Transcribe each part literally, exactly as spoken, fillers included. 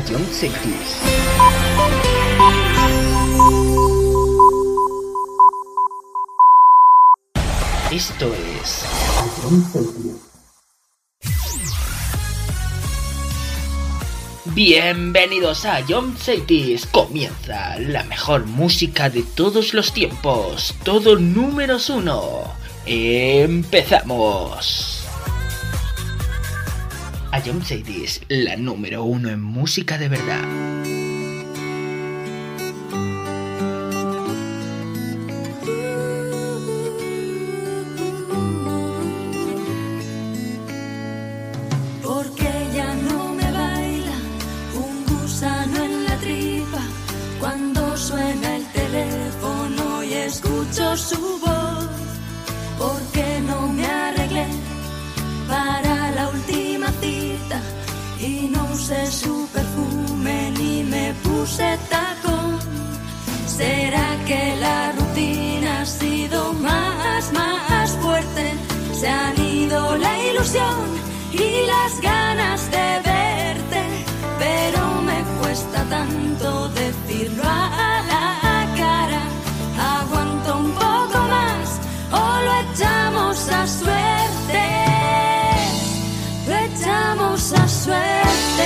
John Cities. Esto es John Cities. Bienvenidos a John Cities. Comienza la mejor música de todos los tiempos. Todo números uno. Empezamos. A John Cities, la número uno en música de verdad. Su voz, porque no me arreglé para la última cita y no usé su perfume ni me puse tacón. ¿Será que la rutina ha sido más, más fuerte? Se han ido la ilusión y las ganas de verte, pero me cuesta tanto decirlo a la cara. Aguanto un poco más o lo echamos a suerte, lo echamos a suerte.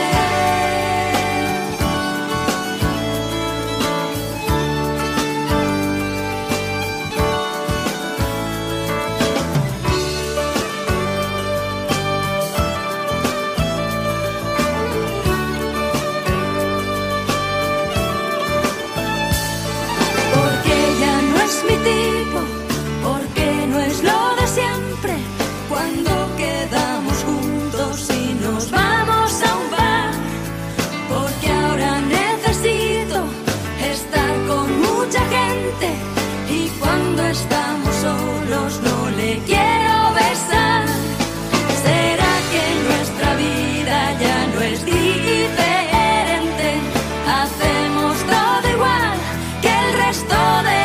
Mi tipo, porque no es lo de siempre. Cuando quedamos juntos y nos vamos a un bar, porque ahora necesito estar con mucha gente y cuando estamos solos no le quiero besar. ¿Será que nuestra vida ya no es diferente? Hacemos todo igual que el resto de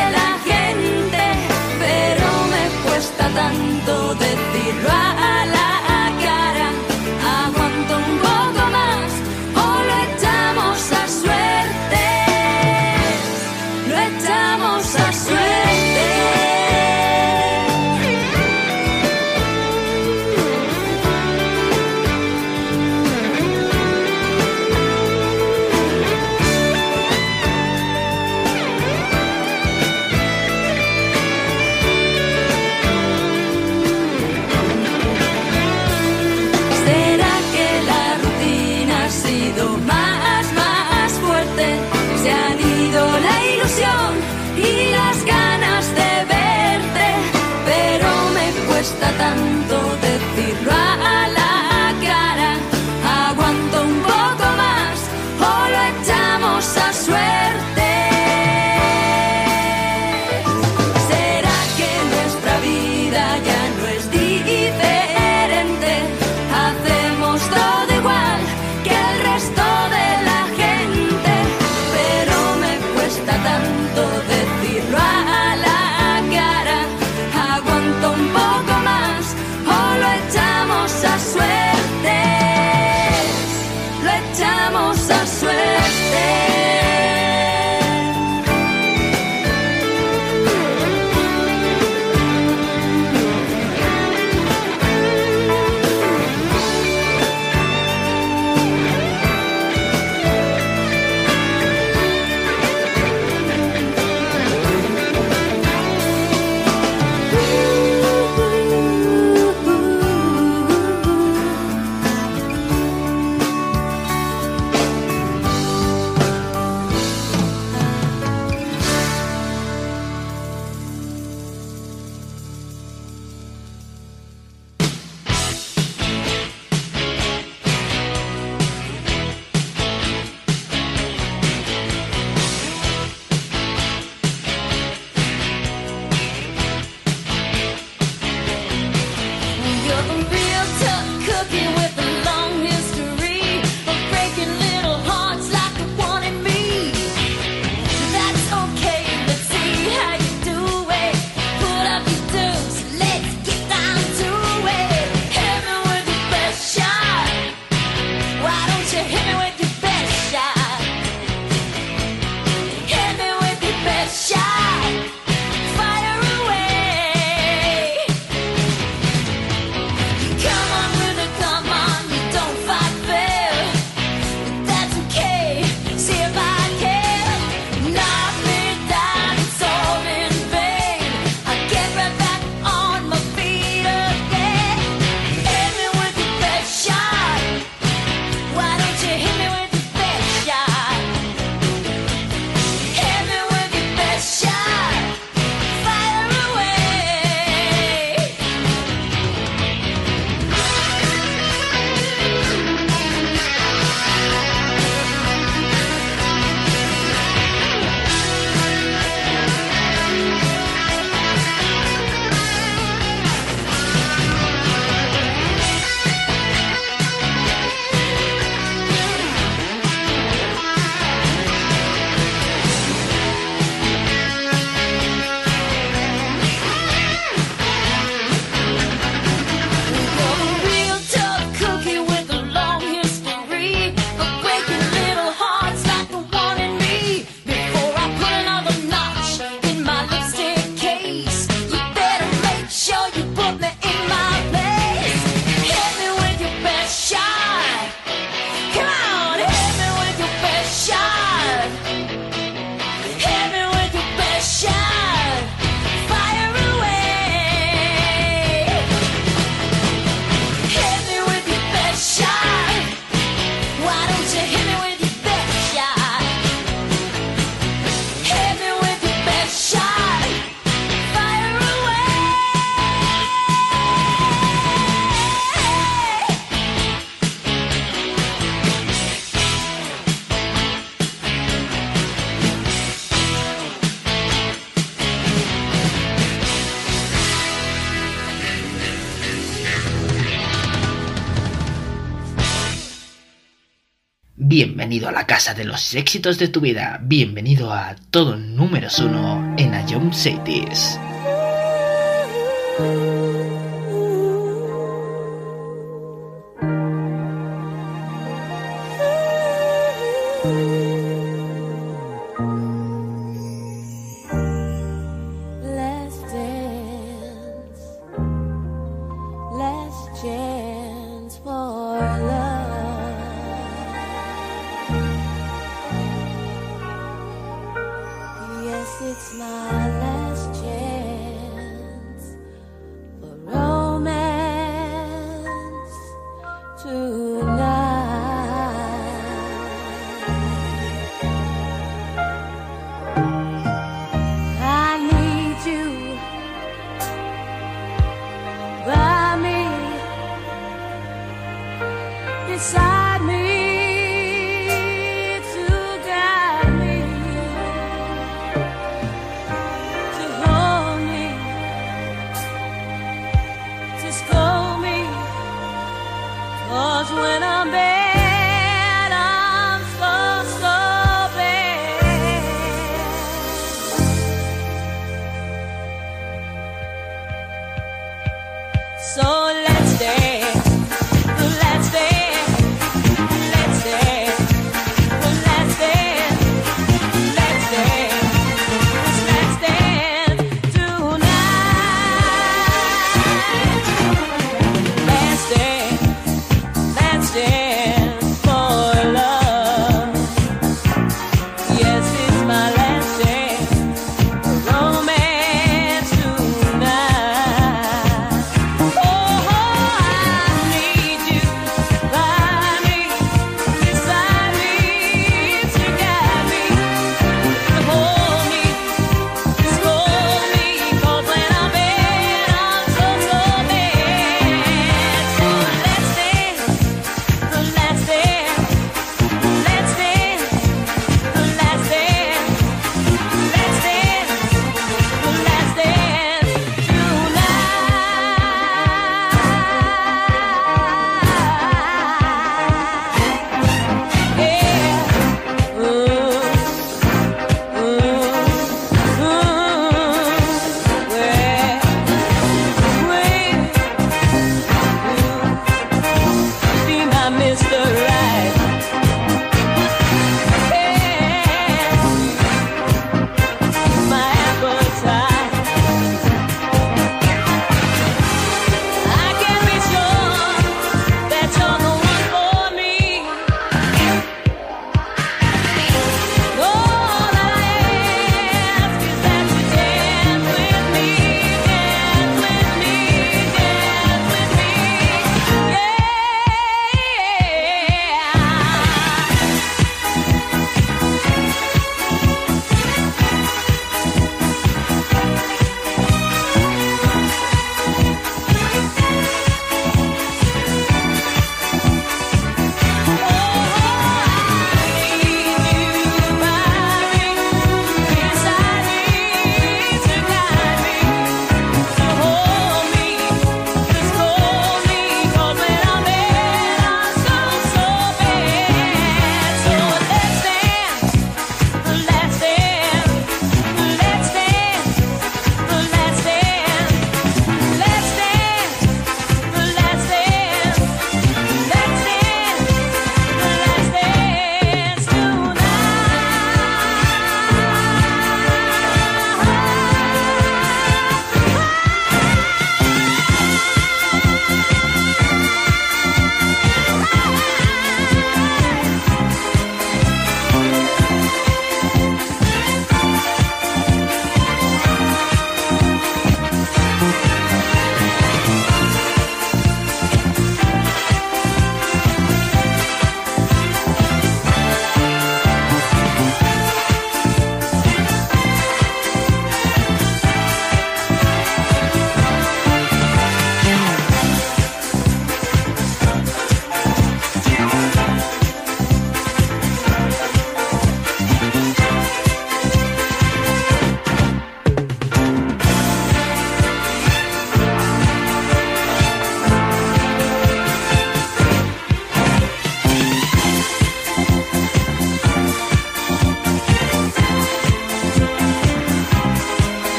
tanto decirlo a la cara. Aguanto un poco más o lo echamos a suerte, lo echamos a suerte. Y las ganas de verte, pero me cuesta tanto decirlo a la cara. Aguanto un poco más o lo echamos a suerte. ¿Será que nuestra vida ya no es diferente? Hacemos todo igual que el resto de la gente, pero me cuesta tanto decirlo a la cara. Aguanto un poco más o lo echamos a suerte, lo echamos a suerte. Bienvenido a la casa de los éxitos de tu vida. Bienvenido a todo números uno en A Young Cities. Tonight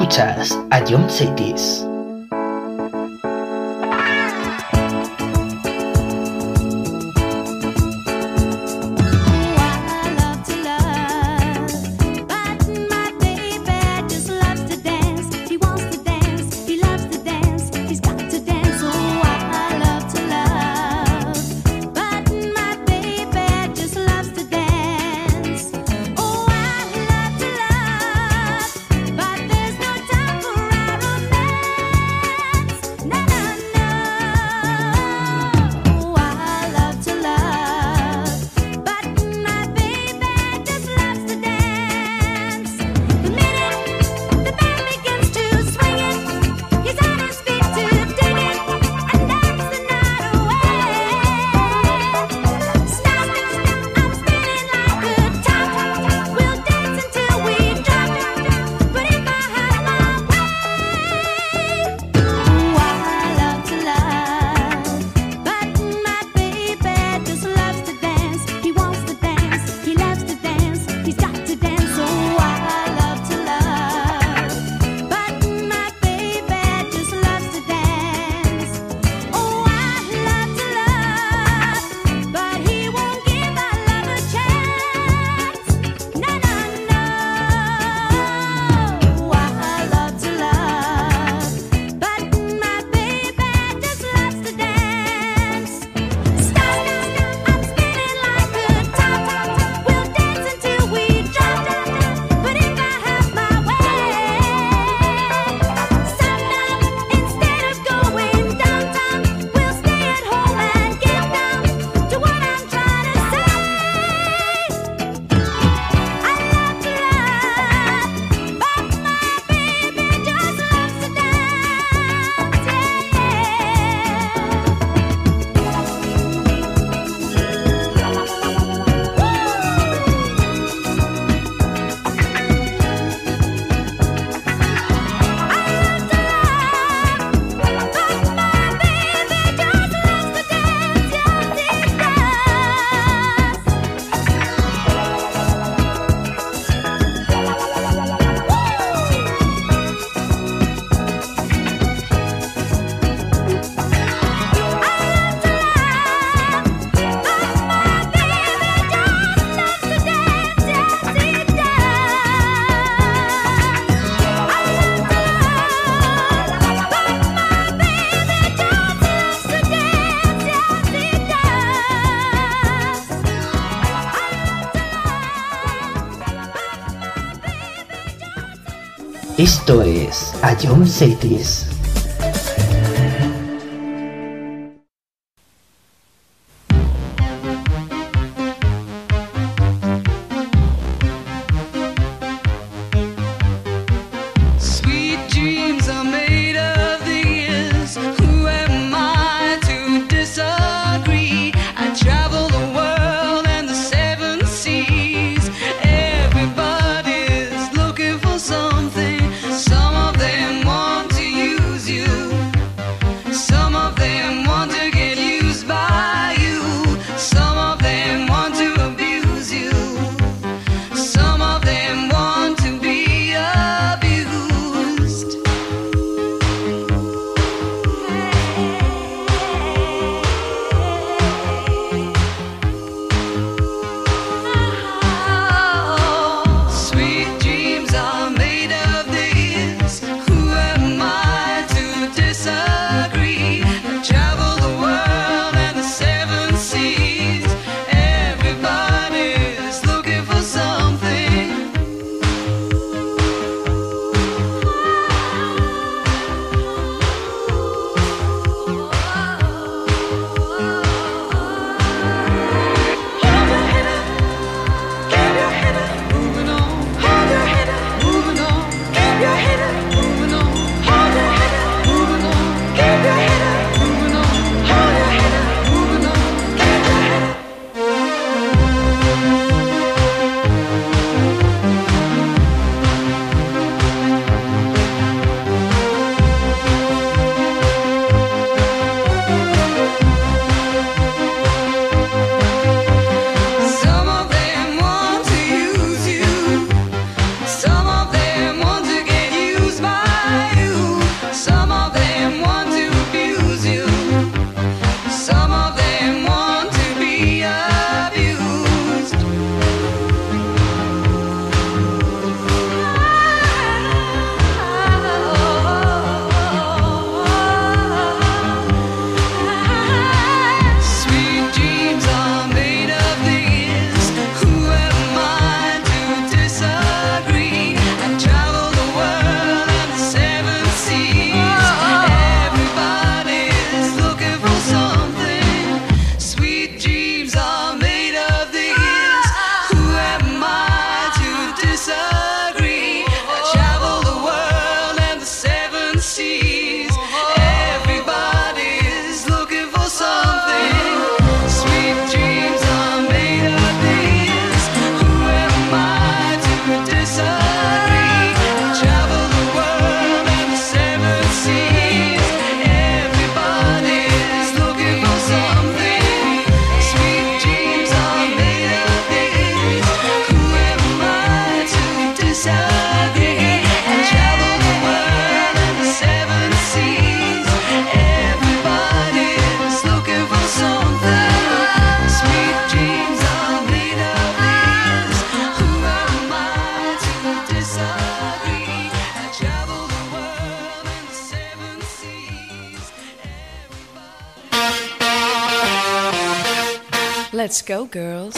Escuchas a John Saitis. Esto es a John Saitis. Some of them want to use Let's go, girls.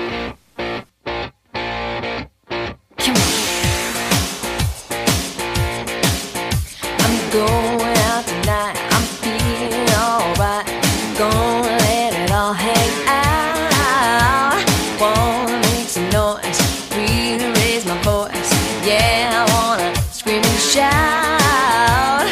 Going out tonight, I'm feeling alright. Gonna let it all hang out. Wanna make some noise, really raise my voice. Yeah, I wanna scream and shout.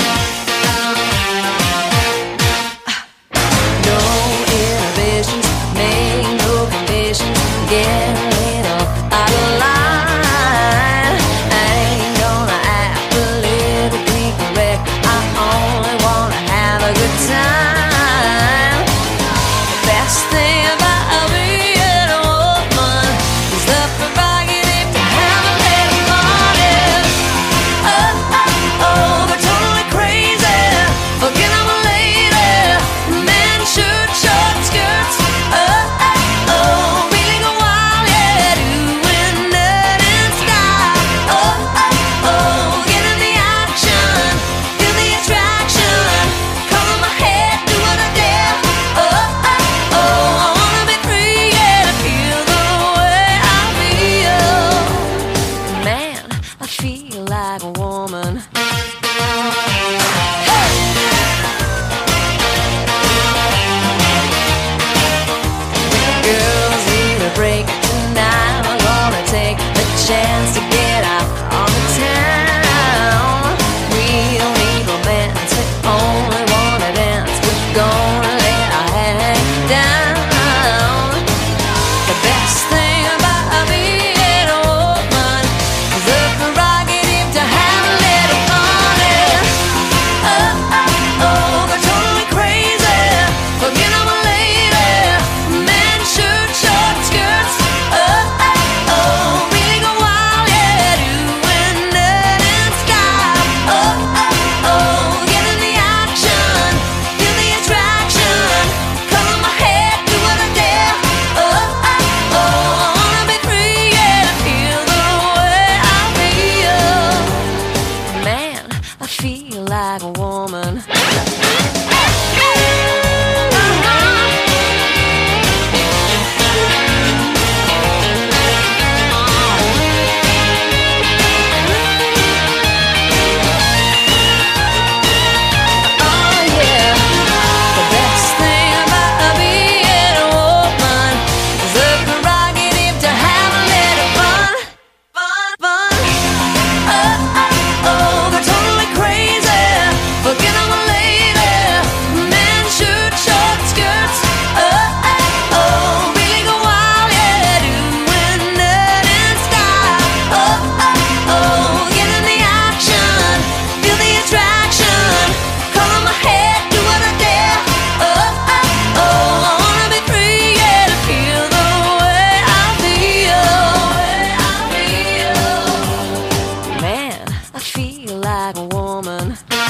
No inhibitions, make no conditions. Get a little out of line. I ain't gonna act politically correct. I only wanna have a good time. The best thing about being a woman is the prerogative to have a little party. Oh, oh, oh, they're totally crazy. Forget I'm a lady. Men shirt, short skirts. Oh, oh, oh, really go wild, yeah, doing that in style. Oh, oh, oh, get in the action, feel the attraction. Color my hair, do what I dare. Oh, oh, oh, I wanna be free, yeah, to feel the way I feel. Man, I feel like a woman. Girls need a break tonight. We're gonna take a chance to get out on the town. We don't need romance, we only wanna dance. We're gonna let our head down. The best thing about being a woman is the prerogative to have a little party. Oh, oh, oh, they're totally crazy. Forget I'm a lady. Men shirt, short skirts. Oh, oh, oh, really go wild, yeah, doing that in style. Oh, oh, oh, get in the action, feel the attraction. Color my hair, do what I dare. Oh, oh, oh, I wanna be free, yeah, to feel the way I feel. Man, I feel like a woman. Oh yeah, the best thing about being a woman is the prerogative to have a little fun, fun, fun. Oh, oh, oh, they're totally crazy. Forget I'm a lady. Men shirt, short skirts. Oh, oh, oh, really go wild, yeah, doing that in style. Oh, oh, oh, get in the action, feel the attraction. Color my hair, do what I dare. Oh, oh, oh, I wanna be free, yeah, to feel the way I feel. Way I feel. Man, I feel like a woman.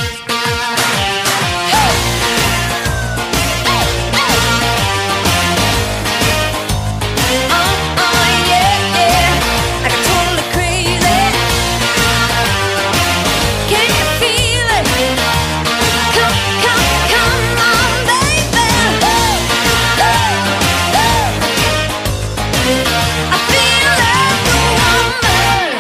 Oh, oh, yeah, yeah, like I'm totally crazy. Can you feel it? Come, come, come on, baby. I feel like a woman.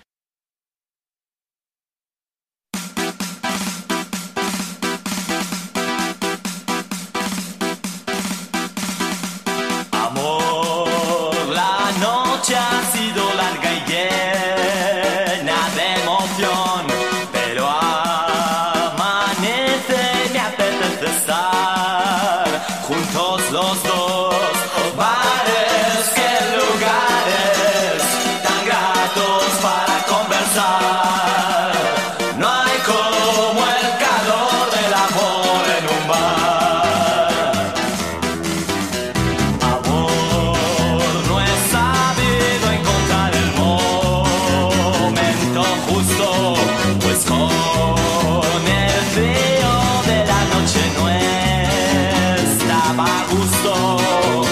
Amor, la noche ha sido larga y llena de emoción, pero amanece y me apetece estar juntos los dos. Bares, que lugares tan gratos para conversar. No hay como el calor del amor en un bar. Amor, no he sabido encontrar el momento justo, pues con el frío de la noche no estaba a gusto.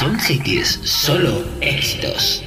John Cities, solo éxitos.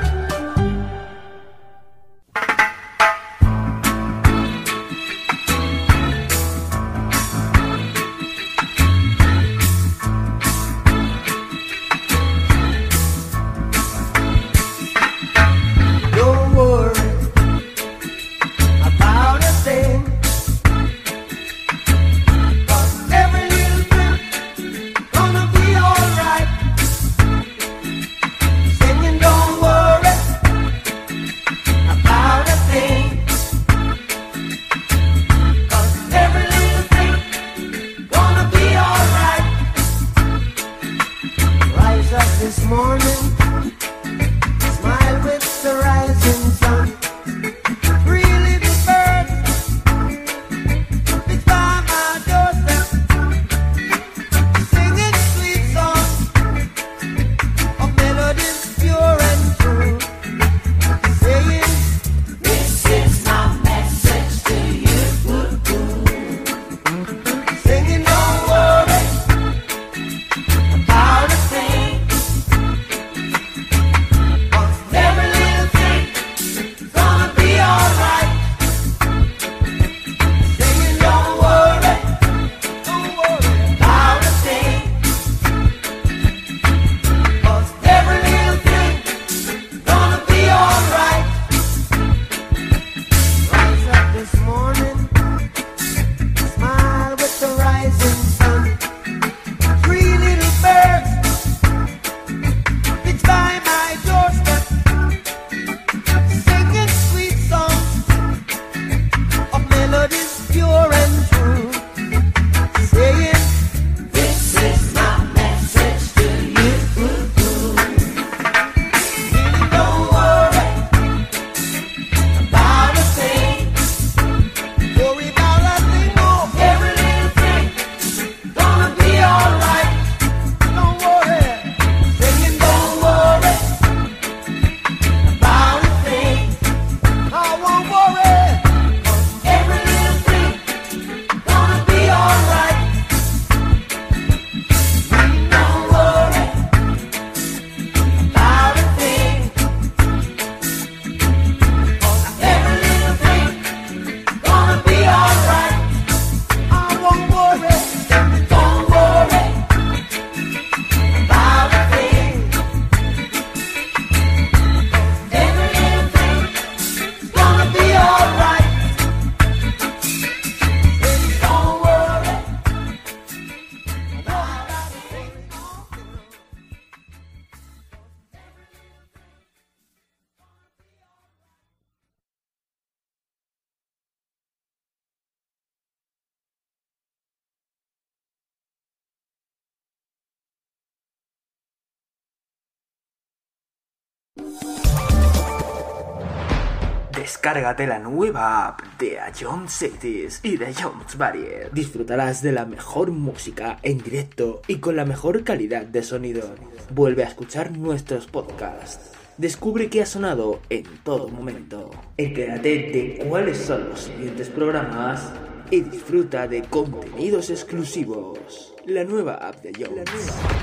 Descárgate la nueva app de A John Cities y de John's Barrier. Disfrutarás de la mejor música en directo y con la mejor calidad de sonido. Vuelve a escuchar nuestros podcasts. Descubre qué ha sonado en todo momento. Entérate de cuáles son los siguientes programas y disfruta de contenidos exclusivos. La nueva app de John's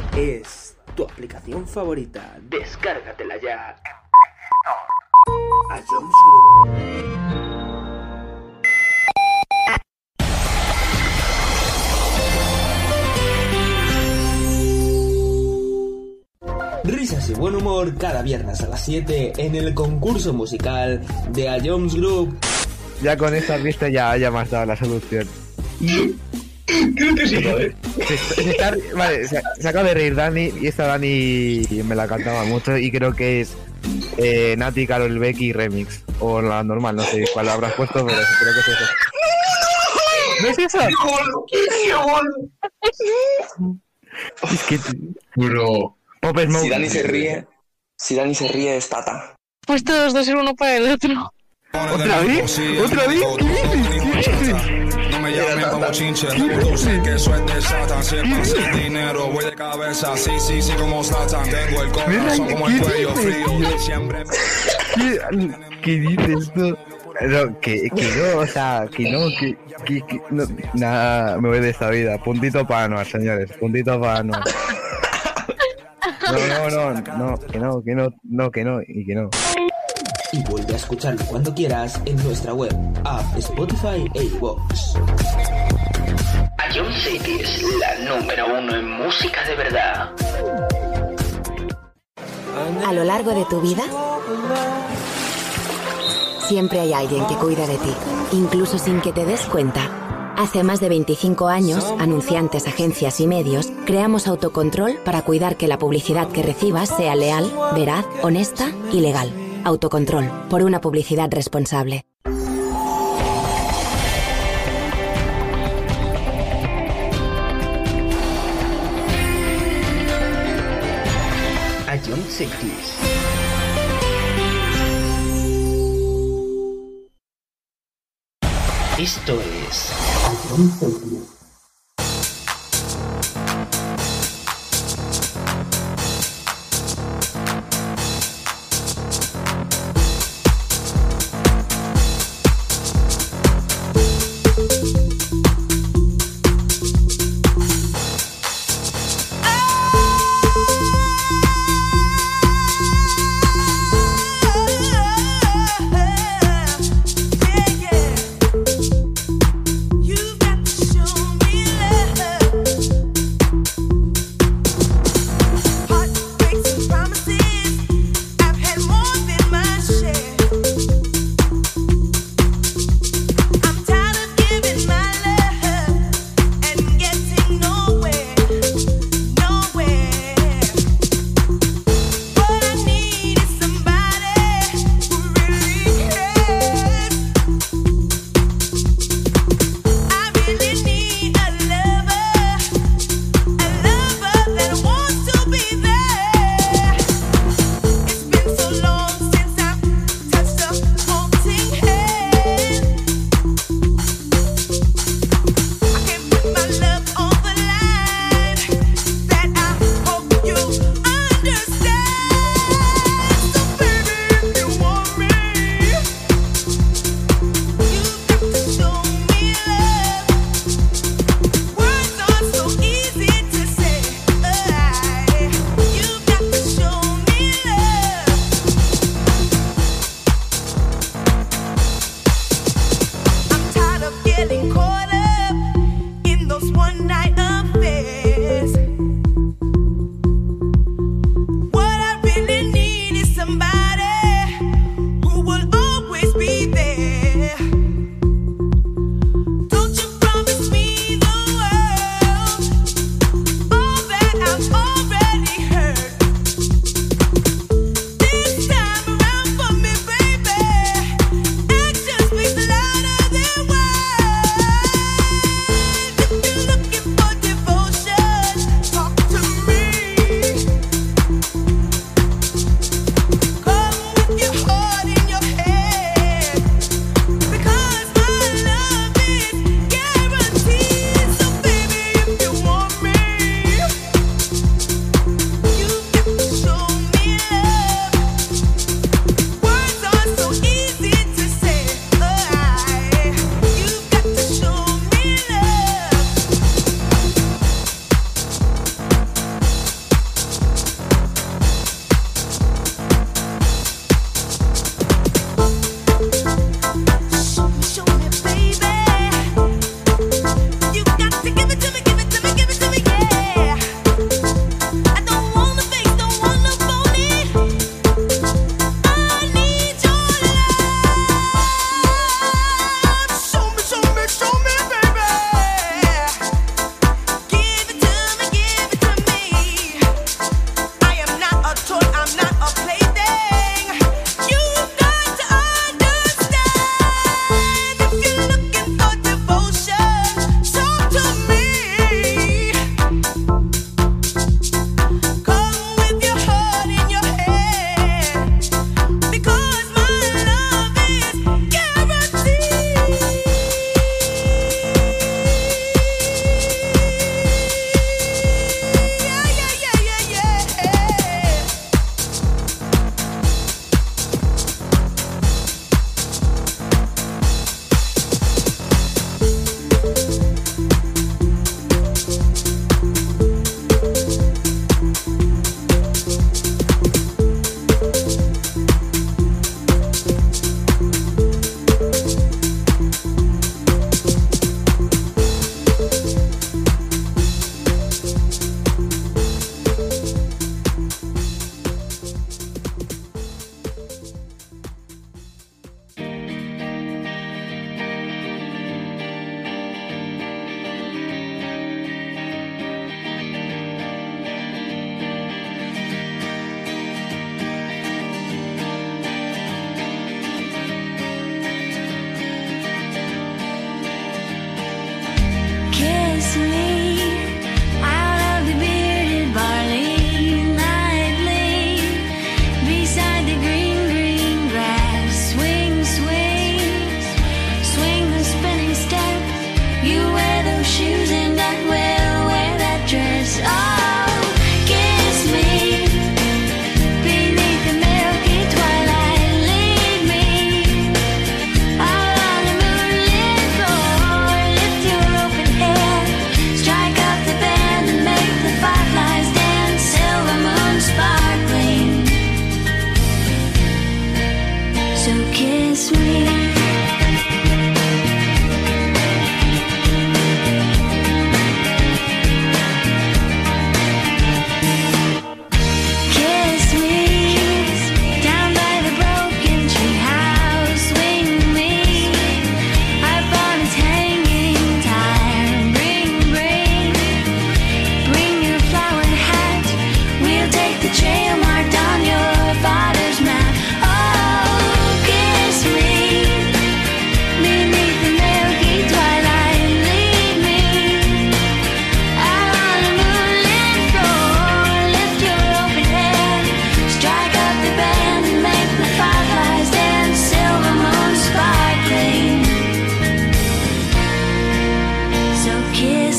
es tu aplicación favorita. Descárgatela ya. A John's Risas y buen humor cada viernes a las siete en el concurso musical de A John's Group. Ya con esta vista ya, ya me has dado la solución. Creo que sí, ¿vale? Se, se está, vale, se, se acaba de reír Dani y esta Dani me la cantaba mucho y creo que es eh, Nati, Karol Becky Remix. O la normal, no sé cuál habrás puesto, pero creo que es eso. ¿No es eso? Es que... Bro. Pop Smoke. Si Dani se ríe, si Dani se ríe es Tata. Pues todos dos ser uno para el otro. ¿Otra vez? ¿Otra vez? ¿Qué dices? ¿Qué dices? No me llamen como chinche, tú sé que eso es de Satan. Si es más el dinero, voy de cabeza, sí, sí, sí, como Satan. Tengo el corazón como el cuello frío, siempre... ¿Qué, ¿Qué dices tú? No, que, que no, o sea, que no, que... que, que no, nada, me voy de esta vida. Puntito para Anuar, señores, puntito para Anuar. No, no, no, no, que no, que no, no, que no, y que no. Y vuelve a escucharlo cuando quieras en nuestra web, app, Spotify e iVoox. Ion Cities, la número uno en música de verdad. A lo largo de tu vida, siempre hay alguien que cuida de ti, incluso sin que te des cuenta. Hace más de veinticinco años, anunciantes, agencias y medios, creamos Autocontrol para cuidar que la publicidad que recibas sea leal, veraz, honesta y legal. Autocontrol, por una publicidad responsable. Ion Cities. Esto es Ion Cities.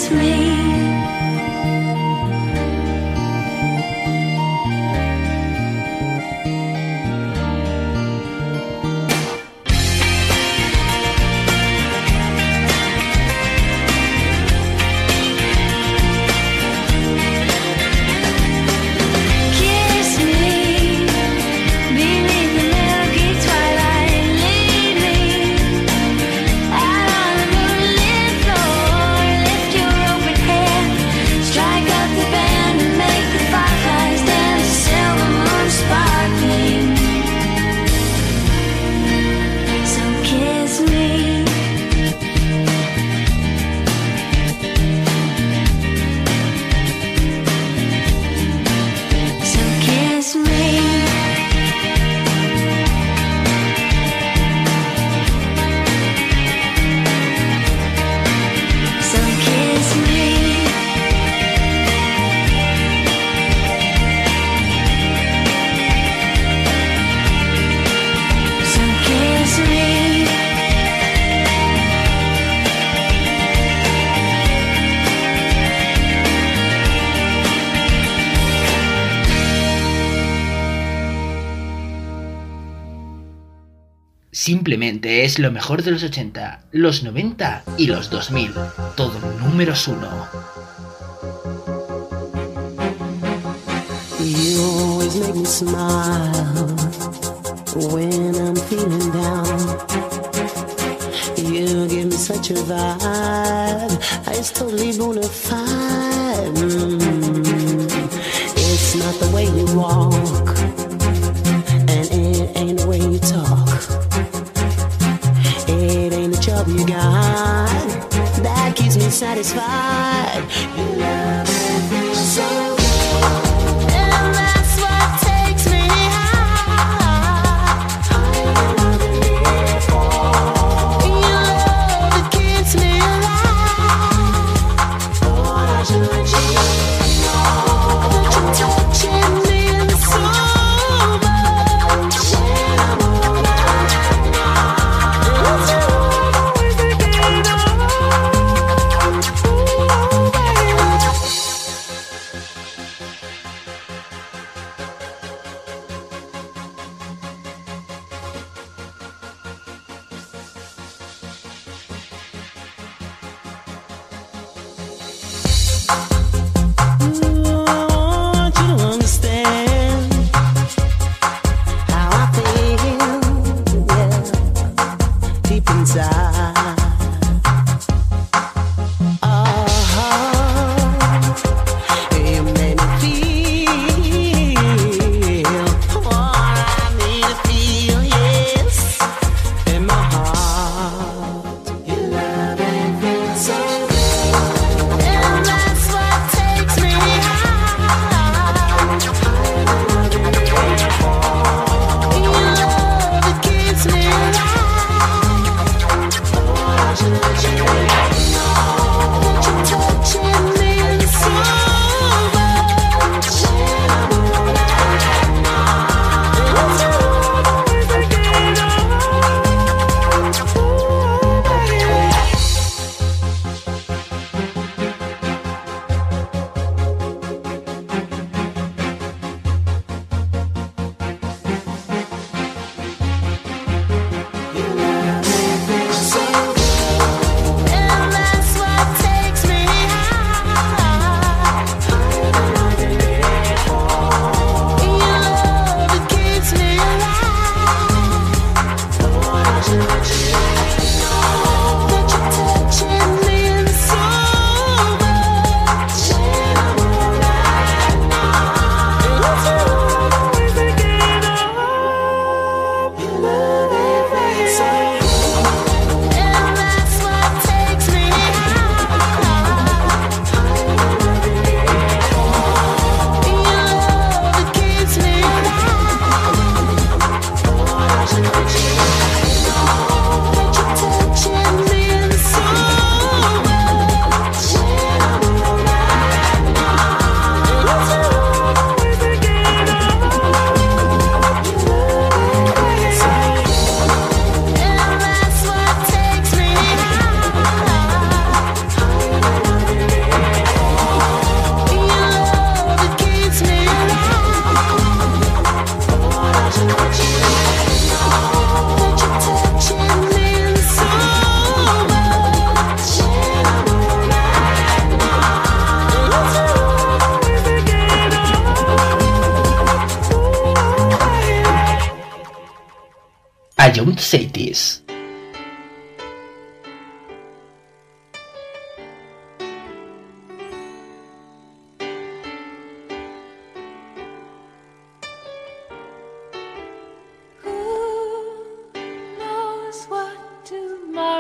kiss me. Simplemente es lo mejor de los ochenta, los noventa y los dos mil. Todo números uno. You always make me smile when I'm feeling down. You give me such a vibe, it's totally bona fide. Mm. It's not the way you walk, and it ain't the way you talk. It ain't the job you got that keeps me satisfied. You love me so.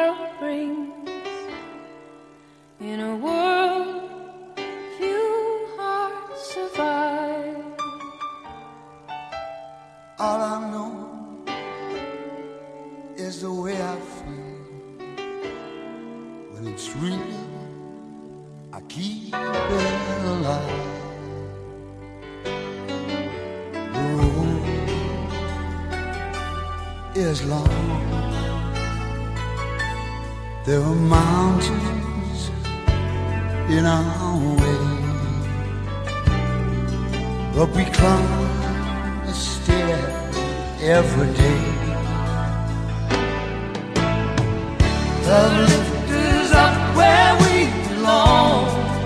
world brings. In a world few hearts survive. All I know is the way I feel when it's real. I keep it alive. The road is long. There are mountains in our way, but we climb a stair every day. The lift is up where we belong,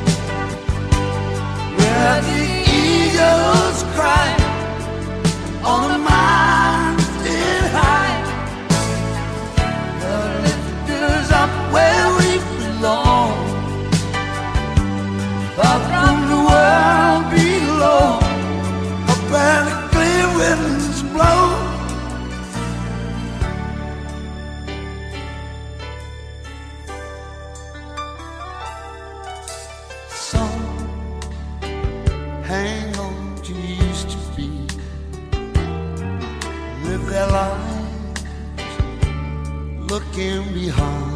where the eagles cry on a mountain high. The lift is up where we belong, far from the world below, up where the clear winds blow. Some hang on to used to be, live their lives looking behind.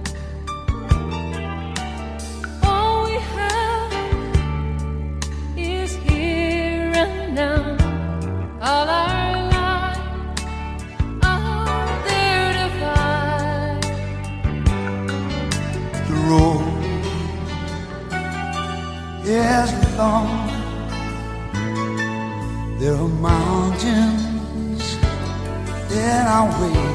All we have is here and now. All our lives are there to find. The road is long. There are mountains in our way,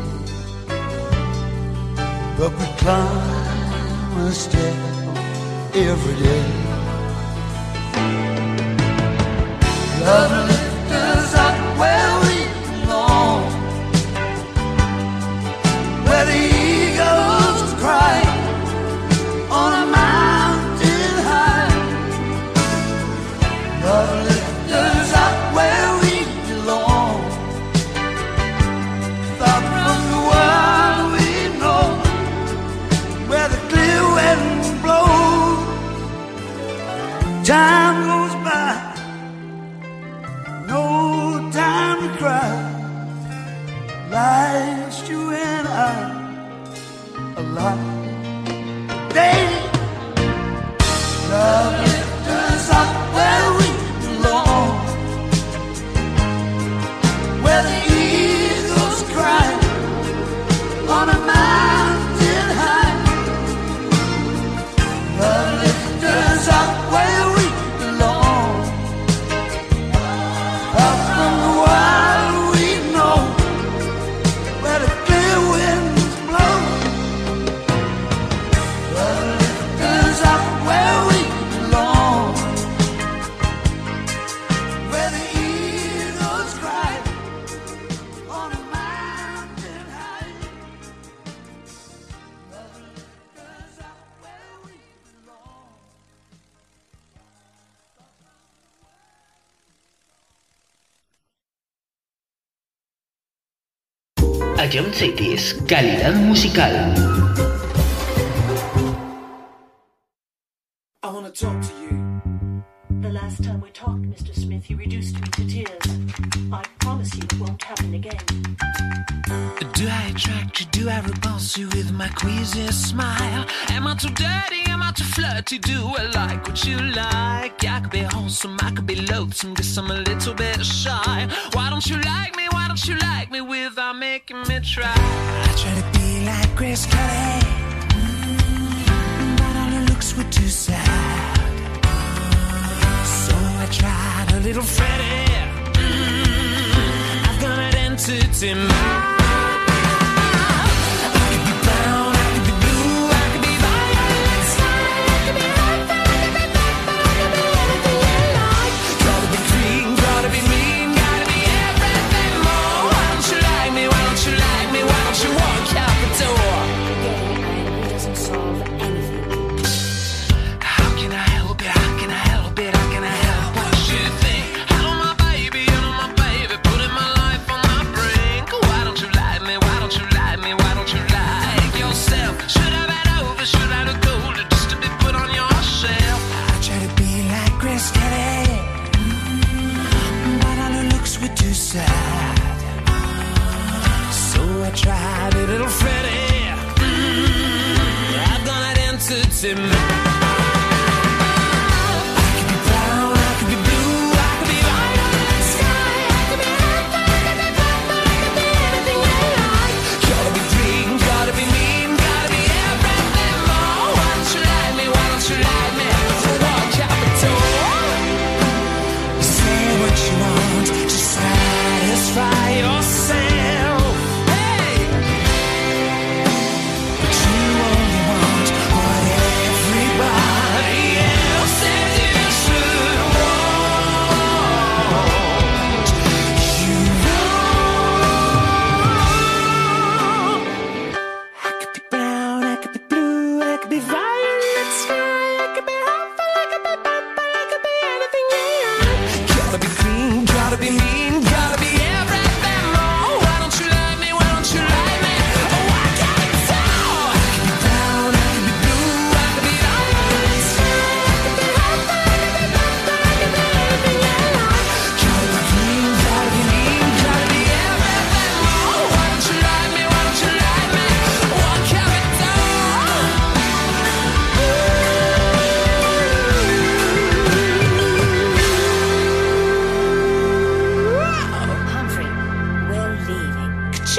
but we climb a step every day. Love lifts us up where we belong, where the eagles cry on a mountain high. Love lifts us up where we belong, far from the world we know, where the clear winds blow. Time goes by, no time to cry. Life's you and I alive. Daily, love lifts us up where we belong, where the eagles cry on a mountain high. Love lifts us up where we belong, up from the world we know, where the clear winds blow. Love lifts us up where we belong, where the eagles cry on a mountain high. Love lifts us up where we belong. Ion Cities, calidad musical. I wanna talk to you. The last time we talked, Mister Smith, you reduced me to tears. I promise you it won't happen again. Do I attract you? Do I repulse you with my queasy smile? Am I too dirty? Am I too flirty? Do I like what you like? I could be wholesome, I could be loathsome, guess I'm a little bit shy. Why don't you like me? Why don't you like me without making me try? I try to be like Grace Kelly, mm, but all her looks were too sad. So I tried a little Freddie. Mm, I've got an entity mind. Why don't you losing my mind. I could be brown, I could be blue, I could be violet sky, I could be purple, I could be purple, I could be anything you like. Gotta be green, gotta be mean, gotta be everything more. Why don't you like me, why don't you like me? So walk out the door. Say what you want to satisfy yourself. Hey! But you only want what everybody else says you should want. You know I could be brown, I could be blue, I could be violet sky, I could be hopeful, I could be purple, I could be anything you like. Gotta be green, gotta be mean, gotta be everything more. Why don't you like me, why don't you like me? Oh, I can't tell. I could be brown, I could be blue, I could be violet sky, I could be hopeful, I could be purple, I could be anything you like. Gotta be green, gotta be mean, gotta be everything more. Why don't you like me, why don't you like me? What can we do? Humphrey, we're leaving.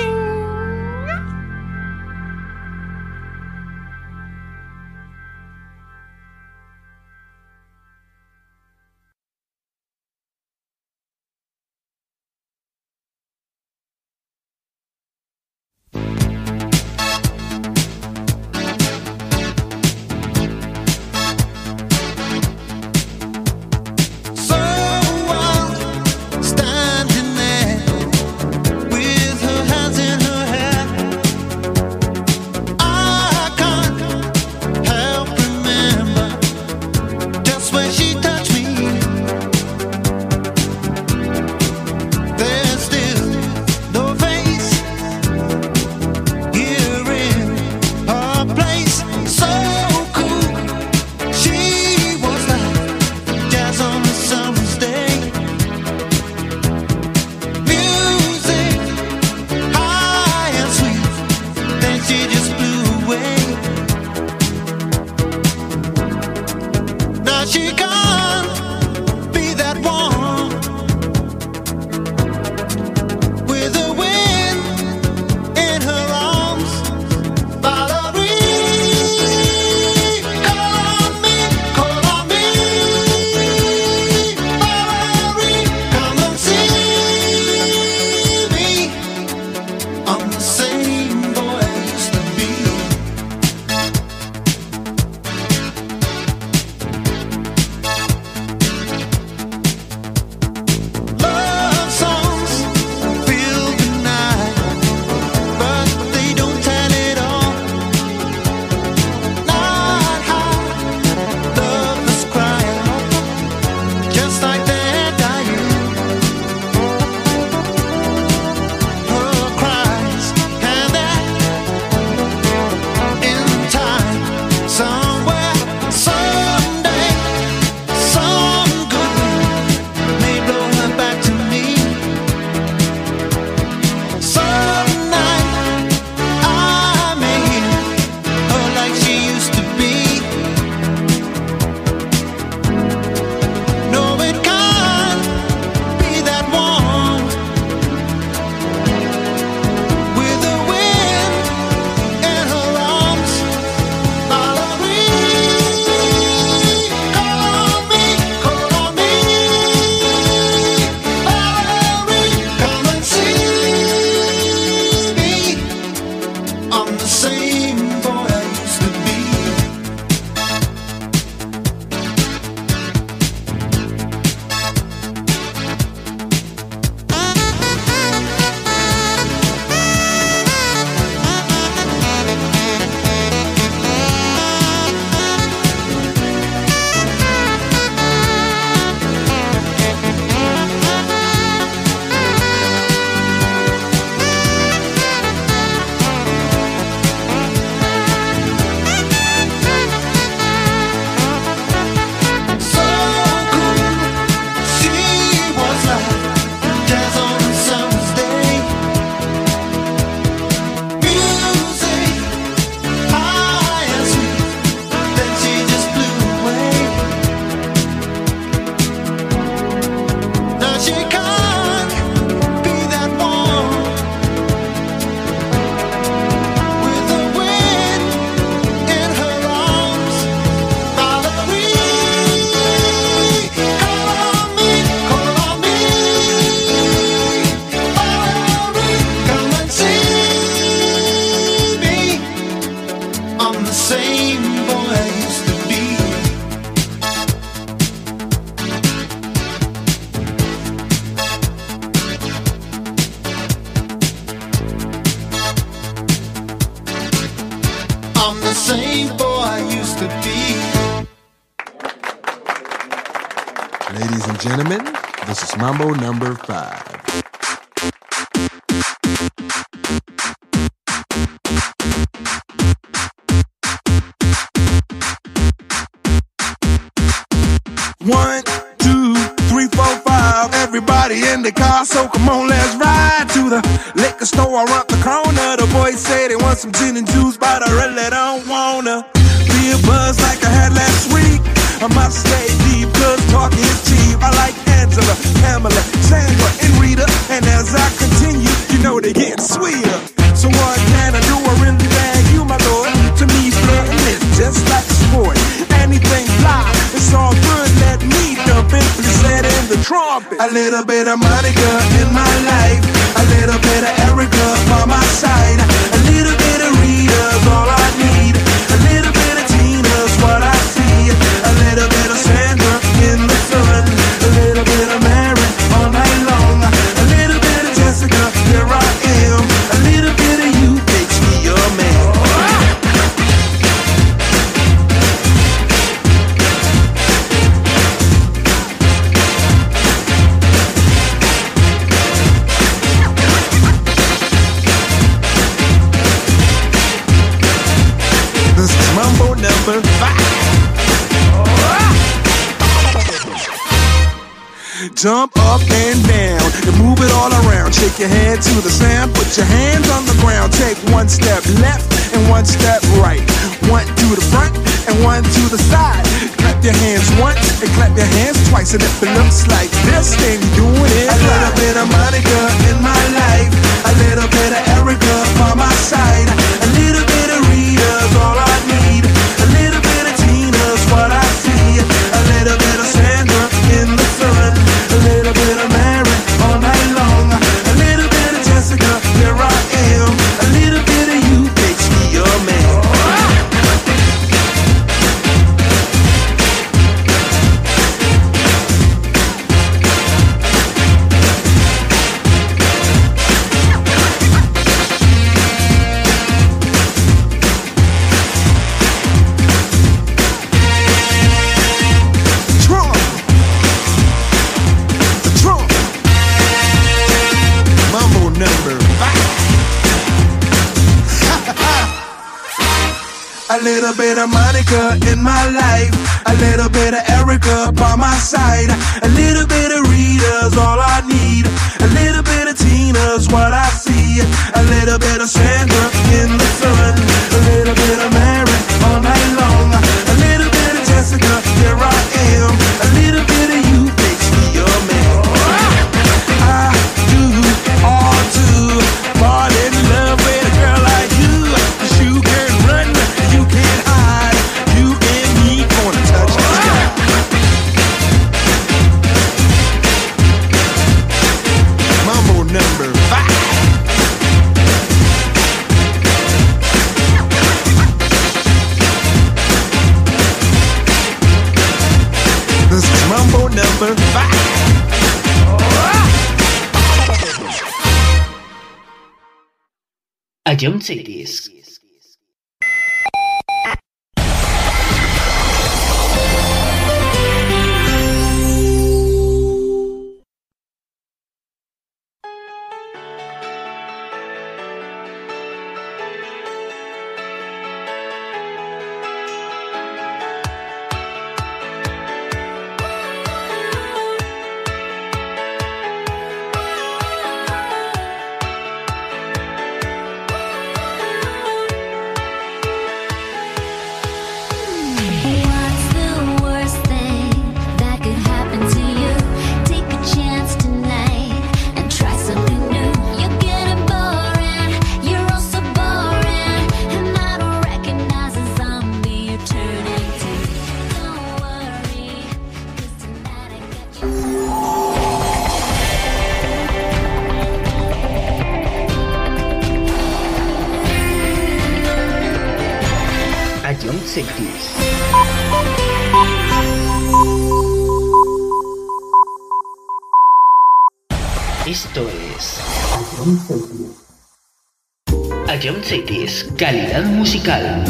Standing there with her hands in her hair, I can't help remember just when she touched me. There's still no face here in her place. So cool, she was like jazz on a summer's day. Music high and sweet, then she just blew away. Now she can't be that one with the wind in her arms. Valerie, call on me, call on me. Valerie, come and see me. I'm the same boy I used to be. the same boy I used to be. I'm the same boy I used to be. Ladies and gentlemen, this is Mambo number five. One, two, three, four, five. Everybody in the car, so come on, let's ride to the liquor store around the corner. The boys say they want some gin and juice, but I really don't wanna be a buzz like I had last week. I must stay deep, cause talk is cheap. I like Angela, Pamela, Sandra, and Rita. And as I continue, you know they get sweeter. So what can I do? I really bag you, my lord. To me, flirting is just like a sport. Anything fly, it's all good. Let me dump it, please set in the trumpet. A little bit of Monica in my life, a little bit of Erica by my side, a little bit of Rita's all I need, a little bit of Tina's what I see, a little bit of Sandra in the sun, a little bit of Mary all night long, a little bit of Jessica, here I am, a little bit of you makes me your man. This is Mambo number five. Jump up and down and move it all around. Shake your head to the sound. Put your hands on the ground. Take one step left and one step right. One to the front and one to the side. Clap your hands once and clap your hands twice. And if it looks like this, then you're doing it. A little bit of Monica in my life, a little bit of Erica by my side, a little bit of Rita's all I need, a little bit of Tina's what I see, a little bit of Sandra in the sun, a little bit of Mary all night long, a little bit of Jessica, here I am, a little bit of you makes me your man. Trump, the Trump, Mambo number five. A little bit of Monica in my life, a little bit of Erica by my side, a little bit of Rita's all I need, a little bit of Tina's what I see, a little bit of Sandra in the sun, a little bit of Mary all night long, a little bit of Jessica, here I am, a little bit of you makes me your man. I do all to fall in love with a girl like you, 'cause you can run, you can hide, you and me gonna touch the sky. Mambo number five. This is Mambo number five. A John Cities. John Seitis. Esto es A John Seitis, calidad musical.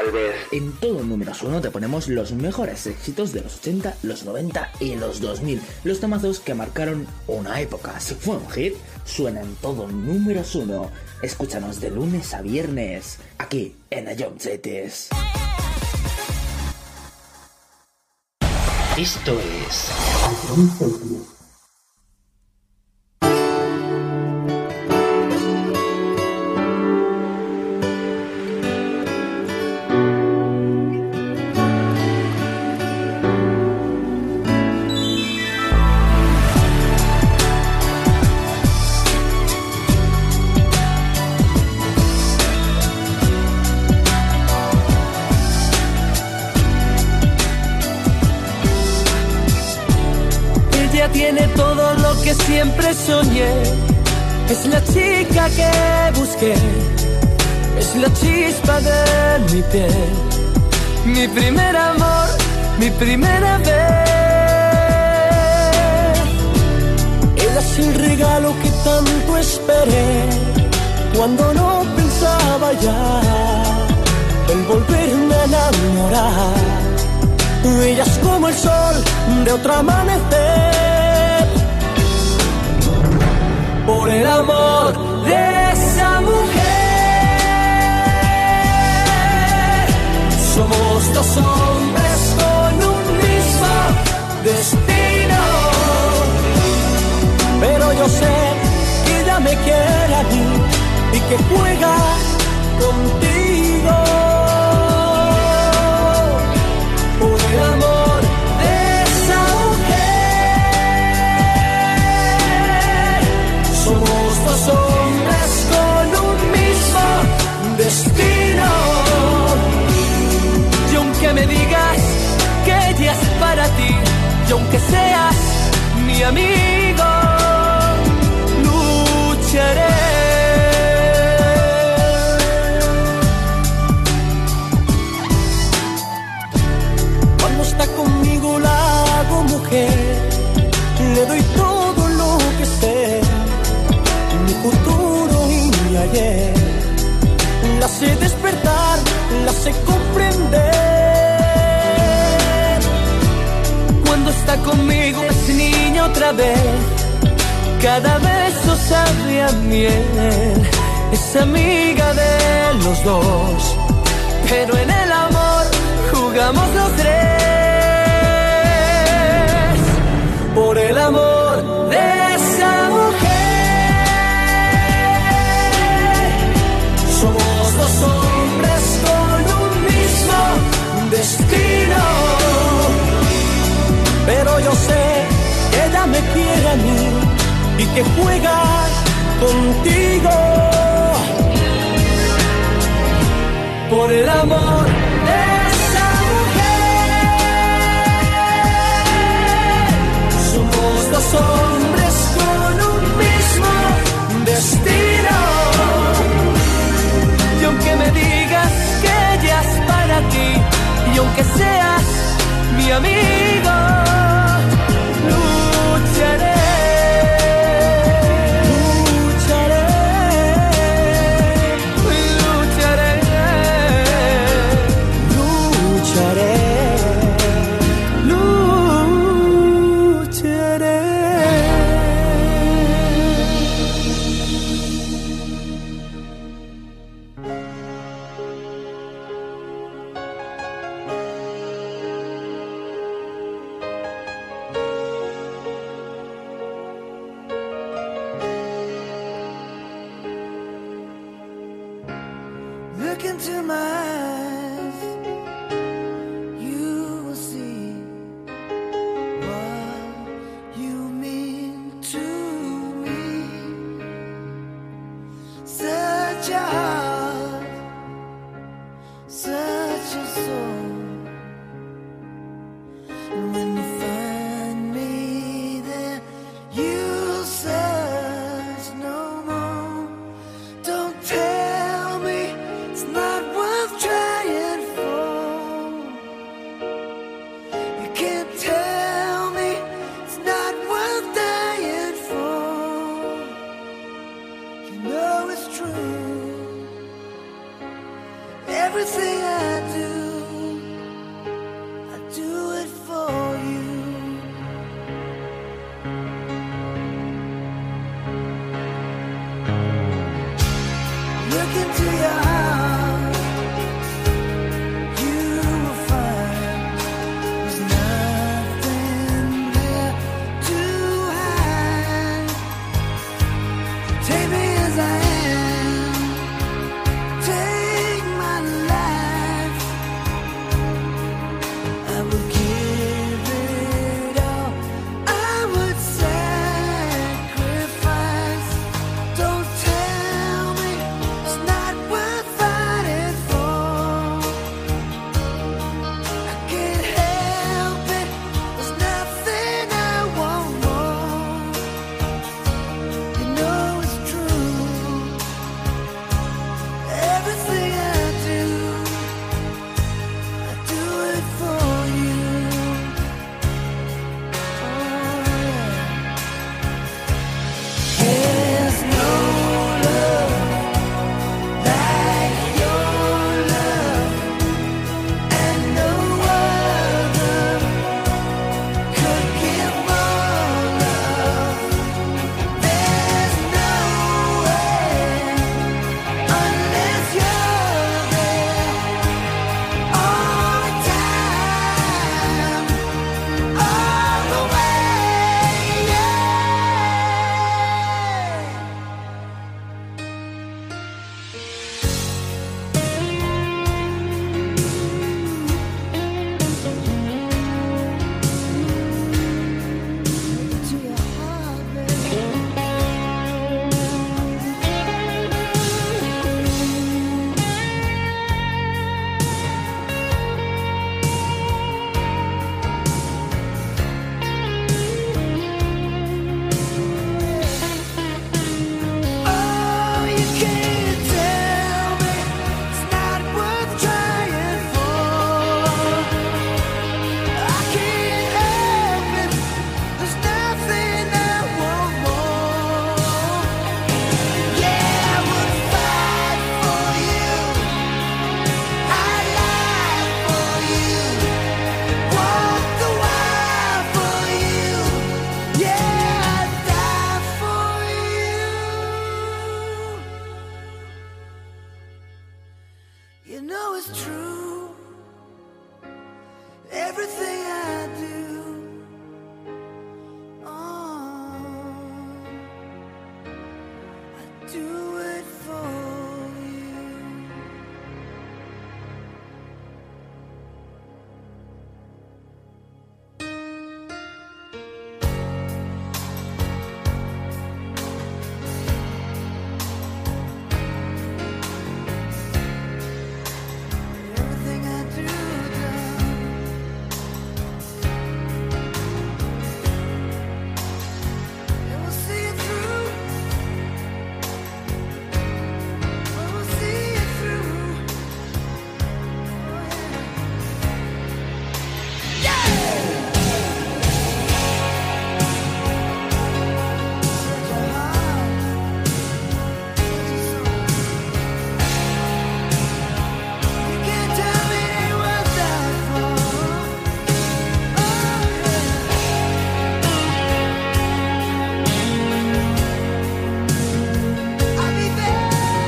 Galvez. En todo números uno te ponemos los mejores éxitos de los ochenta, los noventa y los dos mil. Los temazos que marcaron una época. Si fue un hit, suena en todo números uno. Escúchanos de lunes a viernes, aquí en Ion Cities. Esto es Ion Cities. Tiene todo lo que siempre soñé. Es la chica que busqué. Es la chispa de mi piel. Mi primer amor, mi primera vez. Ella es el regalo que tanto esperé. Cuando no pensaba ya en volverme a enamorar. Ella es como el sol de otro amanecer. Por el amor de esa mujer, somos dos hombres con un mismo destino. Pero yo sé que ella me quiere a mí y que juega contigo. Por el amor de esa mujer, somos dos hombres con un mismo destino. Y aunque me digas que ella es para ti, y aunque seas mi amigo, lucharé. Cuando está conmigo la hago mujer, le doy todo lo que sé, mi futuro y mi ayer. La sé despertar, la sé comprender. Cuando está conmigo es niña otra vez. Cada beso sabe a miel. Es amiga de los dos, pero en el amor jugamos los tres. Por el amor de esa mujer, somos dos hombres con un mismo destino. Pero yo sé que ella me quiere a mí y que juega contigo. Por el amor de esa mujer, somos dos hombres con un mismo destino. Y aunque me digas que ella es para ti, y aunque seas mi amigo, lucharé. Look into my eyes, you will see what you mean to me. Such a heart, such a soul. And when you find me there, you'll search no more. Don't tell me it's not worth trying for. You can't tell me it's not worth dying for. You know it's true. Everything I do You know it's true. Everything I do, oh, I do it for you. Everything I do, and we'll see it through. We'll see it through. Oh, yeah. Yeah! Such a heart, such a soul. You can't tell me it ain't worth that for. I'll be there.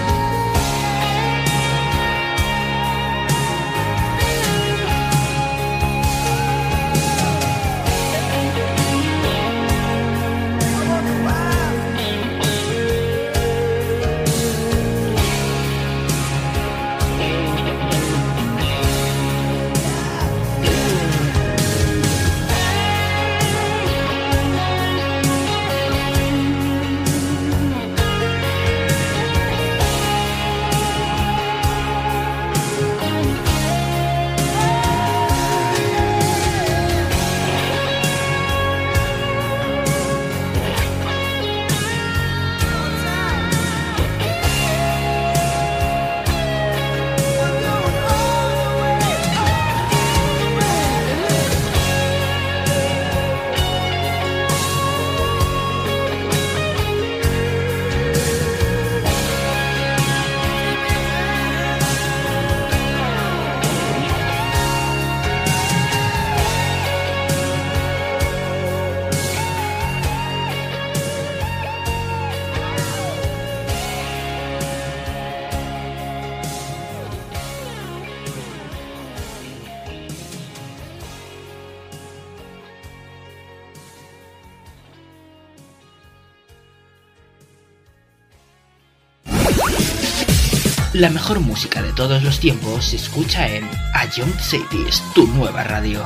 I wonder why. La mejor música de todos los tiempos se escucha en A Young Cities, tu nueva radio.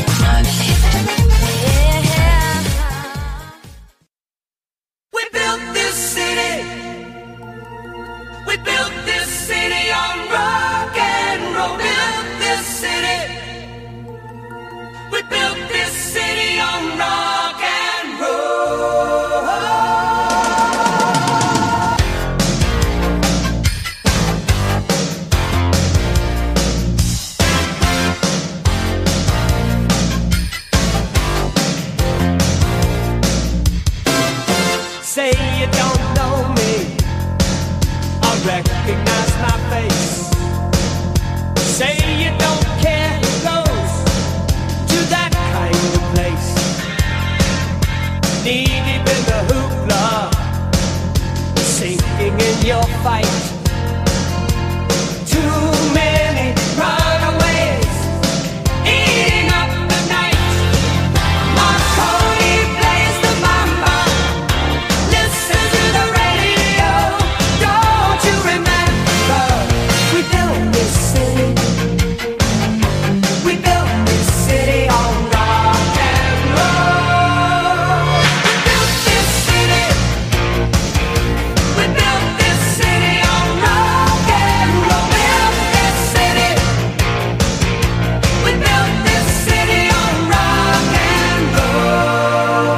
We built this city. We built this city on rock and roll. Built this city. We built this city on rock and roll. Say you don't know me, I recognize my face. Say you don't care who goes to that kind of place. Knee deep in the hoopla, sinking in your fight. Too many runaways, eating up the night. Marconi plays the mambo. Listen to the radio. Don't you remember? We built this city. We built this city on rock and roll. We built this city. We built this city on rock and roll. Built this city. We built this city on rock and roll.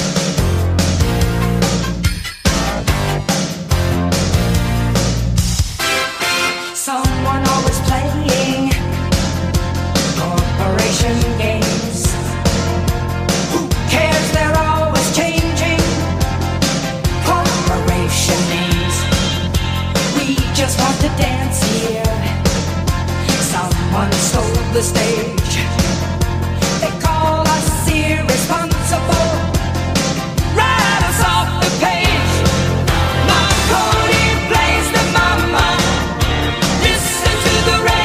Someone always playing corporation games. Who cares? They're always changing corporation names. We just want to dance here. Someone stole the stage. They call us irresponsible. Write us off the page. Marconi plays the mama. Listen to the radio.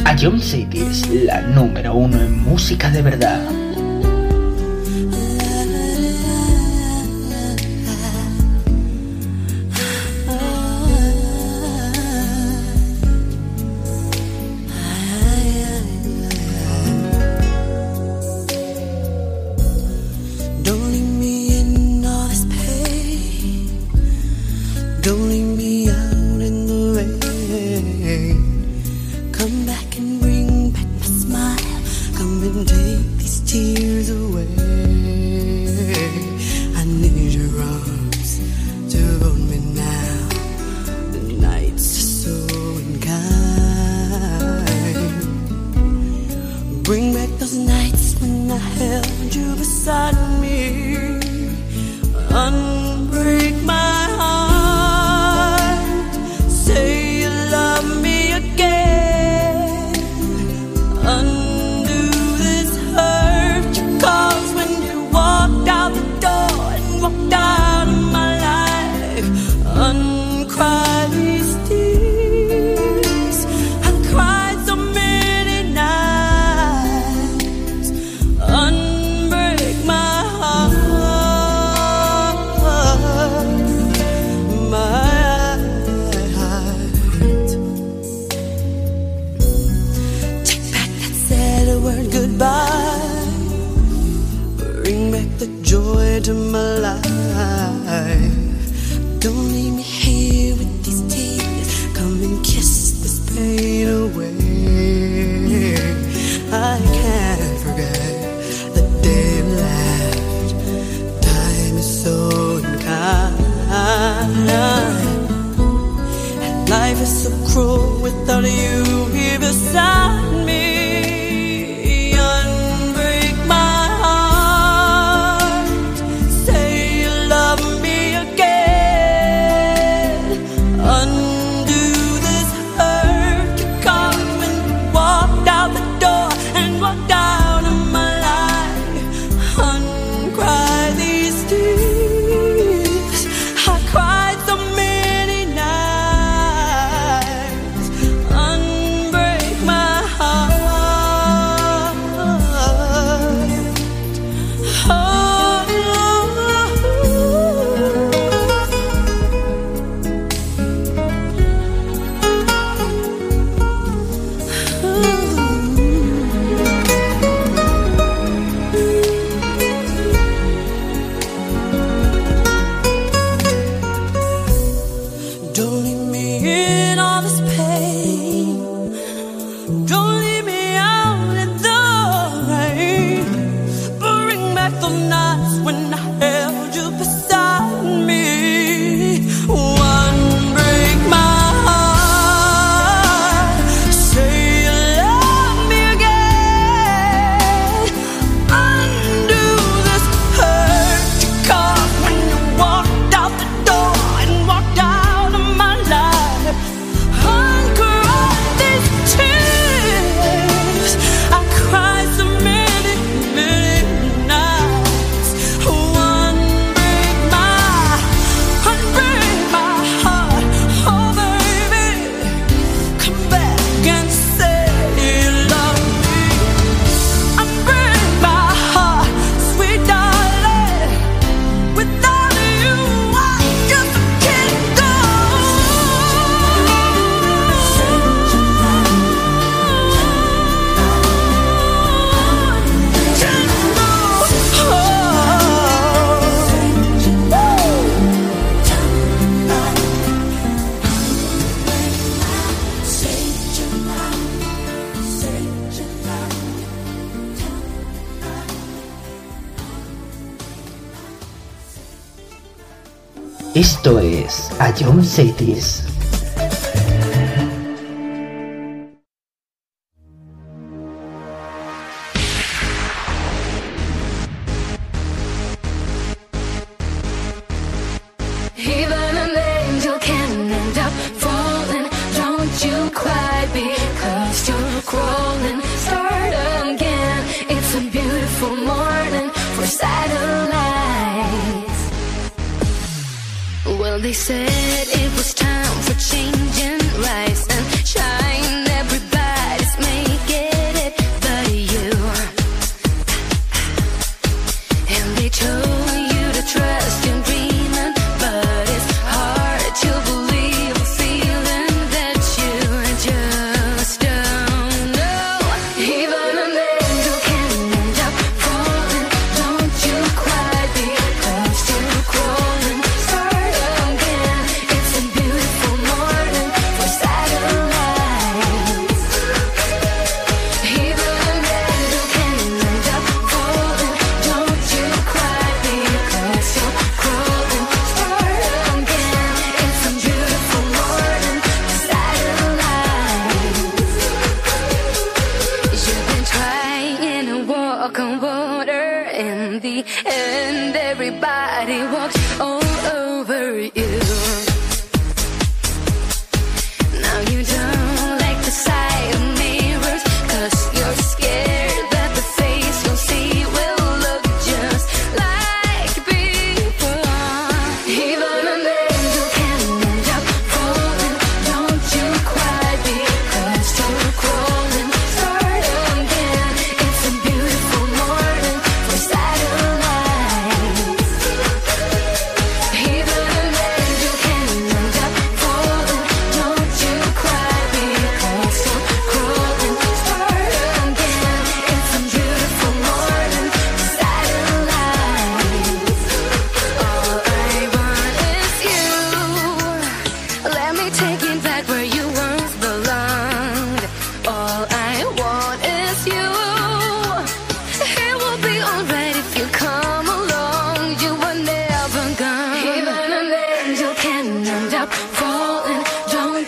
A Jump Cities, la número uno en música de verdad. Esto es A Jump Cities. Even an angel can end up falling. Don't you cry because you're crawling. Start again. It's a beautiful morning for satellites. Well, they said it was time for change and rise and shine. Everybody's made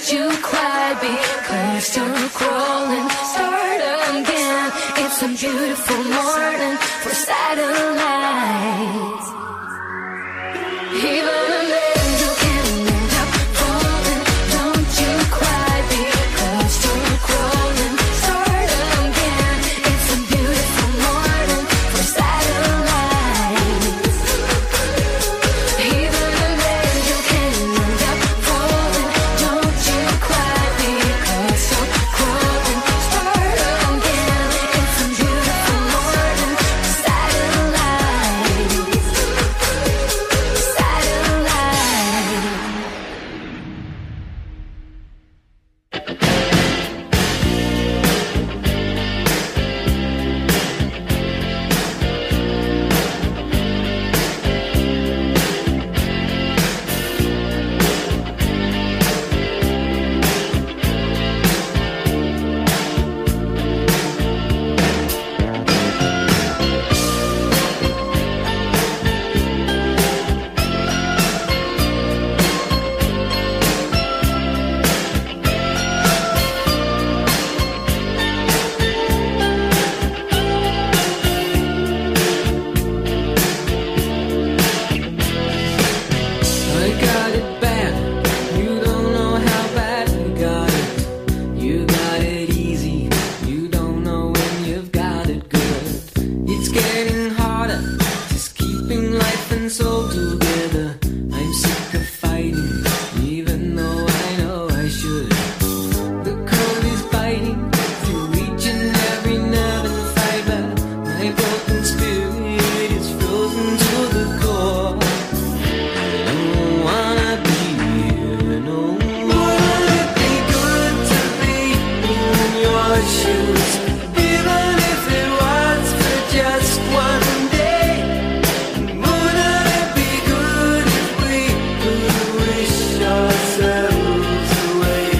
Don't you cry because you're crawling. Start again. It's a beautiful morning for satellites. Even an angel can end up falling. Don't you cry because you're crawling. Start again. It's a beautiful morning for satellites. Even an angel can end up falling. Don't you cry because you're crawling. Start again. It's a beautiful morning for satellites. I got it bad. You don't know how bad you got it. You got it easy. You don't know when you've got it good. It's getting harder, just keeping life and soul together. I'm sick of fighting, even though I know I should. The cold is biting through each and every nerve and fiber. My broken spirit is frozen to the core. Don't wanna be here no more. Wouldn't it be good to be in your shoes, even if it was for just one day? Wouldn't it be good if we could wish ourselves away?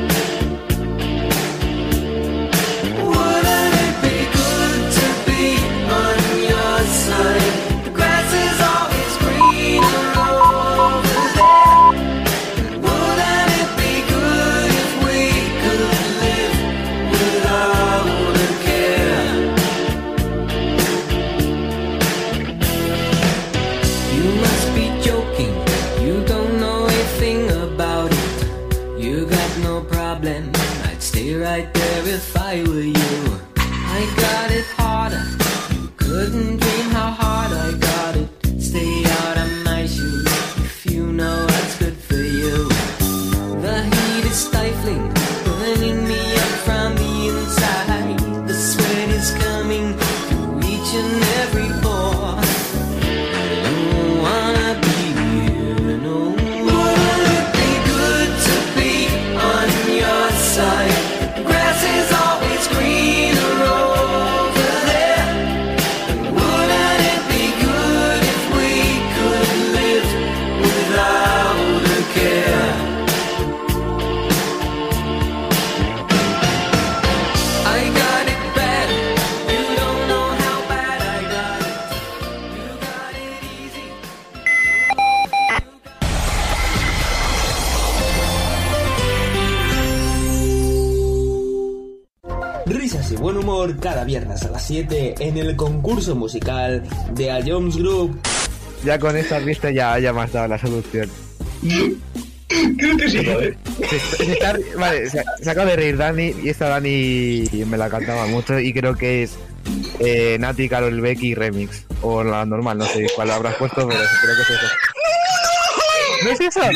Wouldn't it be good to be on your side? The grass is always greener over there. Wouldn't it be good if we could live without a care? You must be joking. You don't know a thing about it. You got no problem. I'd stay right there if I were you. I got it harder. You couldn't dream how hard I got it. Stay out of my shoes if you know what's good for you. The heat is stifling, burning me up from the inside. The sweat is coming through each and every pore. I don't wanna be here no more. Wouldn't it be good to be on your side? The grass is always greener over there. Wouldn't it be good if we could live without a care? I got it bad. You don't know how bad I got it. You got it easy. Risas y buen humor cada viernes a las siete en el concurso musical de A Jones Group. Ya con esta vista ya, ya me has dado la solución. Creo que sí, ¿vale? Se, se está- vale, se, se acaba de reír Dani y esta Dani me la cantaba mucho y creo que es eh, Nati, Karol Becky remix. O la normal, no sé cuál habrás puesto, pero creo que es eso. ¿No es eso?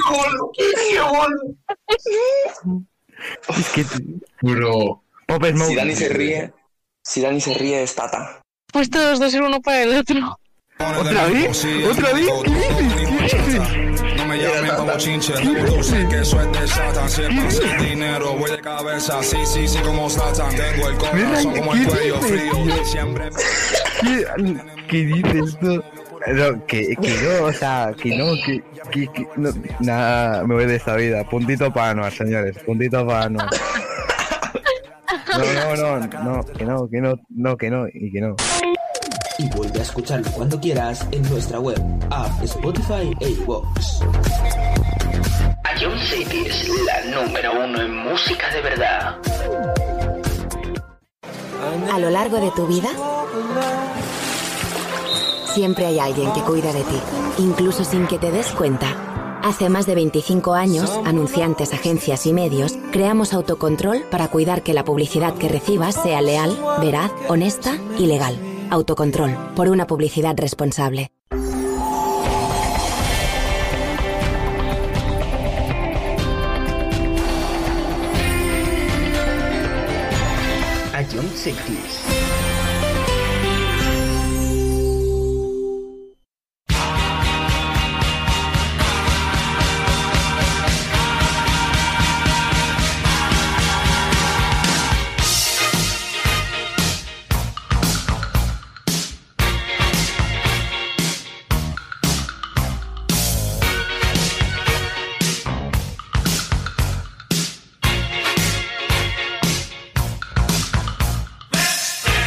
Es que... Bro. Pop Smoke. Si Dani se ríe, si Dani se ríe es Tata. Pues todos dos ser uno para el otro. ¿Otra vez? ¿Otra vez? ¿Qué dices? ¿Qué dices? No me llamen como chinche, tú sé que eso es de Satan. Siempre sin dinero, voy de cabeza, sí, sí, sí, como Satan. Tengo el corazón como el cuello frío, siempre... ¿Qué, ¿Qué dices tú? No, que, que no, o sea, que no, que, que, que no, nada, me voy de esta vida. Puntito para Anuar, señores, puntito para Anuar. No, no, no, no, que no, que no, no, que no, y que no. Y vuelve a escucharlo cuando quieras en nuestra web, app, Spotify e iVoox. A John Cities, la número uno en música de verdad. A lo largo de tu vida, siempre hay alguien que cuida de ti, incluso sin que te des cuenta. Hace más de veinticinco años, anunciantes, agencias y medios, creamos Autocontrol para cuidar que la publicidad que recibas sea leal, veraz, honesta y legal. Autocontrol, por una publicidad responsable. A John Cities. Let's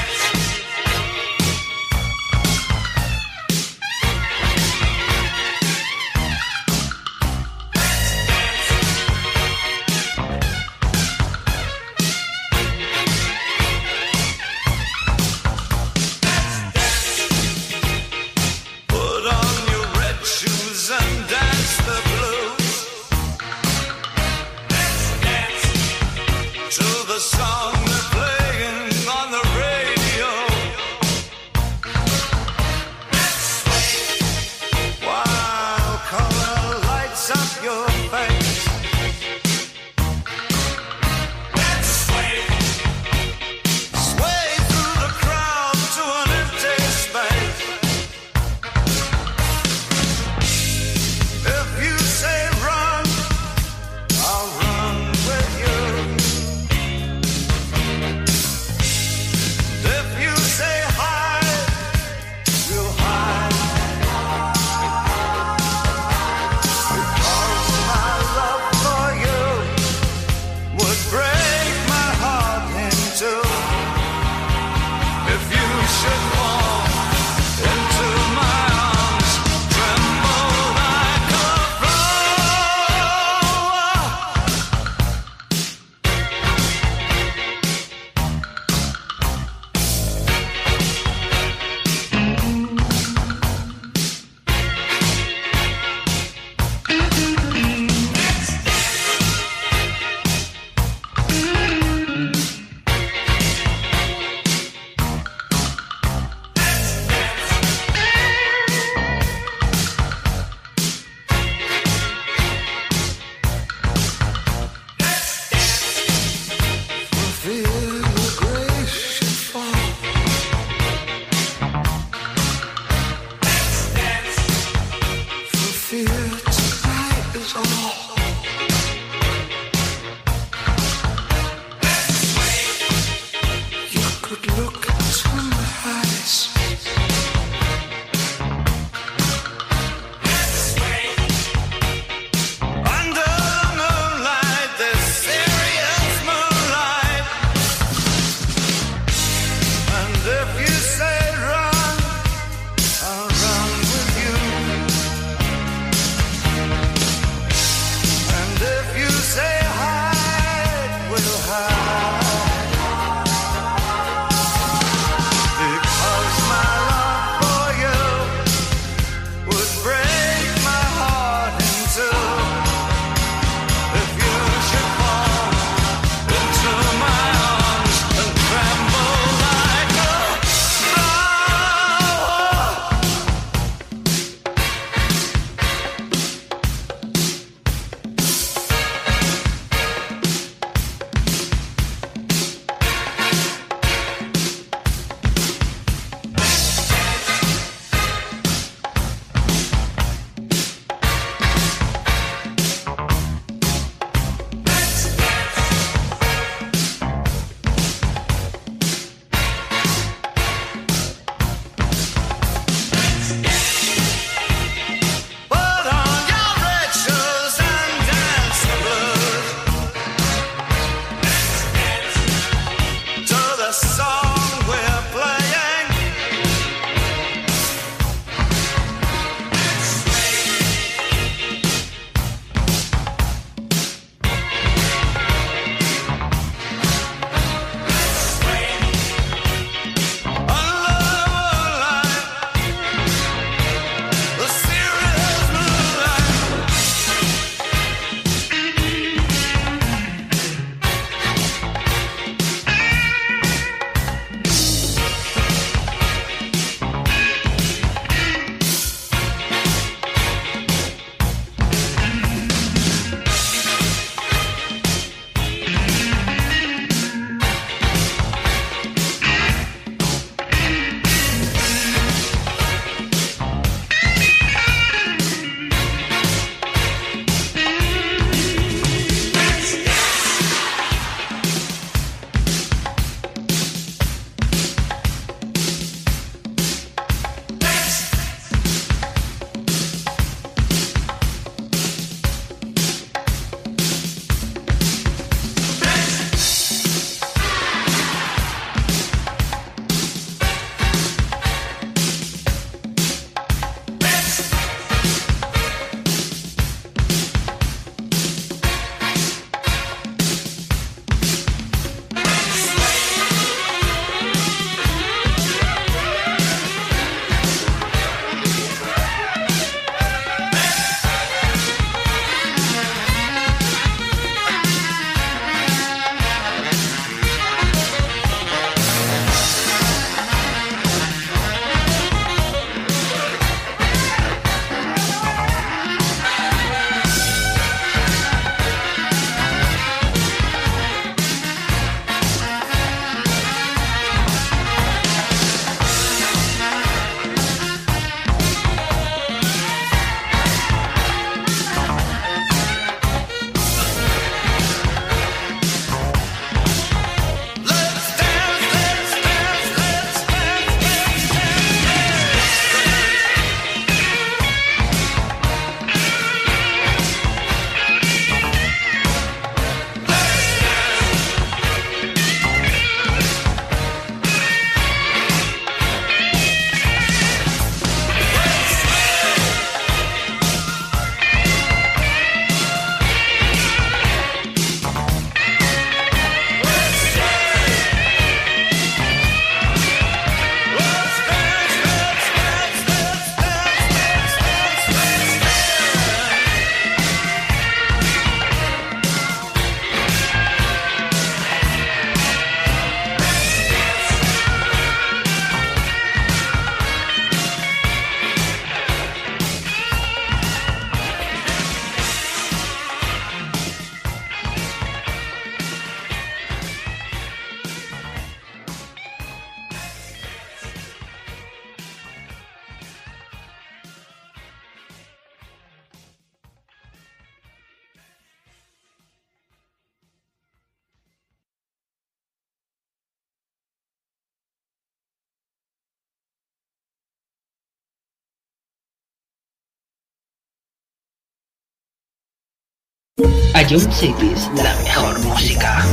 Ion Cities, la mejor música.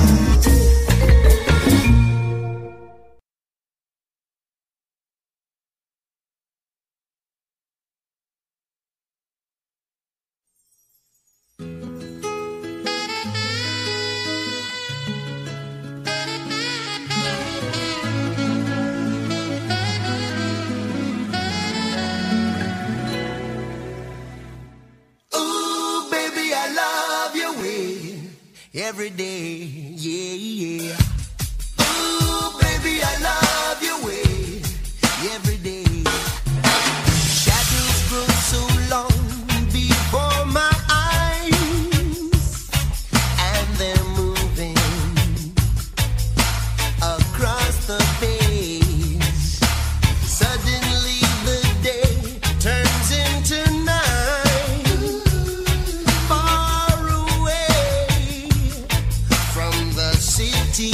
Every day, yeah, yeah. Ooh, baby, I love your way. Every day. Shadows grow so long before my eyes, and they're moving across the page. Suddenly the day turns into night. Far away from the city,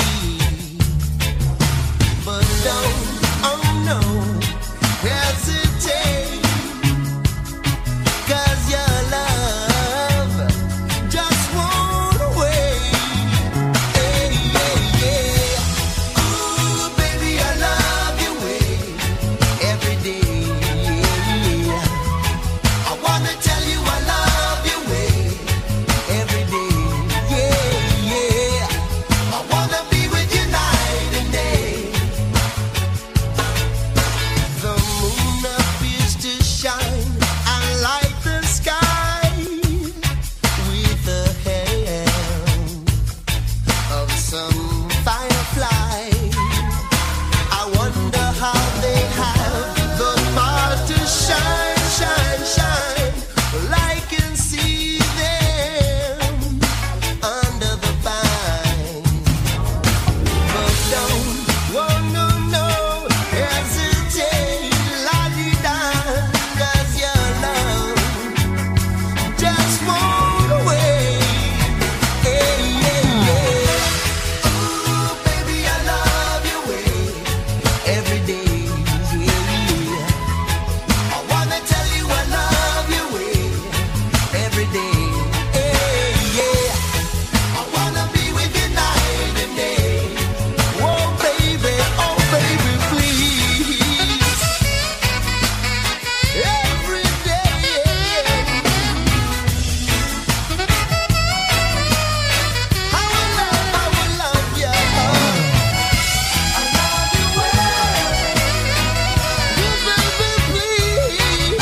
but don't, oh no, hesitate, 'cause your love just won't wait. Hey, yeah, yeah. Ooh, baby, I love your way every day. Yeah. I wanna tell you I love your way every day. Yeah, yeah. I wanna be with you night and day. The moon appears to shine and light the sky with the help of some firefly. I wonder how they have the power to shine, shine, shine. Well, I can see them under the vine. But don't, oh no, no, hesitate, la-di-da, 'cause your love just won't wait. Hey, yeah, yeah. Ooh, baby, I love your way every day. Yeah, I wanna tell you I love your way every day. Hey, yeah. I wanna be with you night and day. Oh, baby, oh, baby, please. Every day. I will love, I will love you. I love you well. You, baby, please.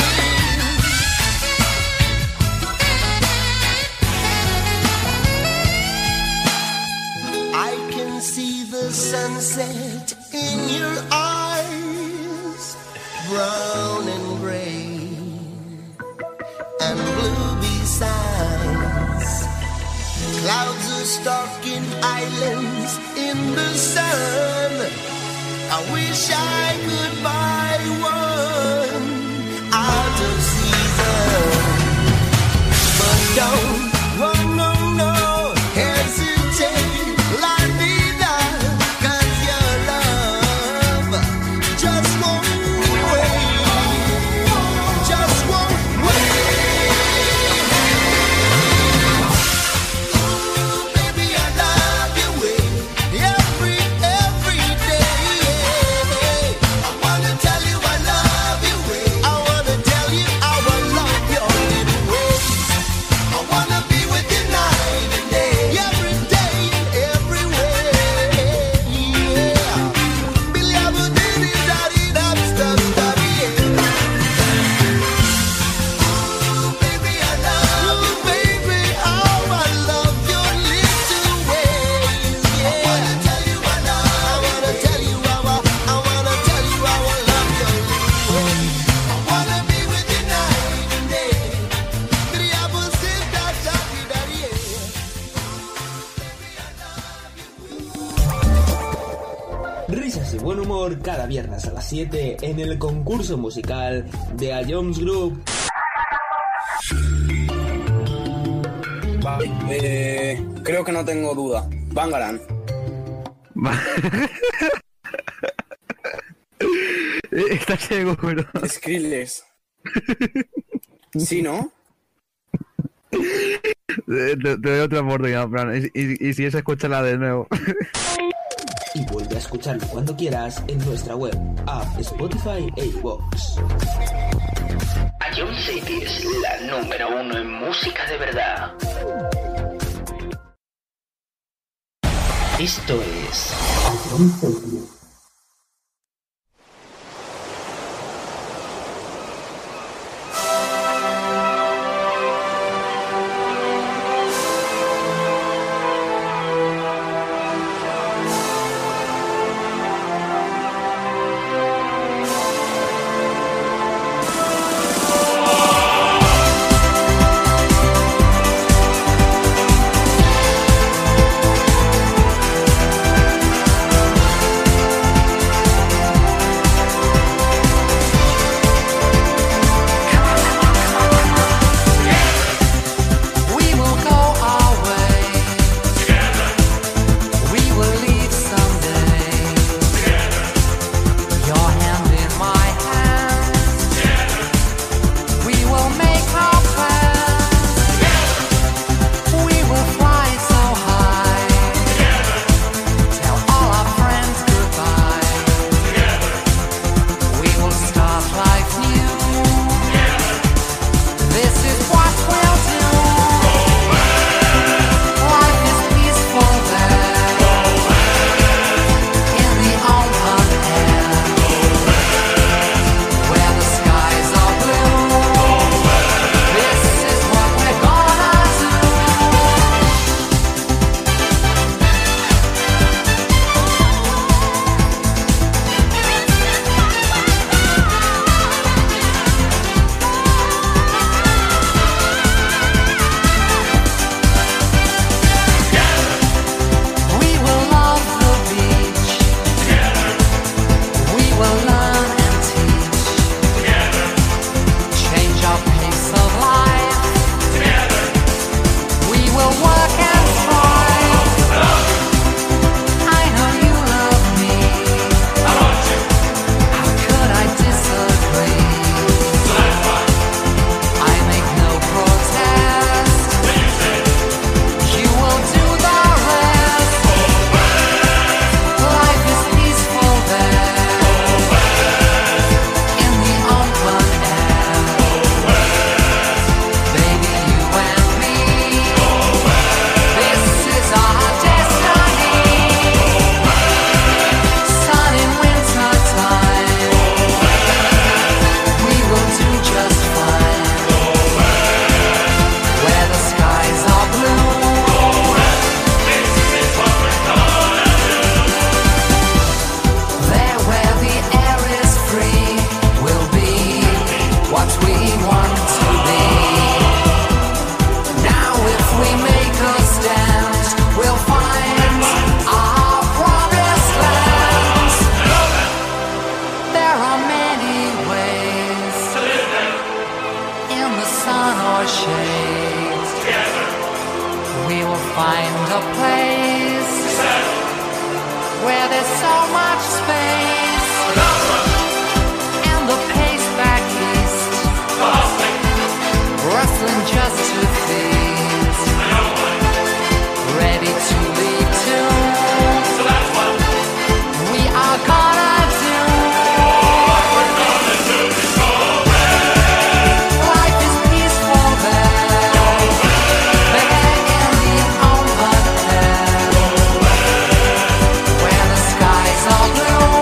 I can see the sunset in your eyes, brown and gray and blue besides. Clouds are stalking islands in the sun. I wish I could buy one out of season. But don't, oh no, no, hesitate, la-di-da, 'cause your love just won't wait, just won't wait. Ooh, baby, I love your way every, every day. I wanna tell you I love your way. I wanna tell you how I love your little ways. I wanna be with you night and day, every day, everywhere. Yeah. Billy, I will do this, daddy, that stuff, daddy, yeah. Ooh, baby, I love you, baby, how I love your little ways. Yeah. I wanna tell you I love, I wanna tell you how I, I wanna tell you how I love your little ways. I wanna be with you night and day. Billy, I will sit down, daddy, daddy, yeah. Risas y buen humor cada viernes a las siete en el concurso musical de A Jones Group. Vale, eh, creo que no tengo duda. Bangaran. ¿Estás seguro? Skrillex. Sí, ¿no? Te, te doy otra oportunidad, Fran. Y, y, y si es, escúchala de nuevo. Y vuelve a escucharlo cuando quieras en nuestra web, app, Spotify e iVoox. Ion City es la número uno en música de verdad. Esto es Ion City. find a place where there's so much space and the pace back east rustling just to feast, ready to lead to we are gonna do what we're gonna do before life is peaceful there there in the open air where the skies are blue.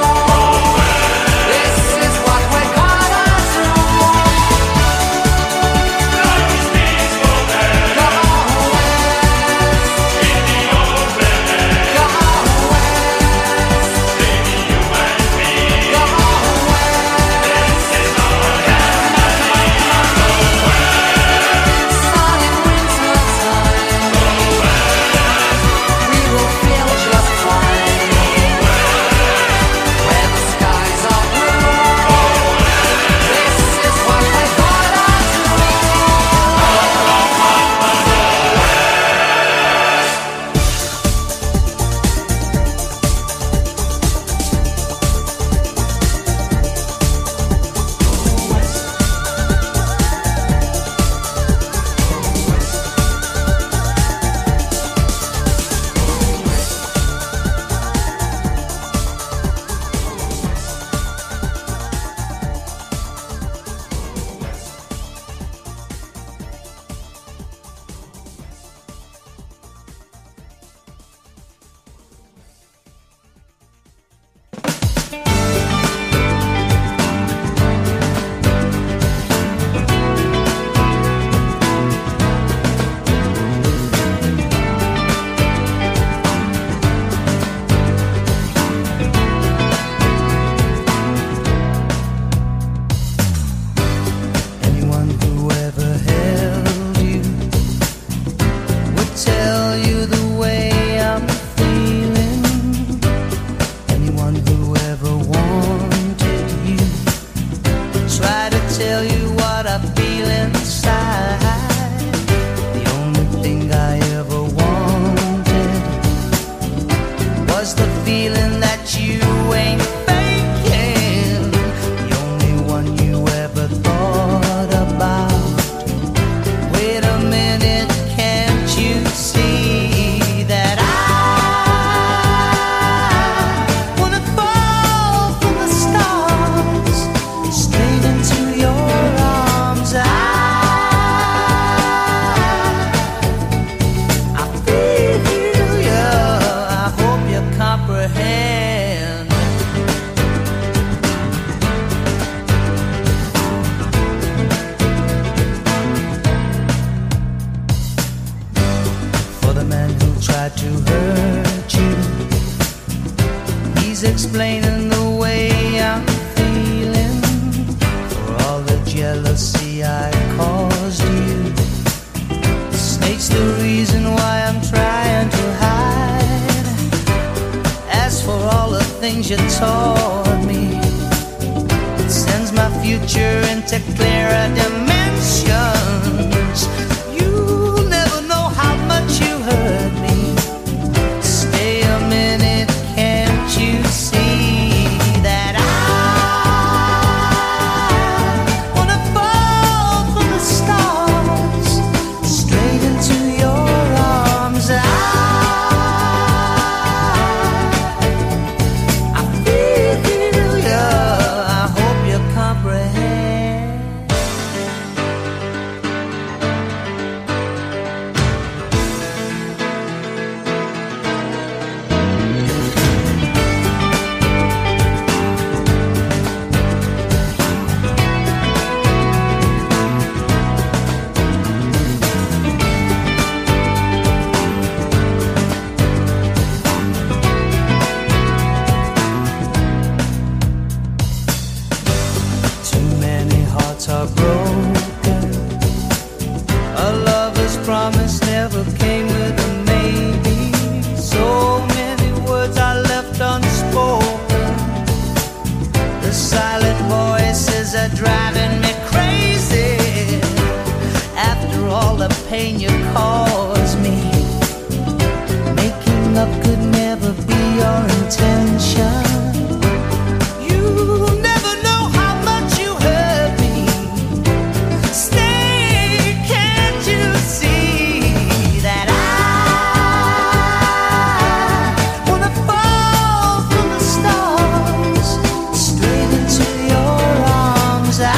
who tried to hurt you. He's explaining the way I'm feeling for all the jealousy I caused you. The snake's the reason why I'm trying to hide. As for all the things you taught me, it sends my future into clearer dimensions. You'll never know how much you hurt me. Stay a minute, can't you see that I wanna fall from the stars straight into your arms? I, I feel you, I hope you comprehend. Too many hearts are broken. A lover's promise never came with a maybe. So many words are left unspoken. The silent voices are driving me crazy. After all the pain you caused me, making up could never be your intention. You'll never know how much you hurt me. Stay, can't you see that I wanna fall from the stars straight into your arms? I,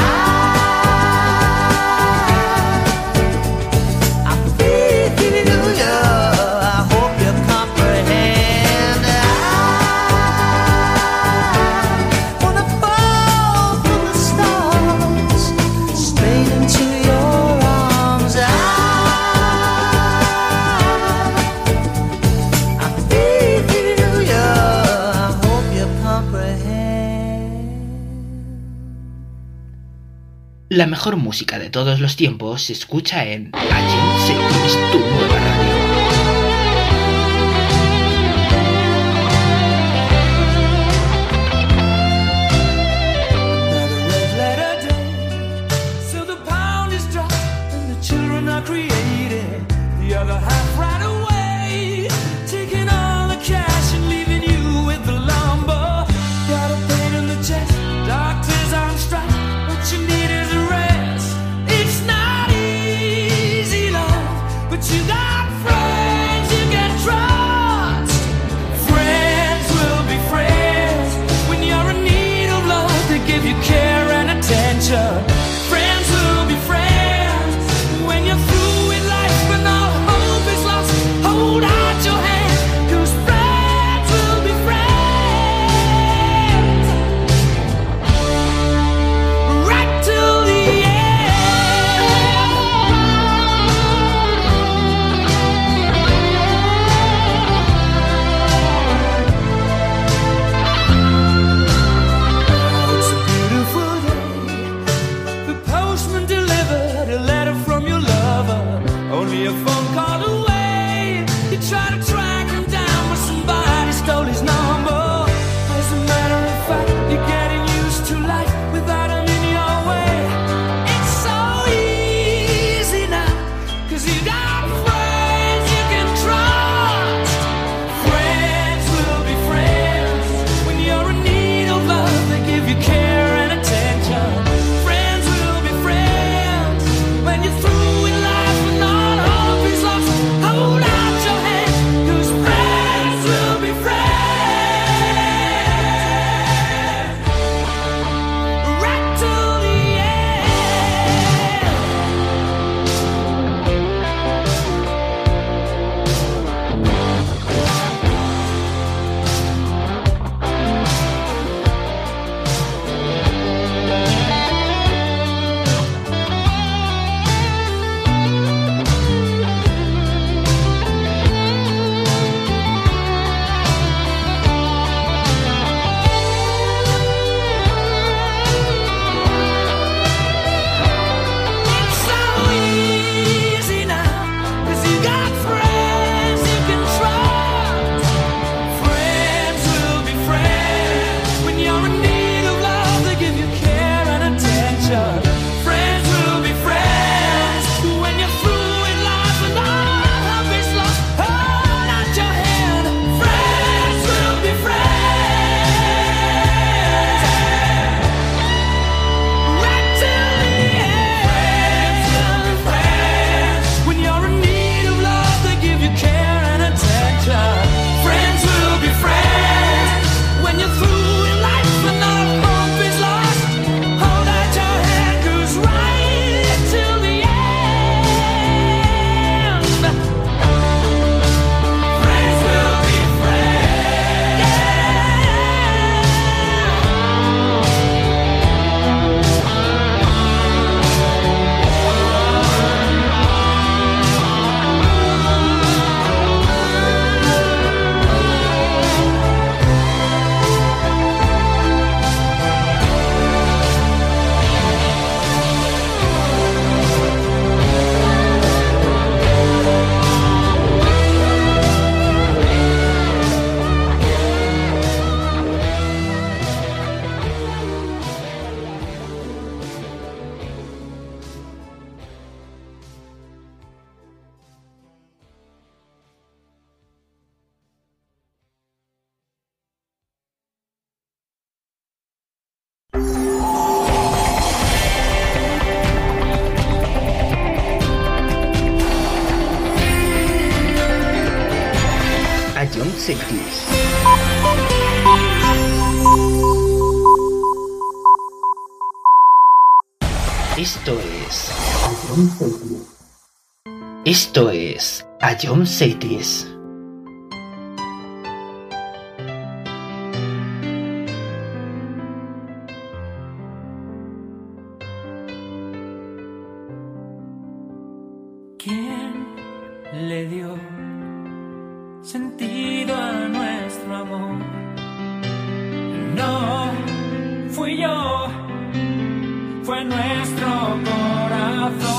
I feel you, I hope you comprehend. I wanna fall from the stars straight into your arms. I, I feel you, I hope you comprehend. La mejor música de todos los tiempos se escucha en Agent Cities, tu nueva radio. Letter day, so the pound is dropped and the children are created. The other half right away, taking all the cash and leaving you with the lumber. Got a pain in the chest, doctors on strike. What you need is a rest. It's not easy, love, but you got friends you can trust. Friends will be friends when you're in need of love. They give you care and attention. Friends will be friends when you're through with life and all hope is lost. Hold out your hand, 'cause friends will be friends right till the It's a beautiful day. The postman delivered a letter from your lover, only a phone call away. You try to track him down, but somebody stole his number. As a matter of fact, you're getting used to life without him in your way. It's so easy now, 'cause you got friends you can trust. Friends will be friends when you're in need of love. They give you care and attention. Friends will be friends when you're through with life and all hope is lost. Hold out your hand, 'cause John Cities. Esto es... Esto es... A John Cities. ¿Quién le dio sentido a nuestro amor? No fui yo, fue nuestro corazón.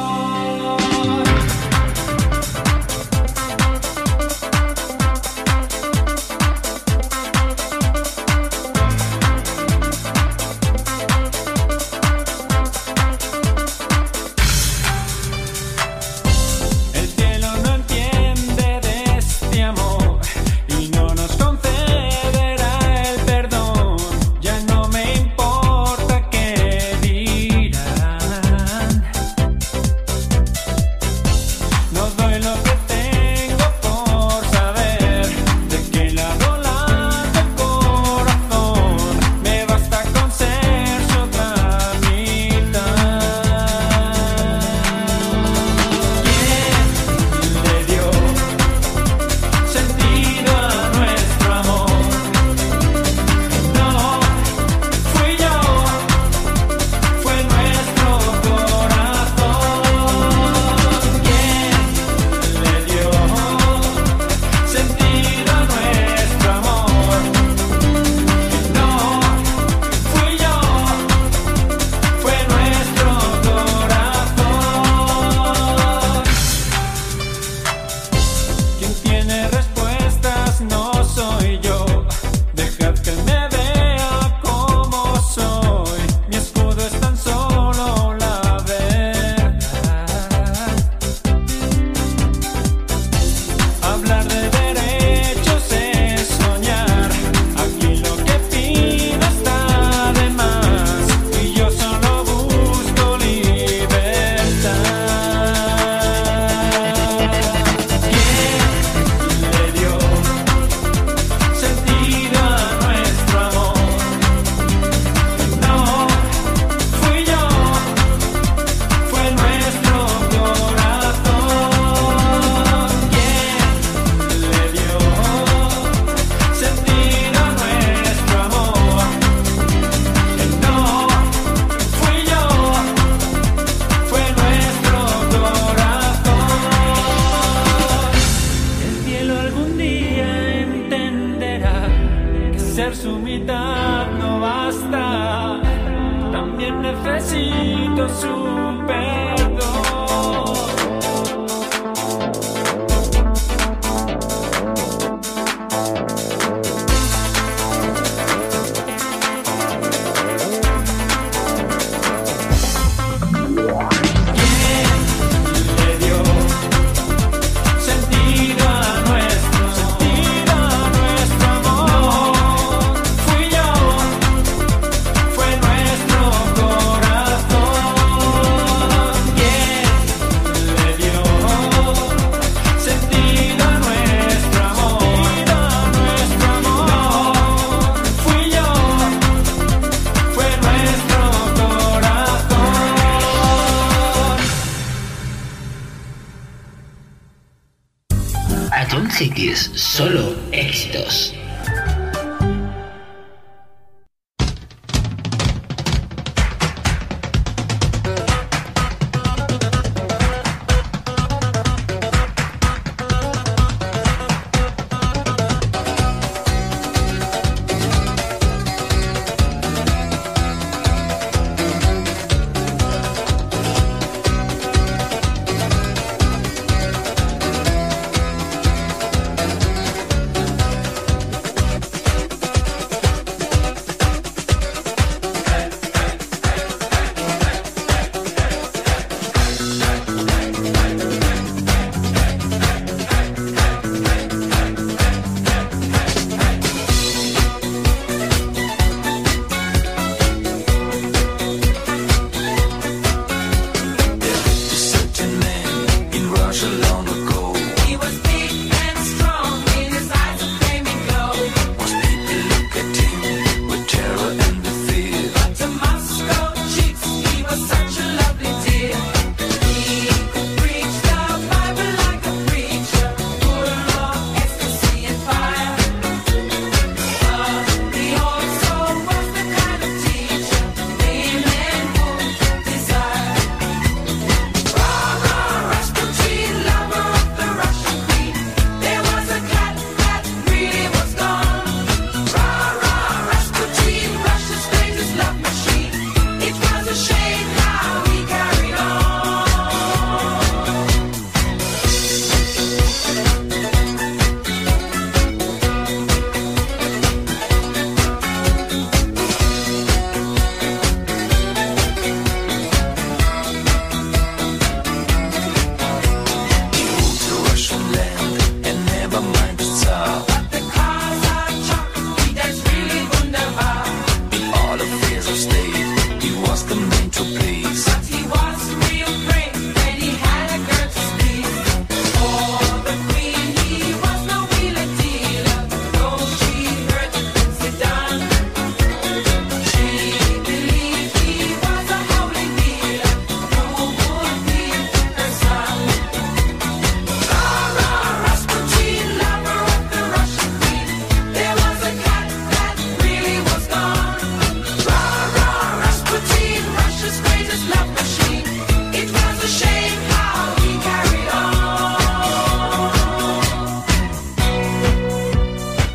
Cities, solo éxitos.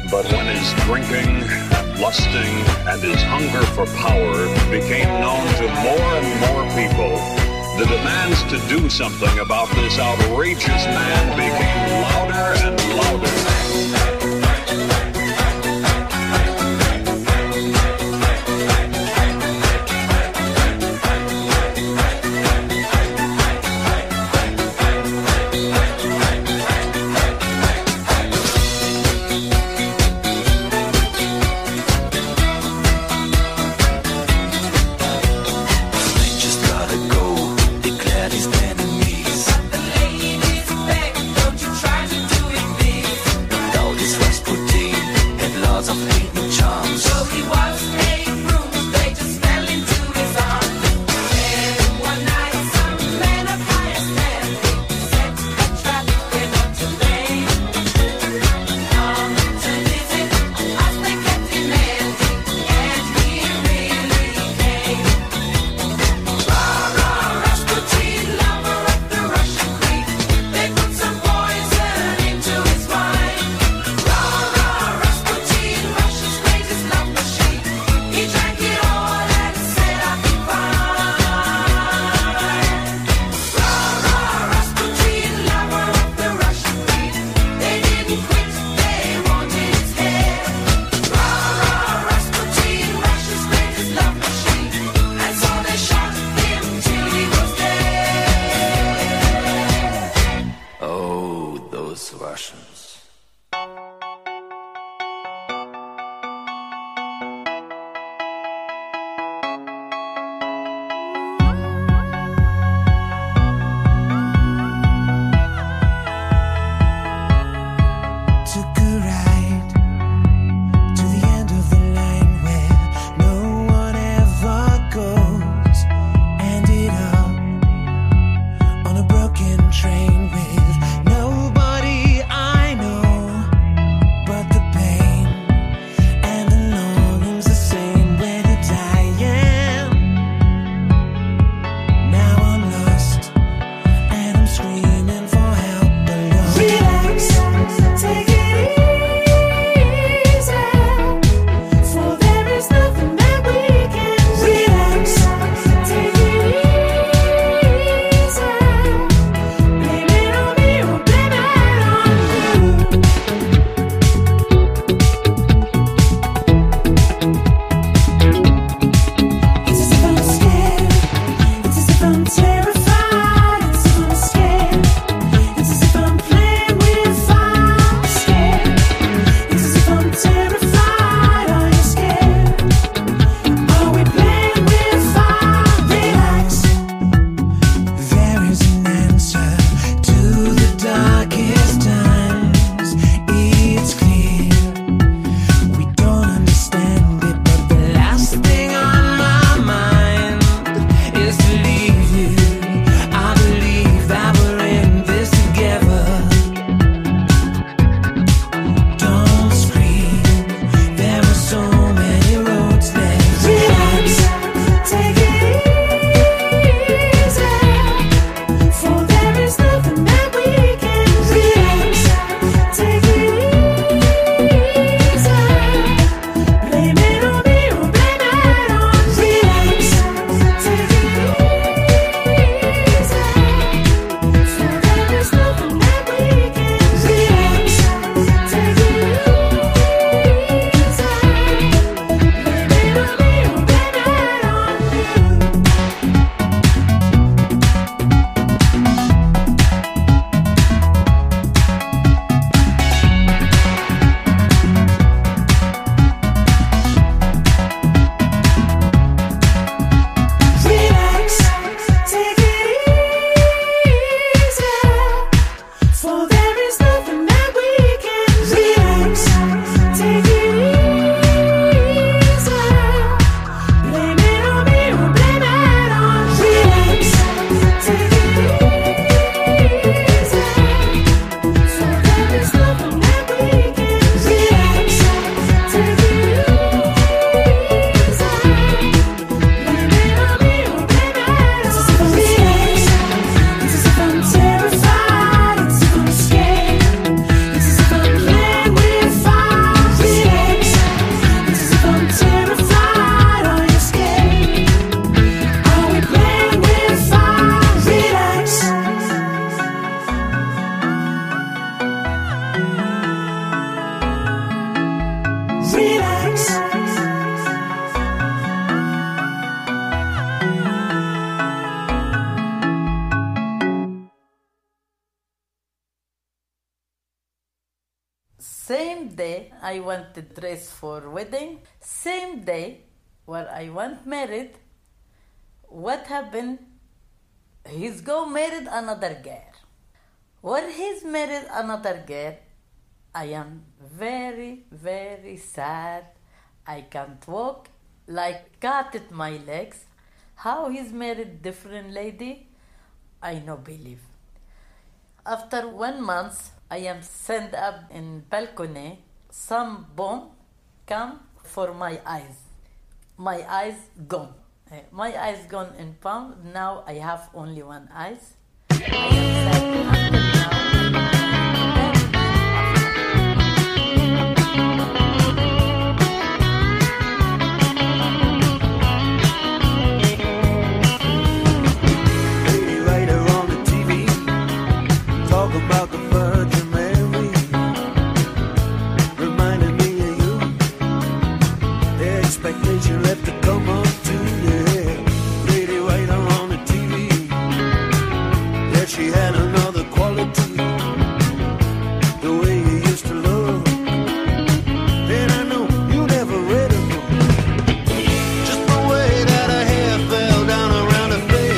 But when his drinking, lusting, and his hunger for power became known to more and more people, the demands to do something about this outrageous man became louder and louder. Try to do it big. Same day I wanted dress for wedding. Same day where I want married. What happened? He's go married another girl. When he's married another girl, I am very, very sad. I can't walk, like cut at my legs. How he's married different lady, I no believe. After one month, I am sent up in balcony. Some bomb come for my eyes. My eyes gone. My eyes gone in palm. Now I have only one eyes. I am sad until now. About the Virgin Mary, reminding me of you. The expectation left to come up to you. Lady right on the T V, yeah, she had another quality. The way you used to love, and I know you never read her book. Just the way that her hair fell down around her face.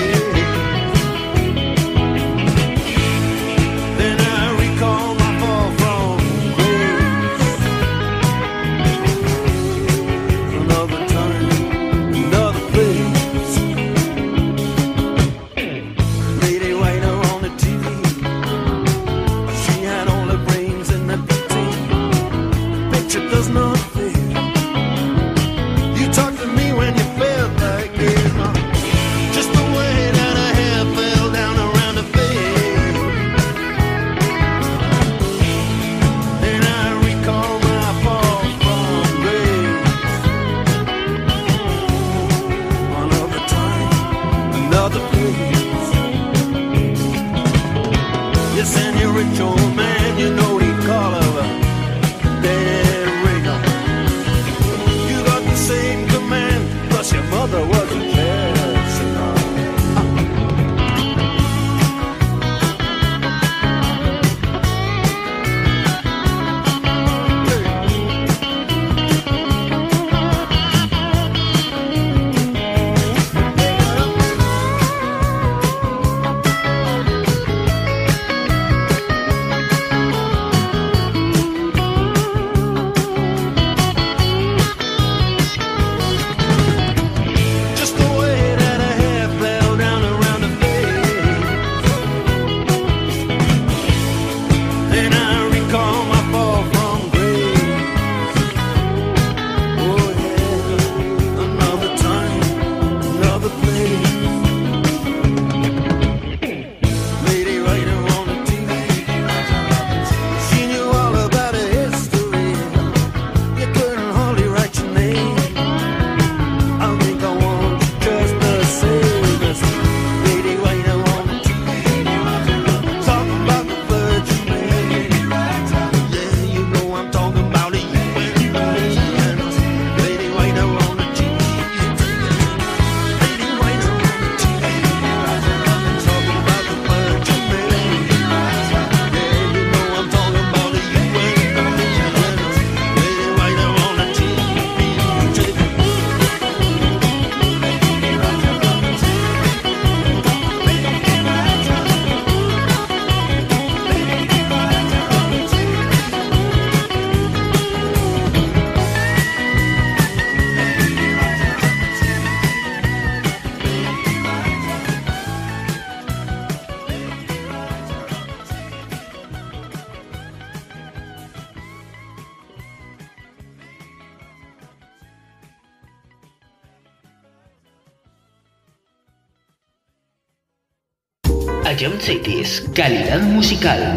Jump Cities, calidad musical.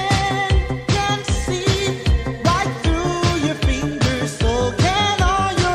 Right through your fingers, so can all your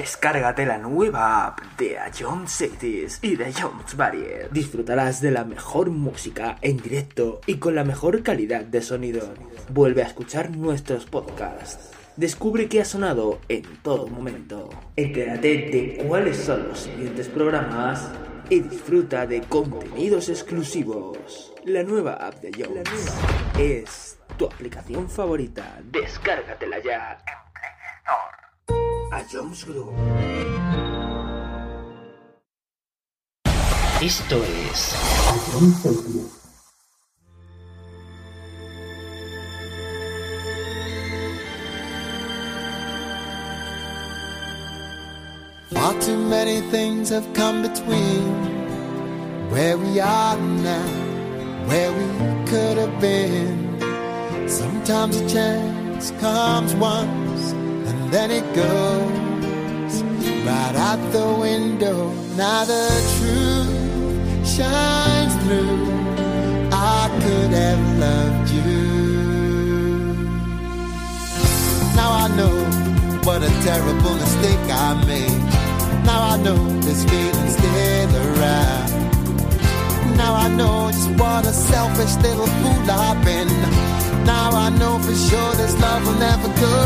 Descárgate la nueva app de A John Cities y de Jones Barrier. Disfrutarás de la mejor música en directo y con la mejor calidad de sonido. Vuelve a escuchar nuestros podcasts. Descubre qué ha sonado en todo momento. Entérate de cuáles son los siguientes programas y disfruta de contenidos exclusivos. La nueva app de Jones es tu aplicación favorita. Descárgatela ya en Play Store. A Jones Group. Esto es A Jones Cities. Far too many things have come between where we are now, where we could have been. Sometimes a chance comes once and then it goes right out the window. Now the truth shines through. I could have loved you. Now I know what a terrible mistake I made. Now I know this feeling's still around. Now I know just what a selfish little fool I've been. Now I know for sure this love will never go.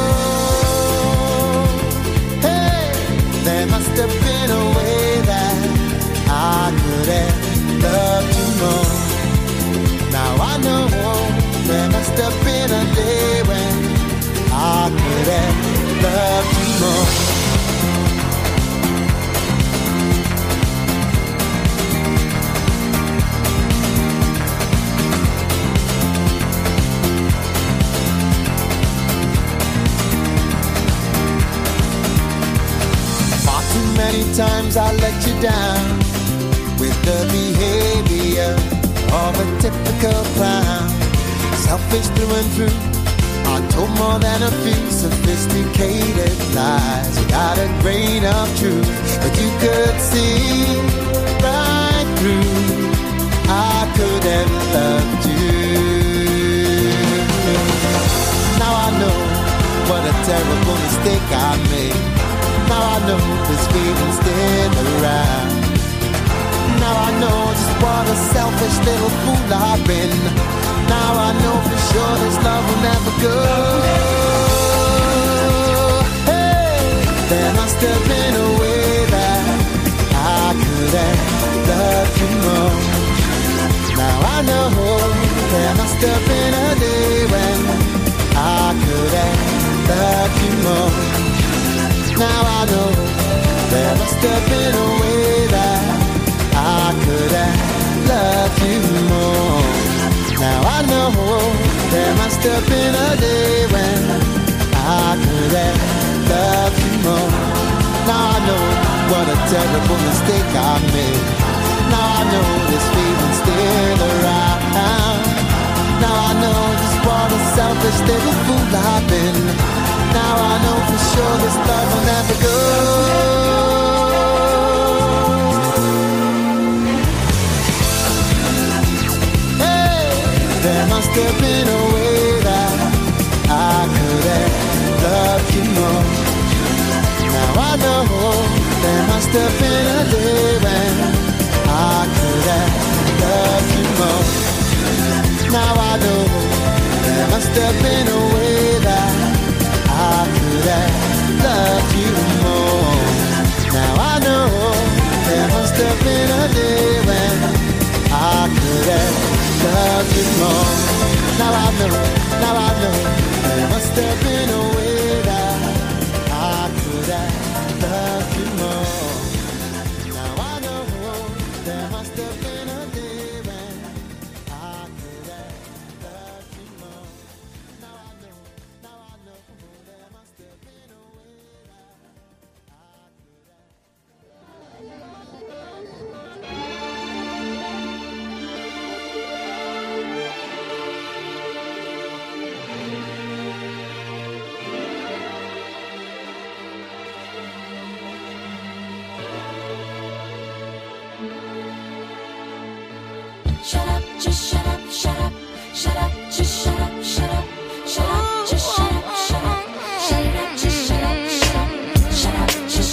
Hey, there must have been a way that I could have loved you more. Now I know there must have been a day when I could have loved you more. Many times I let you down with the behavior of a typical clown. Selfish through and through, I told more than a few sophisticated lies. You got a grain of truth, but you could see right through. I could have loved you. Now I know what a terrible mistake I made. Now I know this feeling's still around. Now I know just what a selfish little fool I've been. Now I know for sure this love will never go. Hey, there must have been a way that I could have loved you more. Now I know there must have been a day when I could have loved you more. Now I know there must have been a way that I could have loved you more. Now I know there must have been a day when I could have loved you more. Now I know what a terrible mistake I made. Now I know this feeling's still around. Now I know just what a selfish little fool I've been. Now I know for sure this love will never go. Hey, there must have been a way that I could have loved you more. Now I know there must have been a day when I could have loved you more. Now I know there must have been a way that I could have loved you more. Now I know there must have been a day when I could have loved you more. Now I know, now I know there must have been a way that I could have loved you more. Now I know there must have been a day when I could have loved you more. Now I know, now I know. Shut up, just shut up, shut up, shut up, just shut up, shut up, shut up, just shut up, shut up, shut up, just shut up, shut up, shut up, just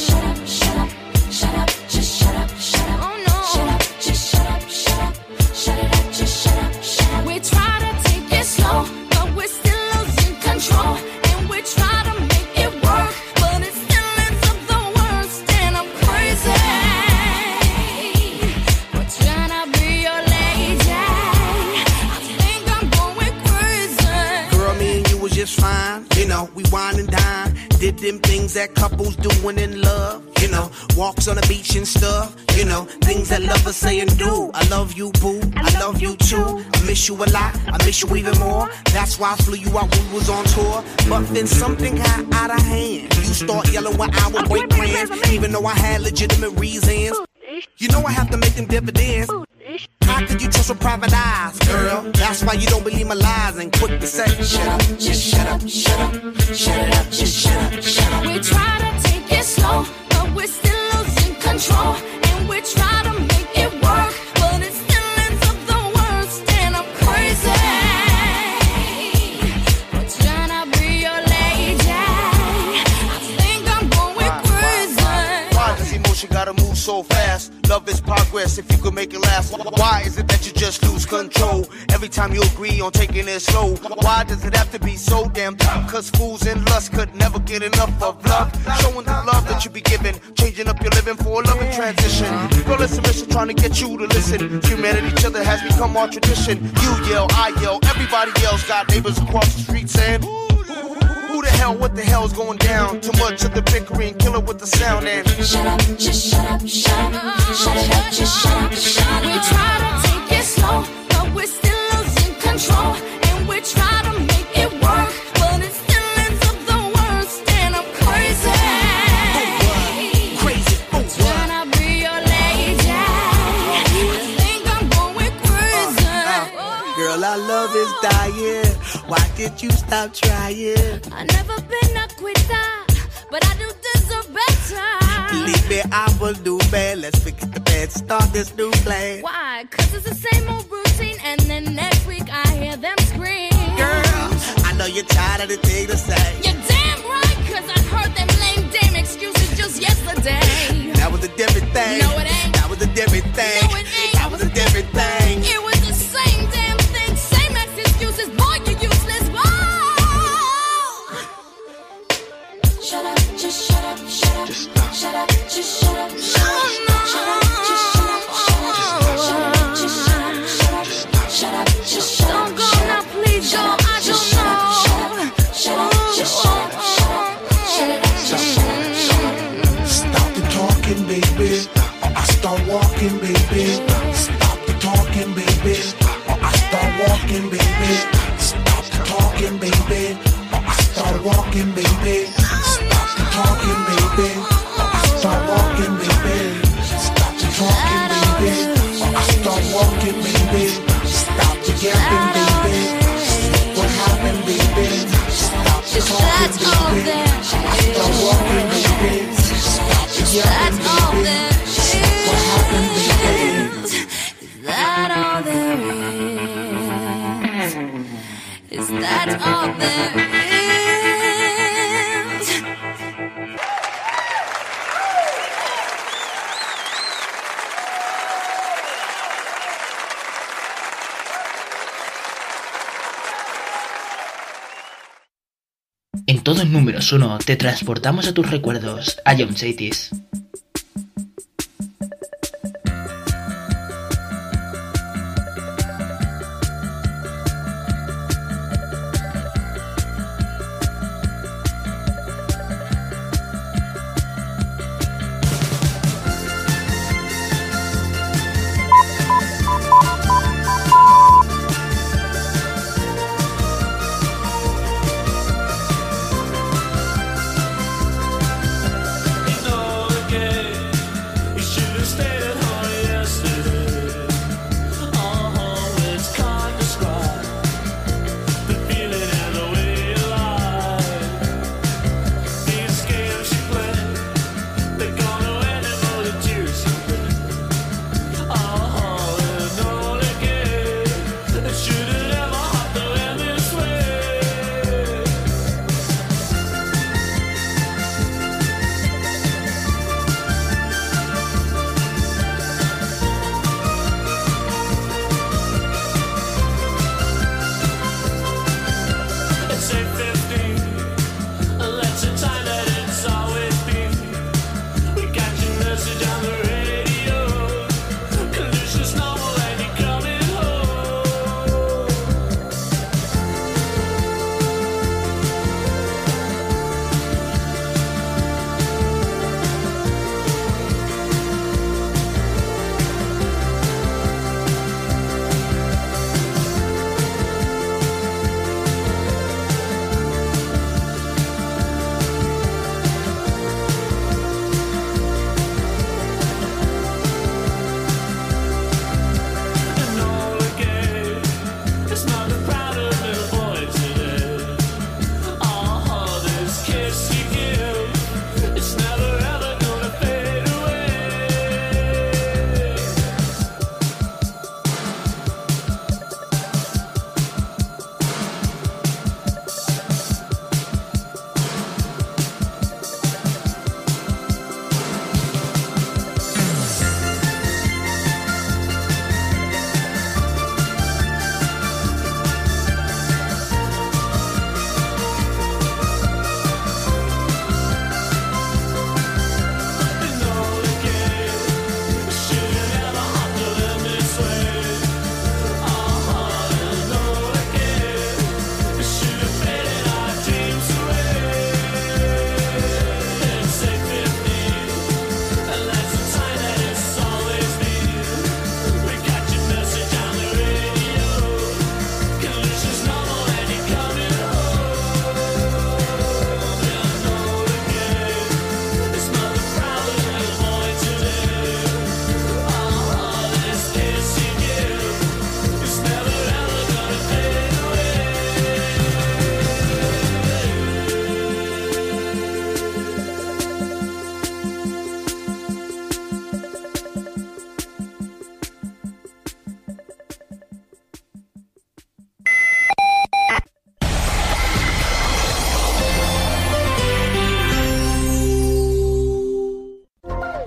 them things that couples doing in love. You know, walks on the beach and stuff. You know, things that lovers say and do. I love you, boo. I love you too. I miss you a lot. I miss you even more. That's why I flew you out when we was on tour. But then something got out of hand. You start yelling when I would break plans, even though I had legitimate reasons. You know I have to make them dividends. How could you trust with private eyes, girl? That's why you don't believe my lies and quick to say, shut up, just shut up, shut up, shut it up, just shut up, shut up. We try to take it slow, but we're still losing control. And we try to make it work, but it still ends up the worst. And I'm crazy. We're trying to be your lady. I think I'm going crazy. Why does emotion gotta move so fast? Love is progress if you could make it last. Why is it that you just lose control every time you agree on taking it slow? Why does it have to be so damn tough? Cause fools and lust could never get enough of love. Showing the love that you be giving, changing up your living for a loving transition. Girl, it's a mission trying to get you to listen. Humanity, each other has become our tradition. You yell, I yell, everybody yells. Got neighbors across the street saying, who the hell, what the hell's going down? Too much of the bickering, kill it with the sound and shut up, just shut up, shut up, shut it up, just shut up, shut up. We try to take it slow, but we're still losing control. And we try to make it work, but it still ends up the worst. And I'm crazy. Crazy, oh, trying to be your lady. I think I'm going crazy. uh, Girl, our love is dying. Why did you stop trying? I've never been a quitter, but I do deserve better. Believe me, I will do bad. Let's forget the bad, start this new plan. Why? Cause it's the same old routine, and then next week I hear them scream. Girl, I know you're tired of the thing to say. You're damn right, cause I heard them lame damn excuses just yesterday. That was a different thing. No, it ain't. That was a different thing. No, it ain't. That was a different thing. It was the same damn thing, same ex excuses. Boy, you useless. Whoa. Shut up, just shut up, shut up, just stop. Shut up, just shut up, shut up, no, no. Shut up, just shut up, shut up, shut up, just shut up, shut up, shut up, just shut up. Don't go now, please go. I don't know. Shut up, just shut up, shut up, shut up, just shut up. Stop the talking, baby, or I start walking, baby. Stop the talking, baby, or I start walking, baby. Stop the talking, baby, or I start walking, baby. Stop the talking, baby, or I start walking, baby. Stop the talking, baby, or I start walking, baby. Stop the yapping, baby. What happened, baby? Stop the talking, baby. I start walking, baby. Stop the yapping, baby. What happened, baby? Is that all there is? Is that all there is? En todos números uno te transportamos a tus recuerdos, a John Saitis. No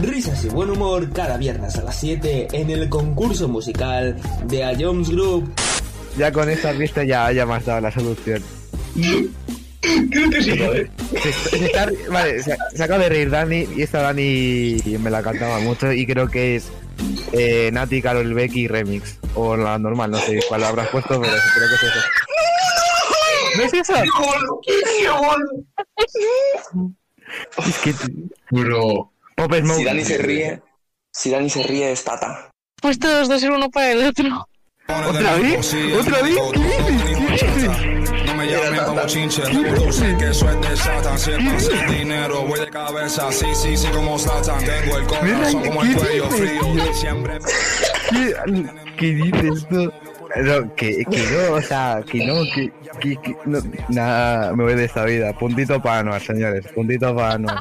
Risas y buen humor cada viernes a las siete en el concurso musical de A Jones Group. Ya con esta pista ya, ya me has dado la solución. Creo que sí, joder. Se, se está, vale, se, se acaba de reír Dani y esta Dani me la cantaba mucho y creo que es eh, Nati, Karol Becky remix. O la normal, no sé cuál habrás puesto, pero creo que es eso. ¿No es eso? ¡Qué bueno! ¡Qué bueno! Es que... Bro. Si Dani se ríe, si Dani se ríe es Tata. Pues todos dos ser uno para el otro. ¿Otra vez? ¿Otra vez? ¿Qué dices? ¿Qué dices? No me llamen como chinche, tú sé que eso es de Satan. Si es sin dinero, voy de cabeza, sí, sí, sí, como Satan. Tengo el corazón como el cuello frío, siempre... ¿Qué, ¿Qué dices tú? No, que, que no, o sea, que no, que, que, que no, nada, me voy de esta vida. Puntito para Anuar, señores, puntito para Anuar.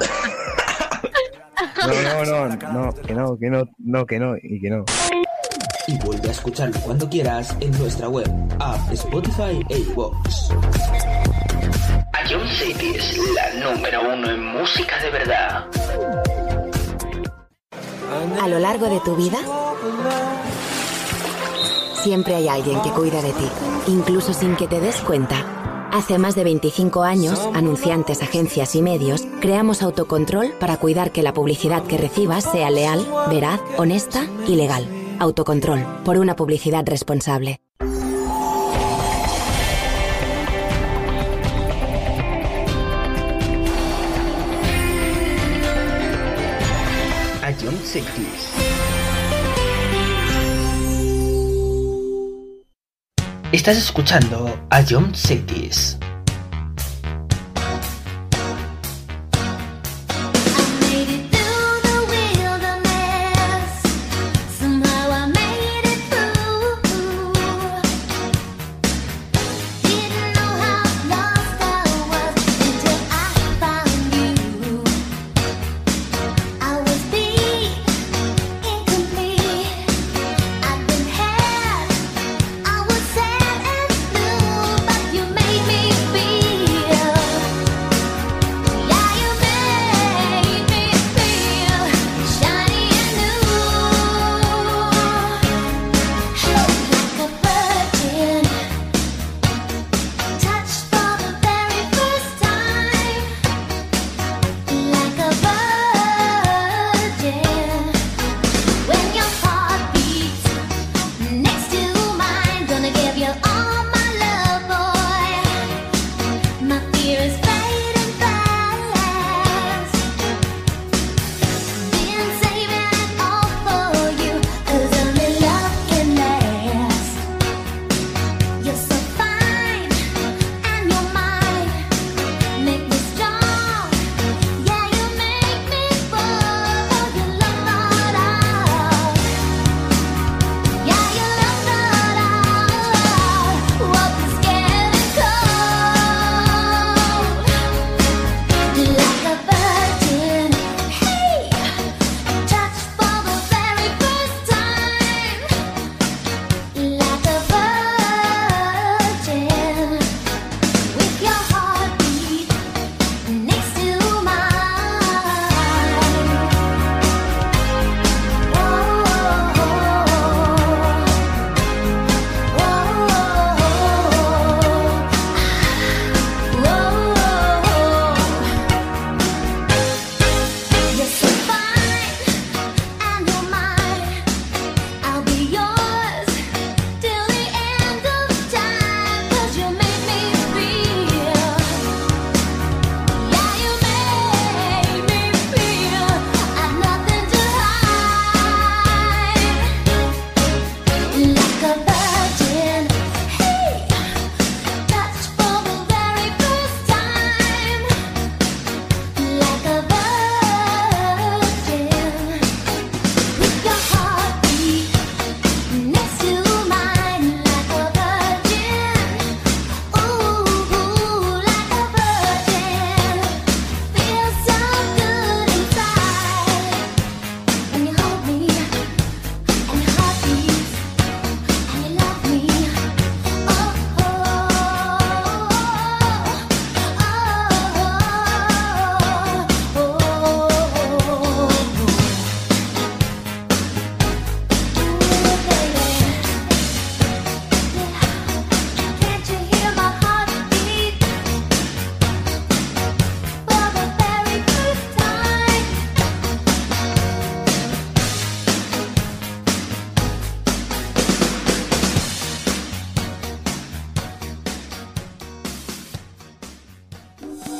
No, no, no, no, que no, que no, no, que no, y que no. Y vuelve a escucharlo cuando quieras en nuestra web, app, Spotify e iVoox. A John City es la número uno en música de verdad. A lo largo de tu vida, siempre hay alguien que cuida de ti, incluso sin que te des cuenta. Hace más de veinticinco años, anunciantes, agencias y medios, creamos Autocontrol para cuidar que la publicidad que recibas sea leal, veraz, honesta y legal. Autocontrol, por una publicidad responsable. A John City. Estás escuchando a John Cities. You made me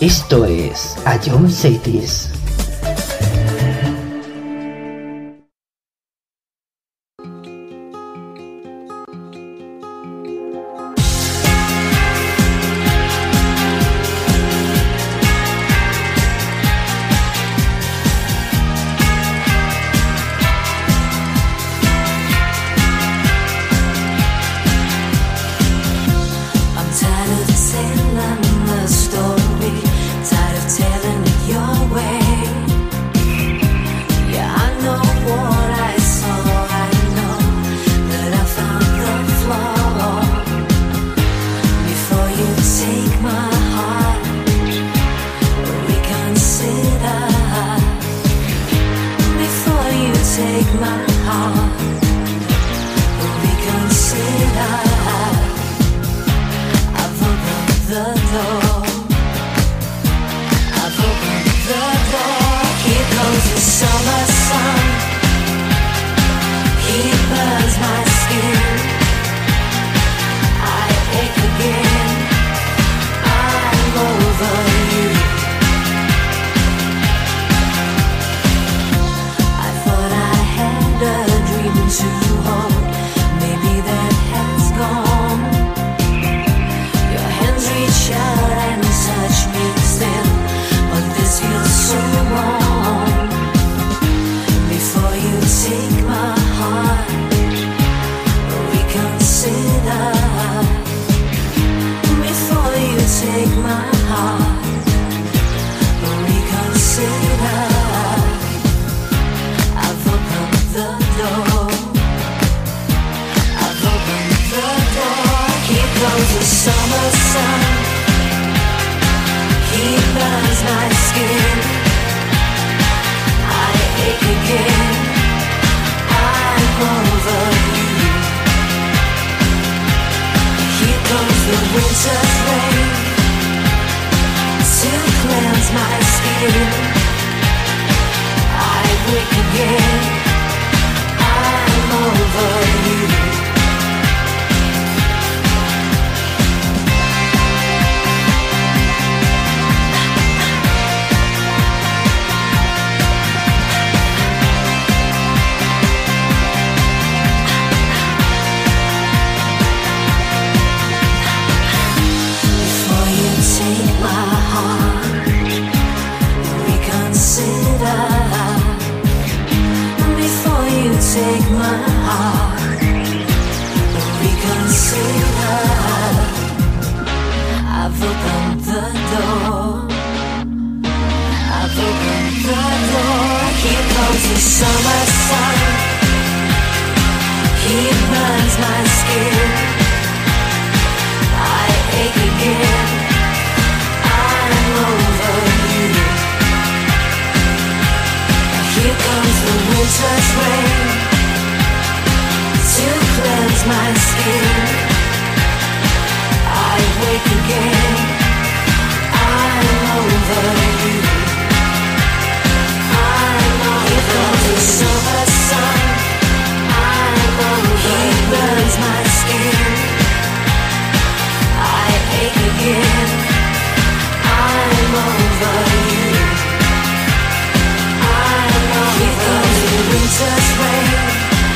Esto es A John Cities.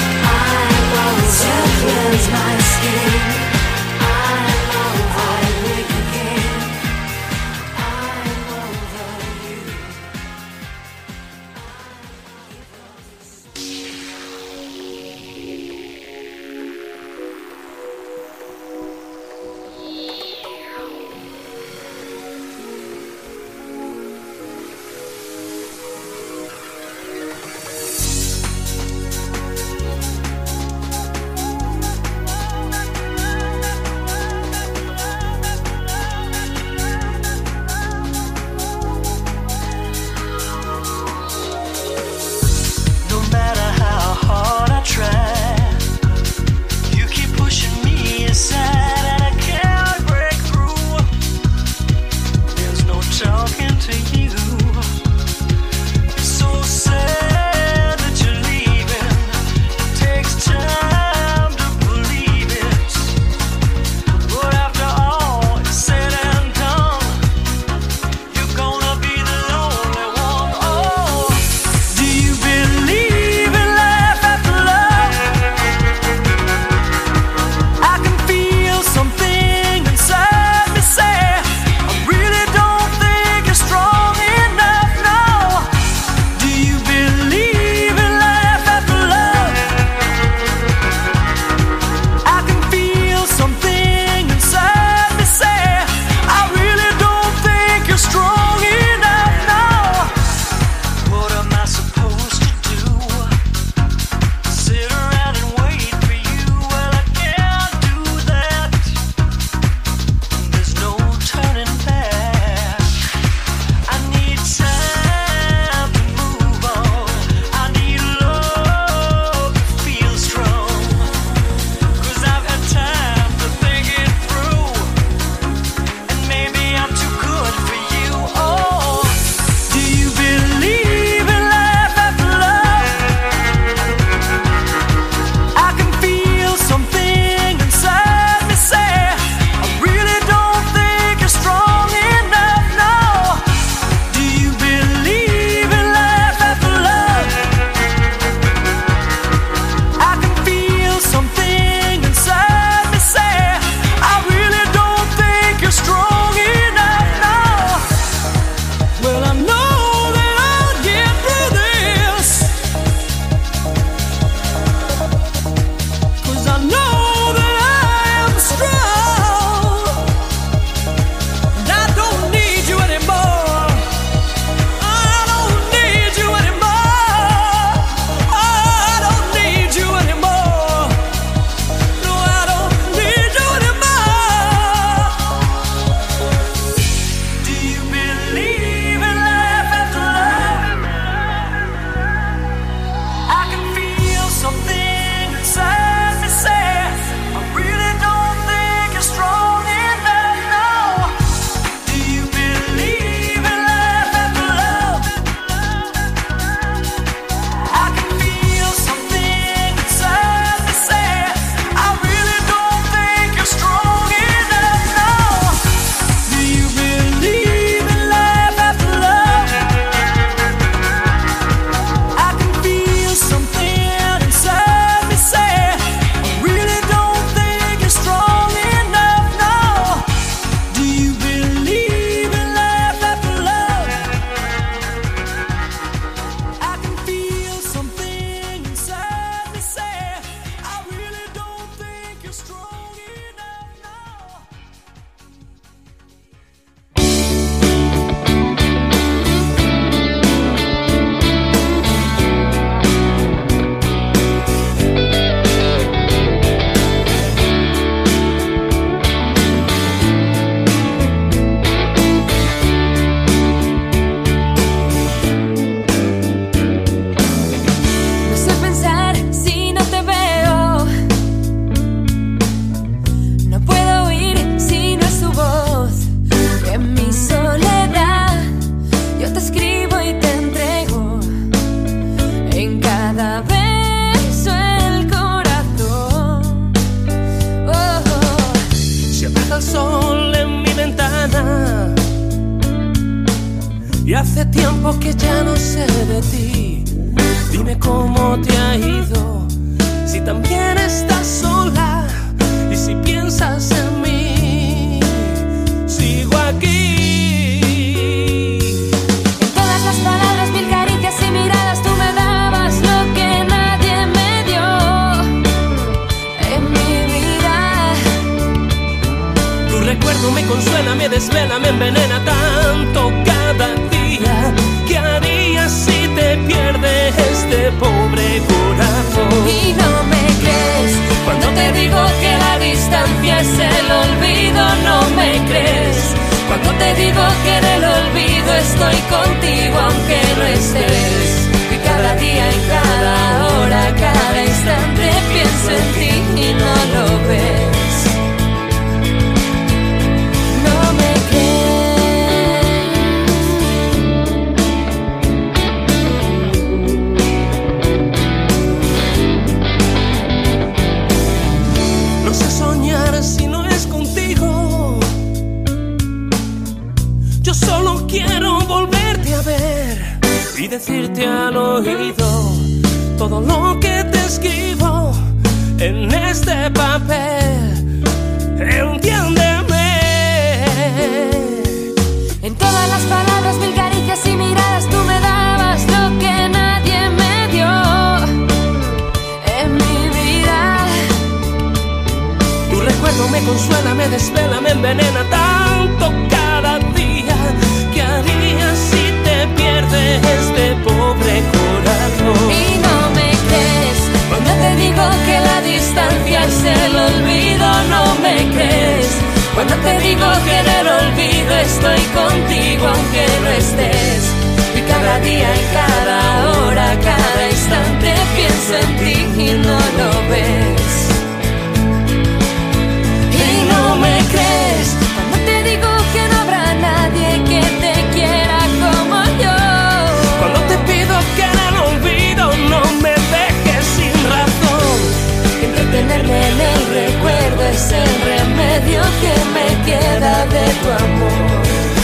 My skin, I know I will. Y hace tiempo que ya no sé de ti. Dime cómo te ha ido, si también estás sola y si piensas en mí. Sigo aquí. En todas las palabras, mil caricias y miradas, tú me dabas lo que nadie me dio en mi vida. Tu recuerdo me consuela, me desvela, me envenena tanto cada día. ¿Qué harías si te pierdes este pobre corazón? Y no me crees cuando te digo que la distancia es el olvido. No me crees cuando te digo que en el olvido estoy contigo aunque no estés. Y cada día, en cada hora, cada instante pienso en ti y no lo ves. No me No sé soñar si no es contigo. Yo solo quiero volverte a ver y decirte al oído todo lo que te escribo en este papel. Entiéndeme. En todas las palabras, mil caricias y miradas, tú me dabas lo que nadie me dio en mi vida. Tu recuerdo me consuela, me desvela, me envenena tanto cada día. ¿Qué harías si te pierdes este pobre corazón? Y no me crees cuando te digo que la distancia es el olvido. No me crees cuando te digo que en el olvido estoy contigo aunque no estés. Y cada día, en cada hora, cada instante pienso en ti y no lo ves. Y no me crees cuando te digo que no habrá nadie que te quiera como yo. Cuando te pido que en el olvido no me dejes sin razón. Entretenerme en el recuerdo es el remedio que me queda de tu amor.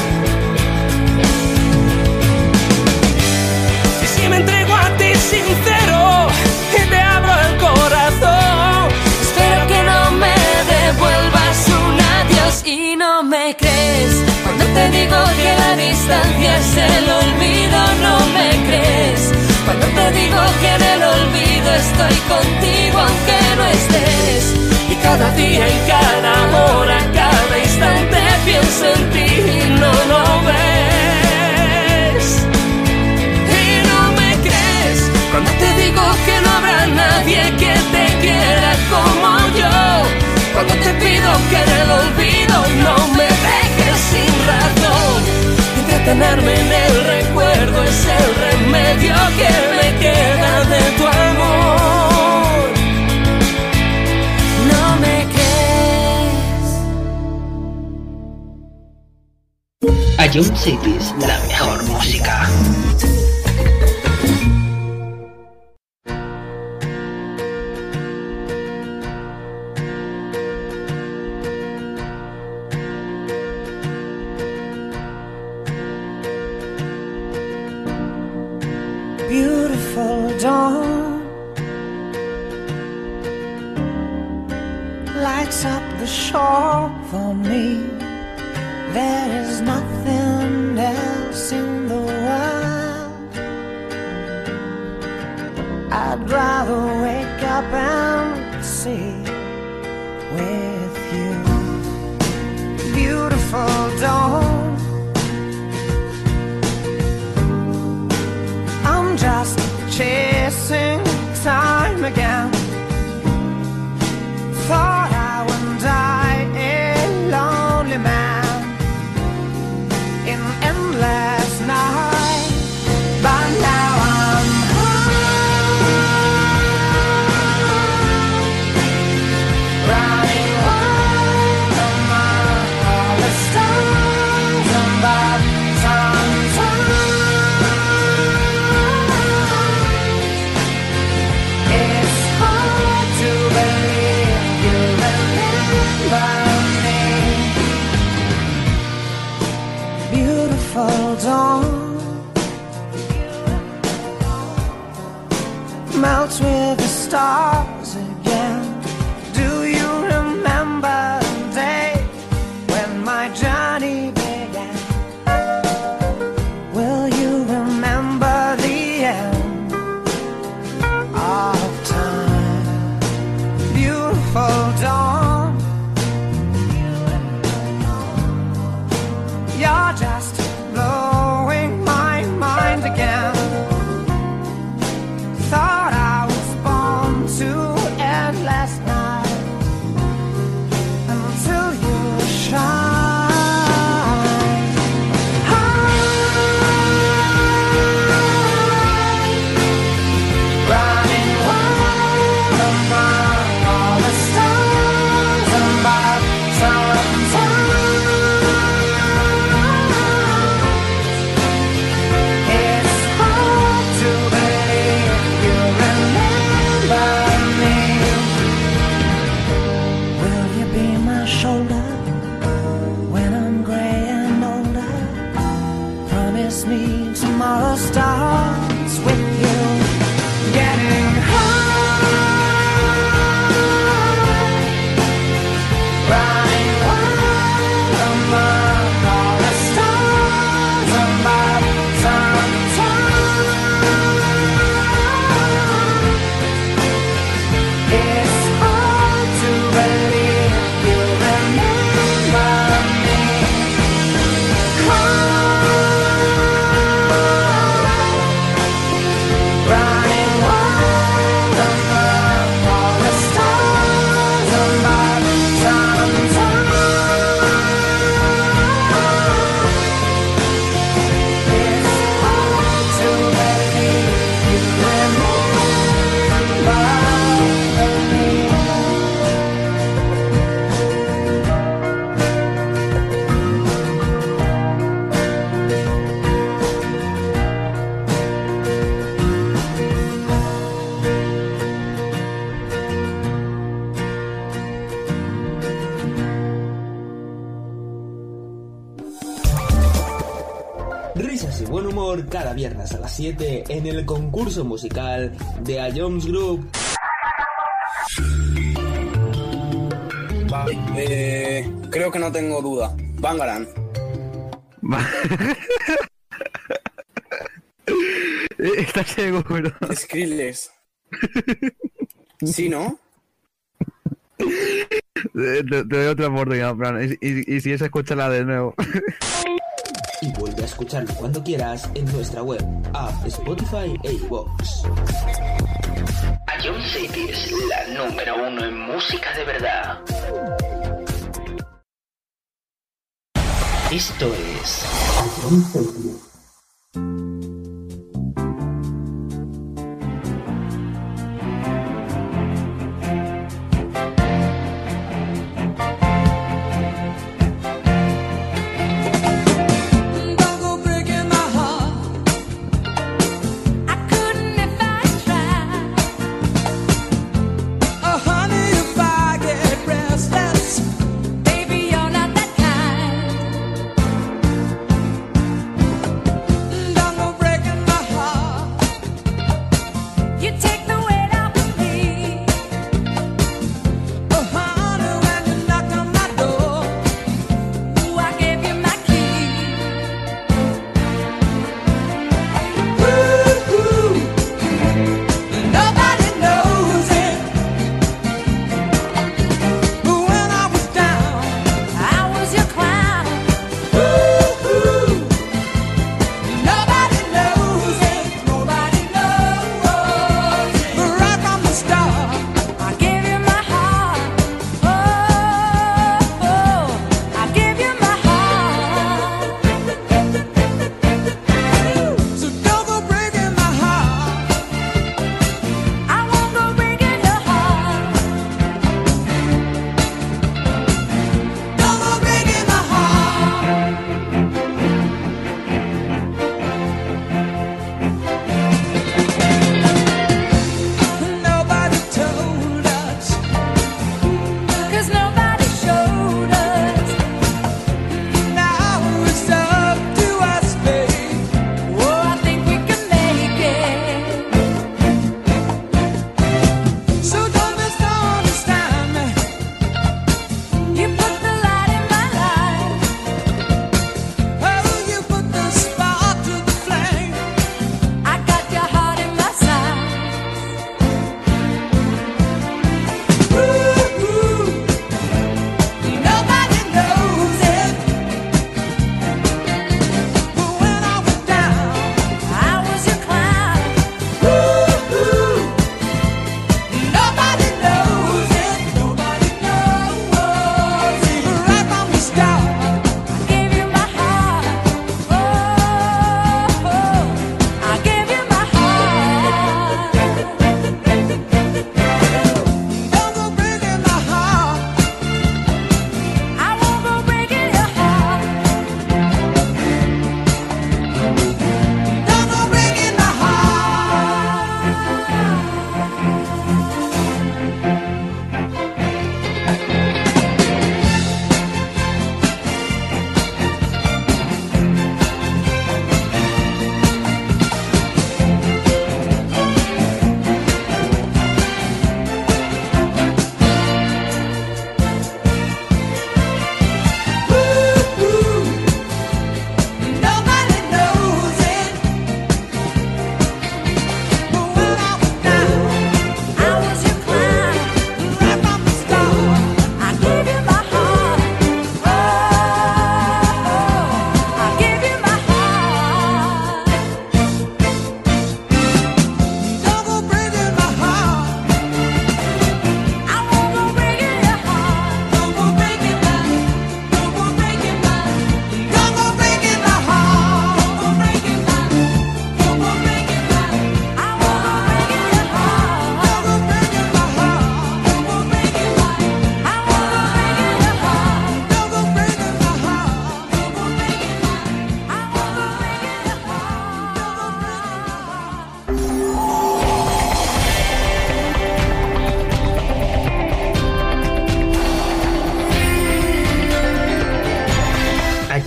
Y si me entrego a ti sincero y te abro el corazón, espero que no me devuelvas un adiós. Y no me crees cuando te digo que la distancia es el olvido. No me crees cuando te digo que en el olvido estoy contigo aunque no estés. Y cada día, en cada hora, cada instante pienso en ti y no lo ves. y no me crees Cuando te digo que no habrá nadie que te quiera como yo. cuando te pido que en el olvido no me dejes sin razón. Entretenerme en el recuerdo es el remedio que me queda de tu amor. No me crees. A Young Cities, la mejor música. Beautiful dawn lights up the shore for me. There is nothing else in the world. I'd rather wake up and see with you. Beautiful dawn, I'm just chasing time again. Thought I would die a lonely man in endless night, but now I'm high, running wild among all the stars above. Sometimes it's hard to believe you remember me. Beautiful dawn, out with the stars again. Do you remember the day when my journey began? Will you remember the end of time? Beautiful dawn. You're just blowing my mind again. Thought I was born to end last night until you shine. Running wild among all the stars above sometimes. It's hard to believe you remember me. Will you be my shoulder when I'm gray and older? Promise me tomorrow starts with you getting high. Running wild among all the stars above sometimes. It's hard to believe you remember me. Running wild among all the stars above sometimes. It's hard to believe you remember me. Risas y buen humor cada viernes a las siete en el concurso musical de A Jones Group. Va, eh, creo que no tengo duda. Bangarang. ¿Estás seguro? Skrillex. ¿Sí, no? Te, te doy otra oportunidad, Fran. Y, y, y si es, escúchala de nuevo. Y vuelve a escucharlo cuando quieras en nuestra web, app, Spotify e iVoox. A Jones City es la número uno en música de verdad. Esto es A Jones City. Baby, you're not that kind.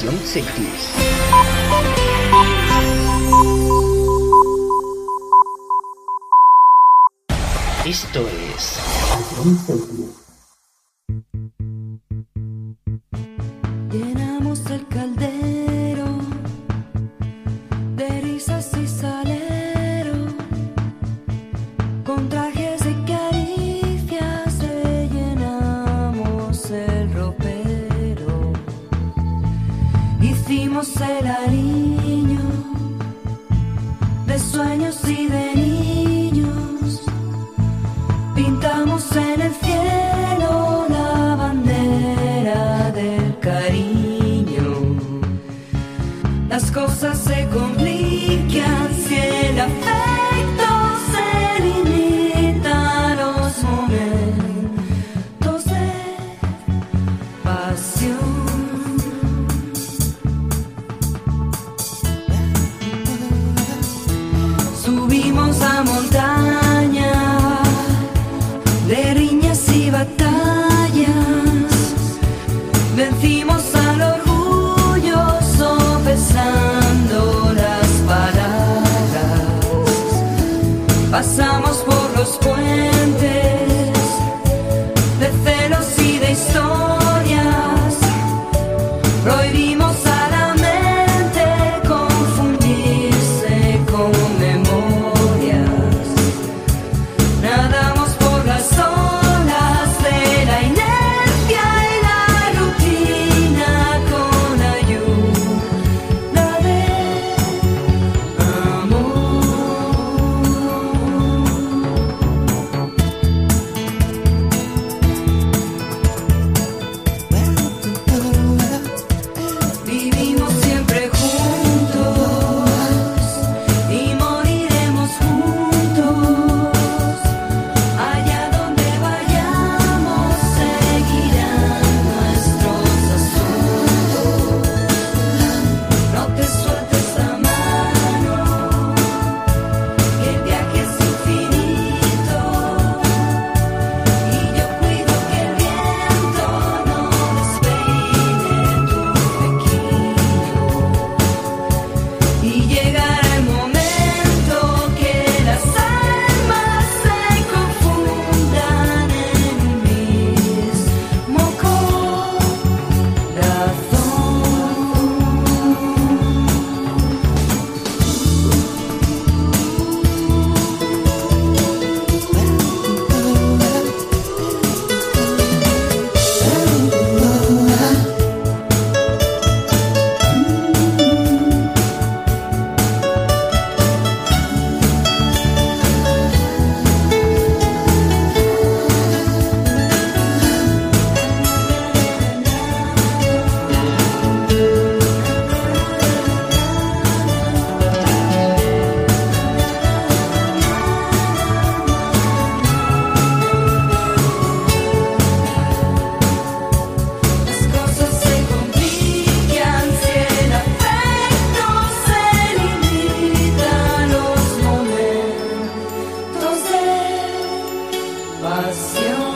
John Cities. Esto es John Cities. Llenamos el caldero de risas y salero, con trajes y caricias rellenamos el ropero. Hicimos el aliño de sueños y de niños, pintamos en el cielo la bandera del cariño. Las cosas se complican si el afecto se limita a los momentos de pasión. Subimos a montaña de riñas y batallas, vencimos al orgullo sopesando las palabras, pasamos por los puentes de celos y de historias, prohibimos a la mente confundirse con memorias, nadamos por las olas de la inercia y la rutina con ayuda de amor. Vivimos siempre juntos y moriremos juntos. Allá donde vayamos seguirán nuestros asuntos. No te sueltes la mano, que el viaje es infinito, y yo cuido que el viento no despeine tu flequillo. Y llegará el momento que las almas se confundan en un mismo Las cosas se complican si el afecto se limita a los momentos de pasión.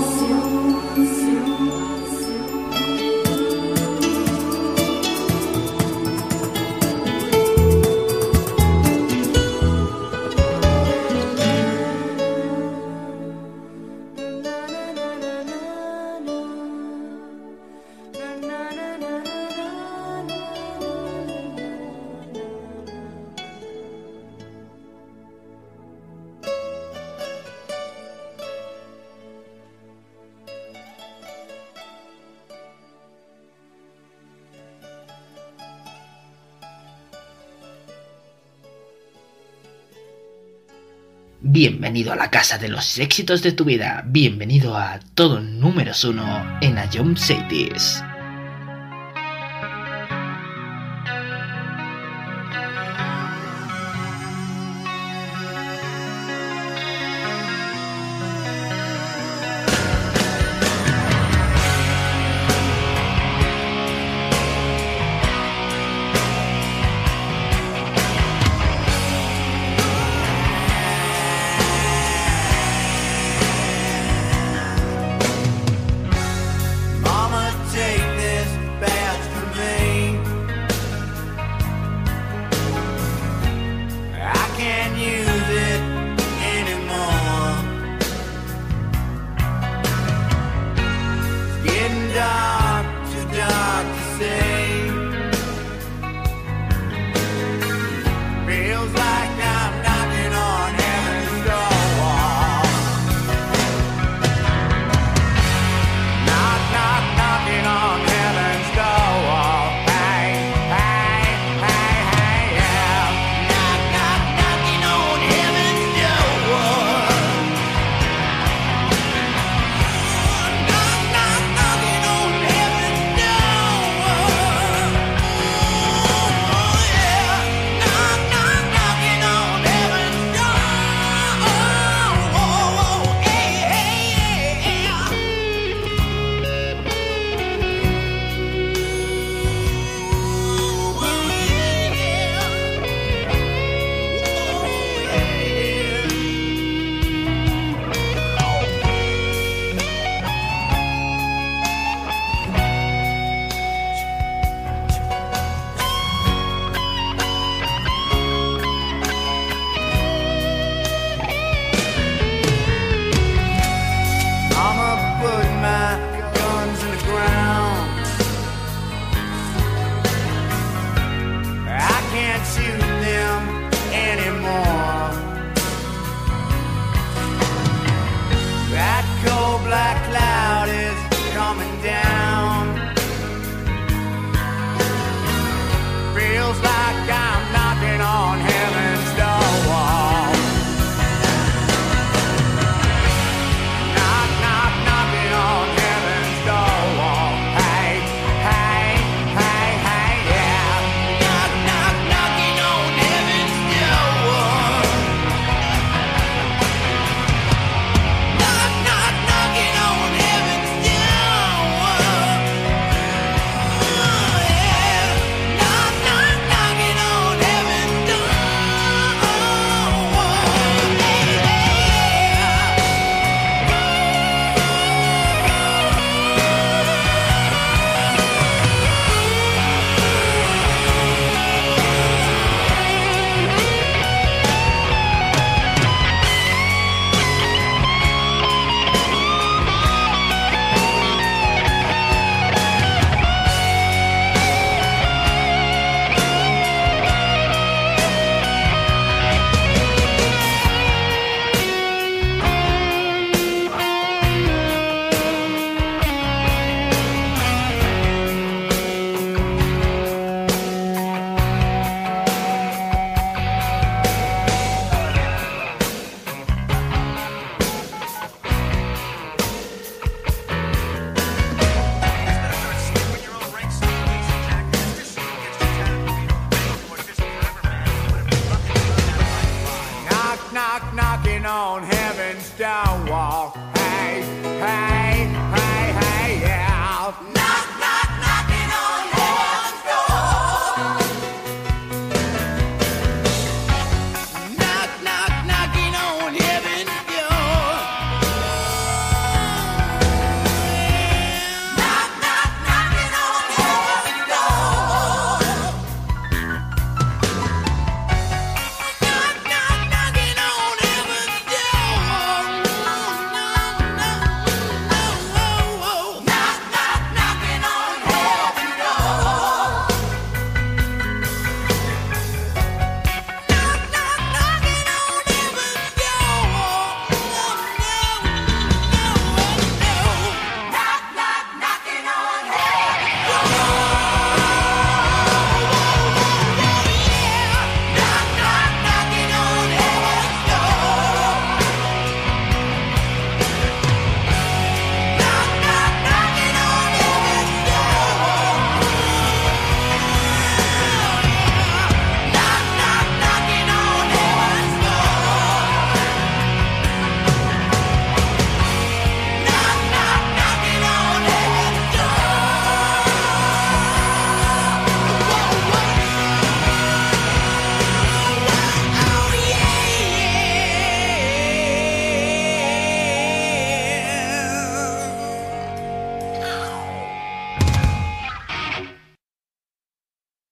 Bienvenido a la casa de los éxitos de tu vida. Bienvenido a todo números uno en A John Cities. Mama, take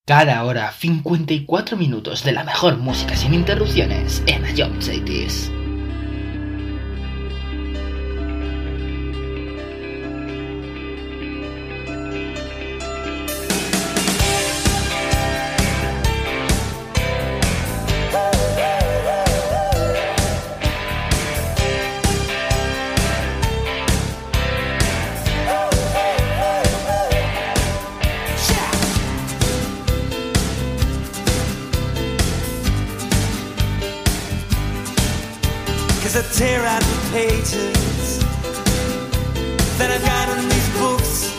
Cada hora cincuenta y cuatro minutos de la mejor música sin interrupciones en A Young Cities. I tear out the pages that I've got in these books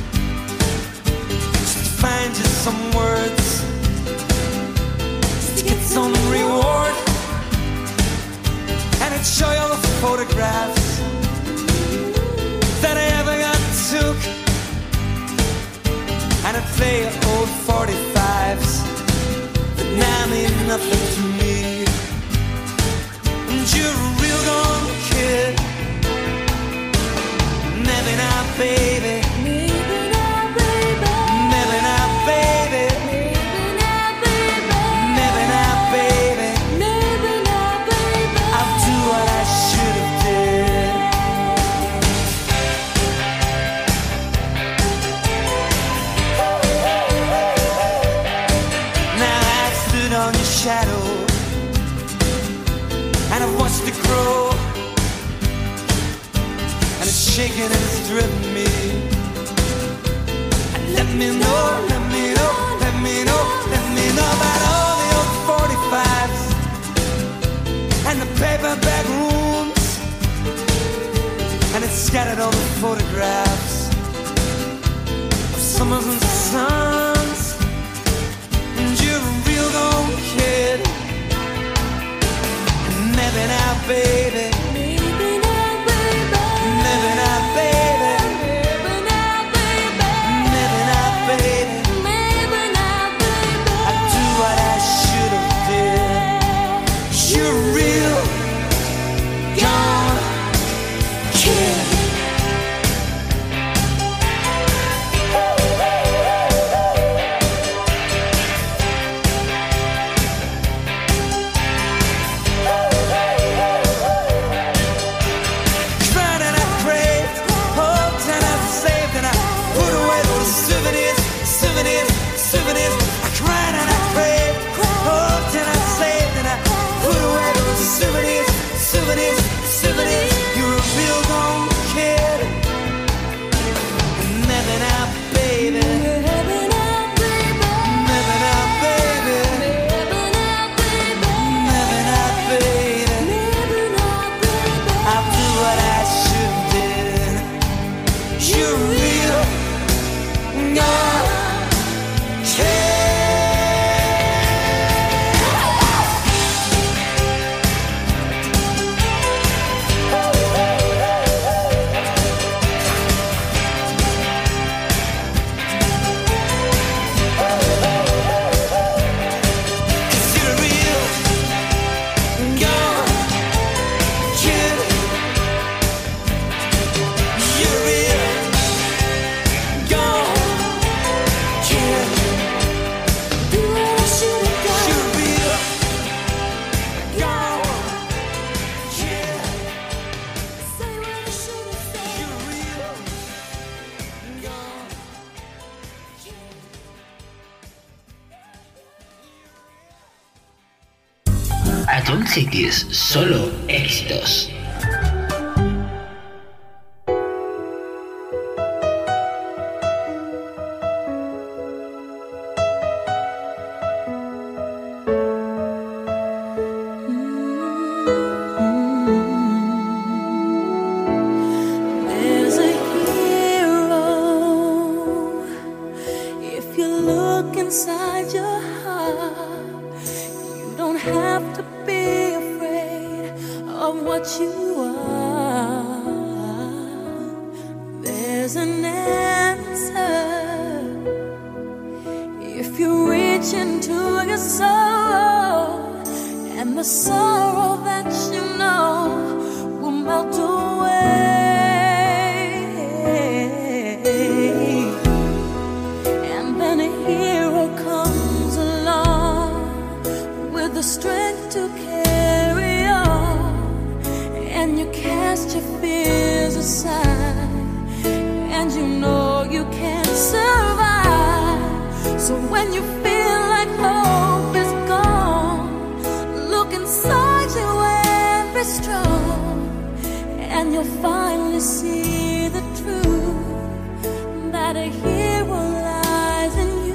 just to find just some words just to get some reward, and I'd show you all the photographs that I ever got took, and I'd play old forty-fives that now mean nothing to me. And you're a real gone kid. Maybe not, baby. Maybe not, baby. Maybe not, baby. Maybe not, baby. Maybe not, baby. I'll do what I should have did. Now I've stood on your shadow, and I've watched it grow, and it's shaking and it's driven me. And let me know, let me know, let me know, let me know about all the old forty-fives and the paperback rooms, and it's scattered all the photographs of summers and suns. And you're a real gone kid. Maybe not, baby. Maybe not, baby. Maybe not, baby. Maybe not, baby. Maybe not, baby. Maybe not, baby. I do what I should have did. You're a real gone kid. A Young Cities, solo éxitos. There's a hero if you look inside your heart. You don't have to be afraid of what you are. There's an answer if you reach into your soul, and the sorrow that you know will melt away. And then a hero comes cast your fears aside, and you know you can survive. So when you feel like hope is gone, look inside you and be strong, and you'll finally see the truth that a hero lies in you.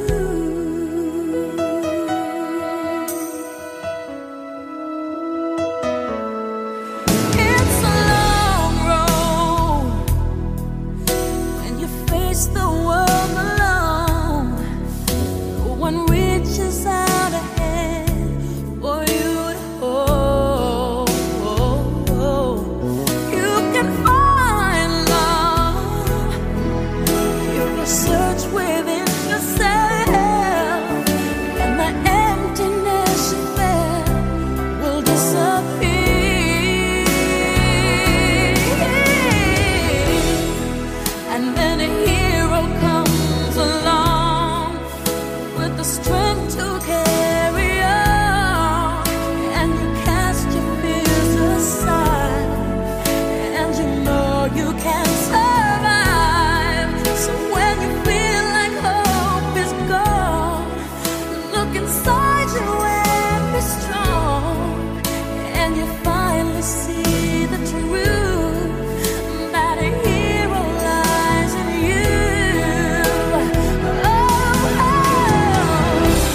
It's a long road when you face the world alone. No one reaches out a hand for you to hold. You can find love if you search within yourself, and the emptiness you felt will disappear. And then a hero comes along with the strength to carry on, and you cast your fears aside, and you know you can survive. So when you feel like hope is gone, look inside you and be strong, and you finally see the truth that a hero lies in you. Oh, oh.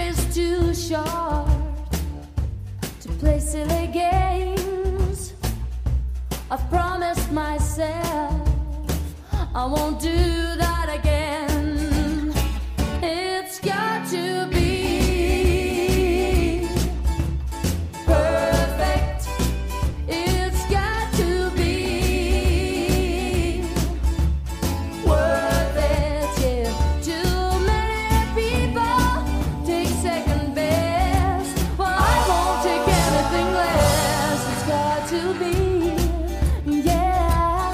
is too short to play silly games. I've promised myself I won't do that again. It's got to be perfect. It's got to be worth it. Yeah. Too many people take second best. Well, I won't take anything less. It's got to be, yeah,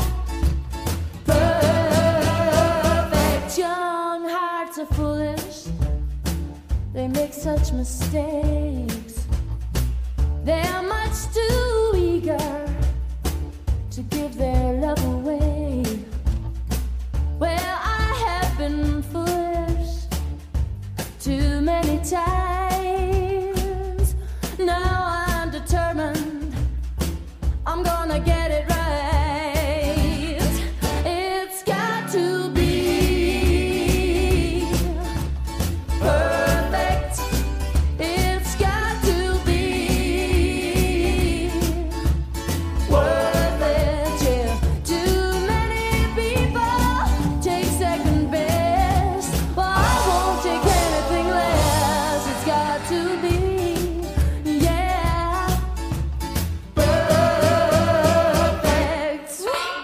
perfect. Young hearts are foolish. They make such mistakes. They're much too eager to give their love away. Well, I have been foolish too many times. Now I'm determined I'm gonna get it right. It's got to be perfect. It's got to be worth it. Yeah. Too many people take second best. Well, I won't take anything less. It's got to be, yeah, perfect.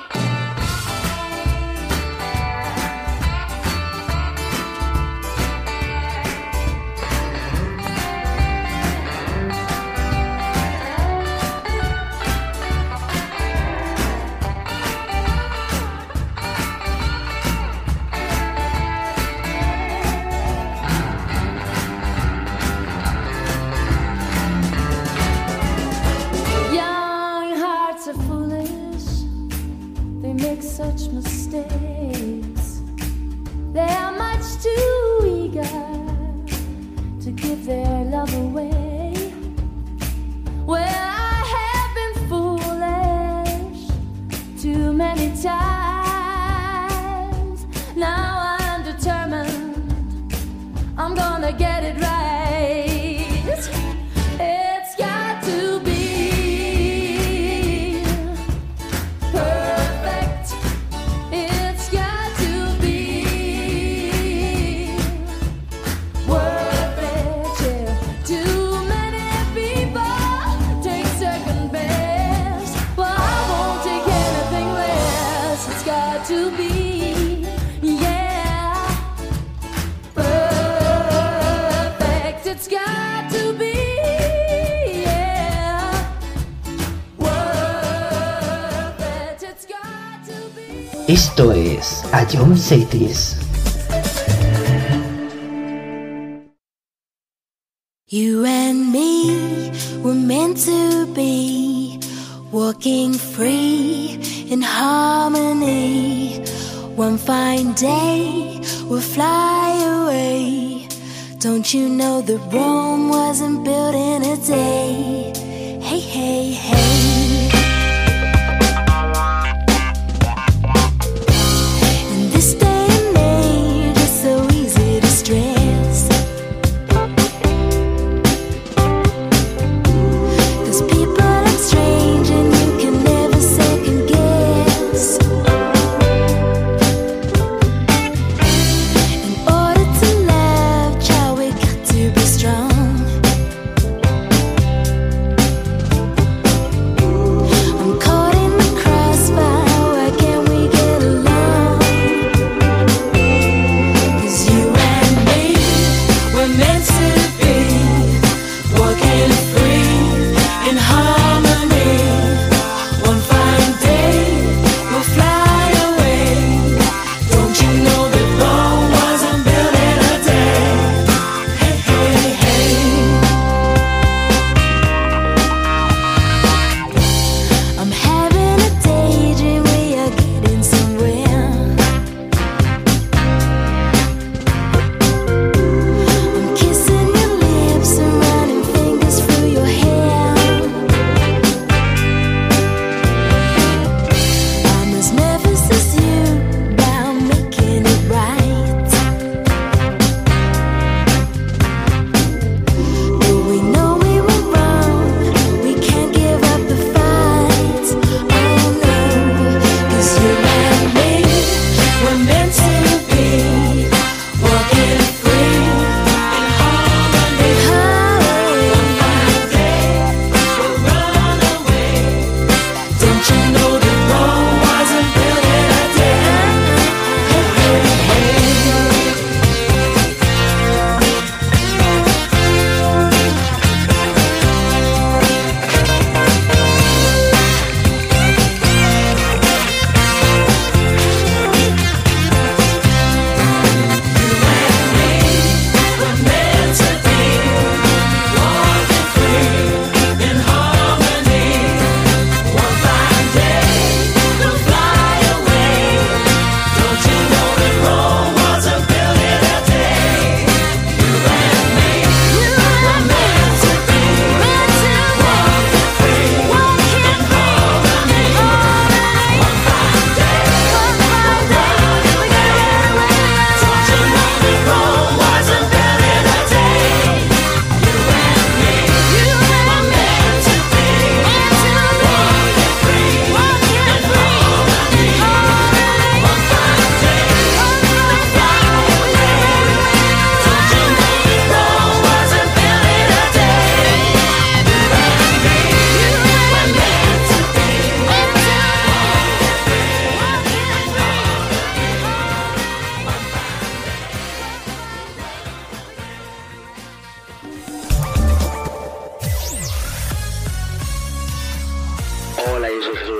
Young hearts are foolish. They make such mistakes. They are much too eager to give their love away. Well, I have been foolish too many times. Now I'm determined I'm gonna get it right. It's got to be perfect. It's got to be worth it. Yeah. Too many people take second best. Well, I won't take anything less. It's got to be, yeah, perfect. It's got to be, yeah, worth it. It's got to be. Esto es A John Cities. You and me were meant to be walking free in harmony. One fine day we'll fly away. Don't you know that Rome wasn't built in a day? Hey, hey, hey. In this day and age, it's so easy to stress. 'Cause people act strange and you can never second guess. In order to love, child, we got to be strong.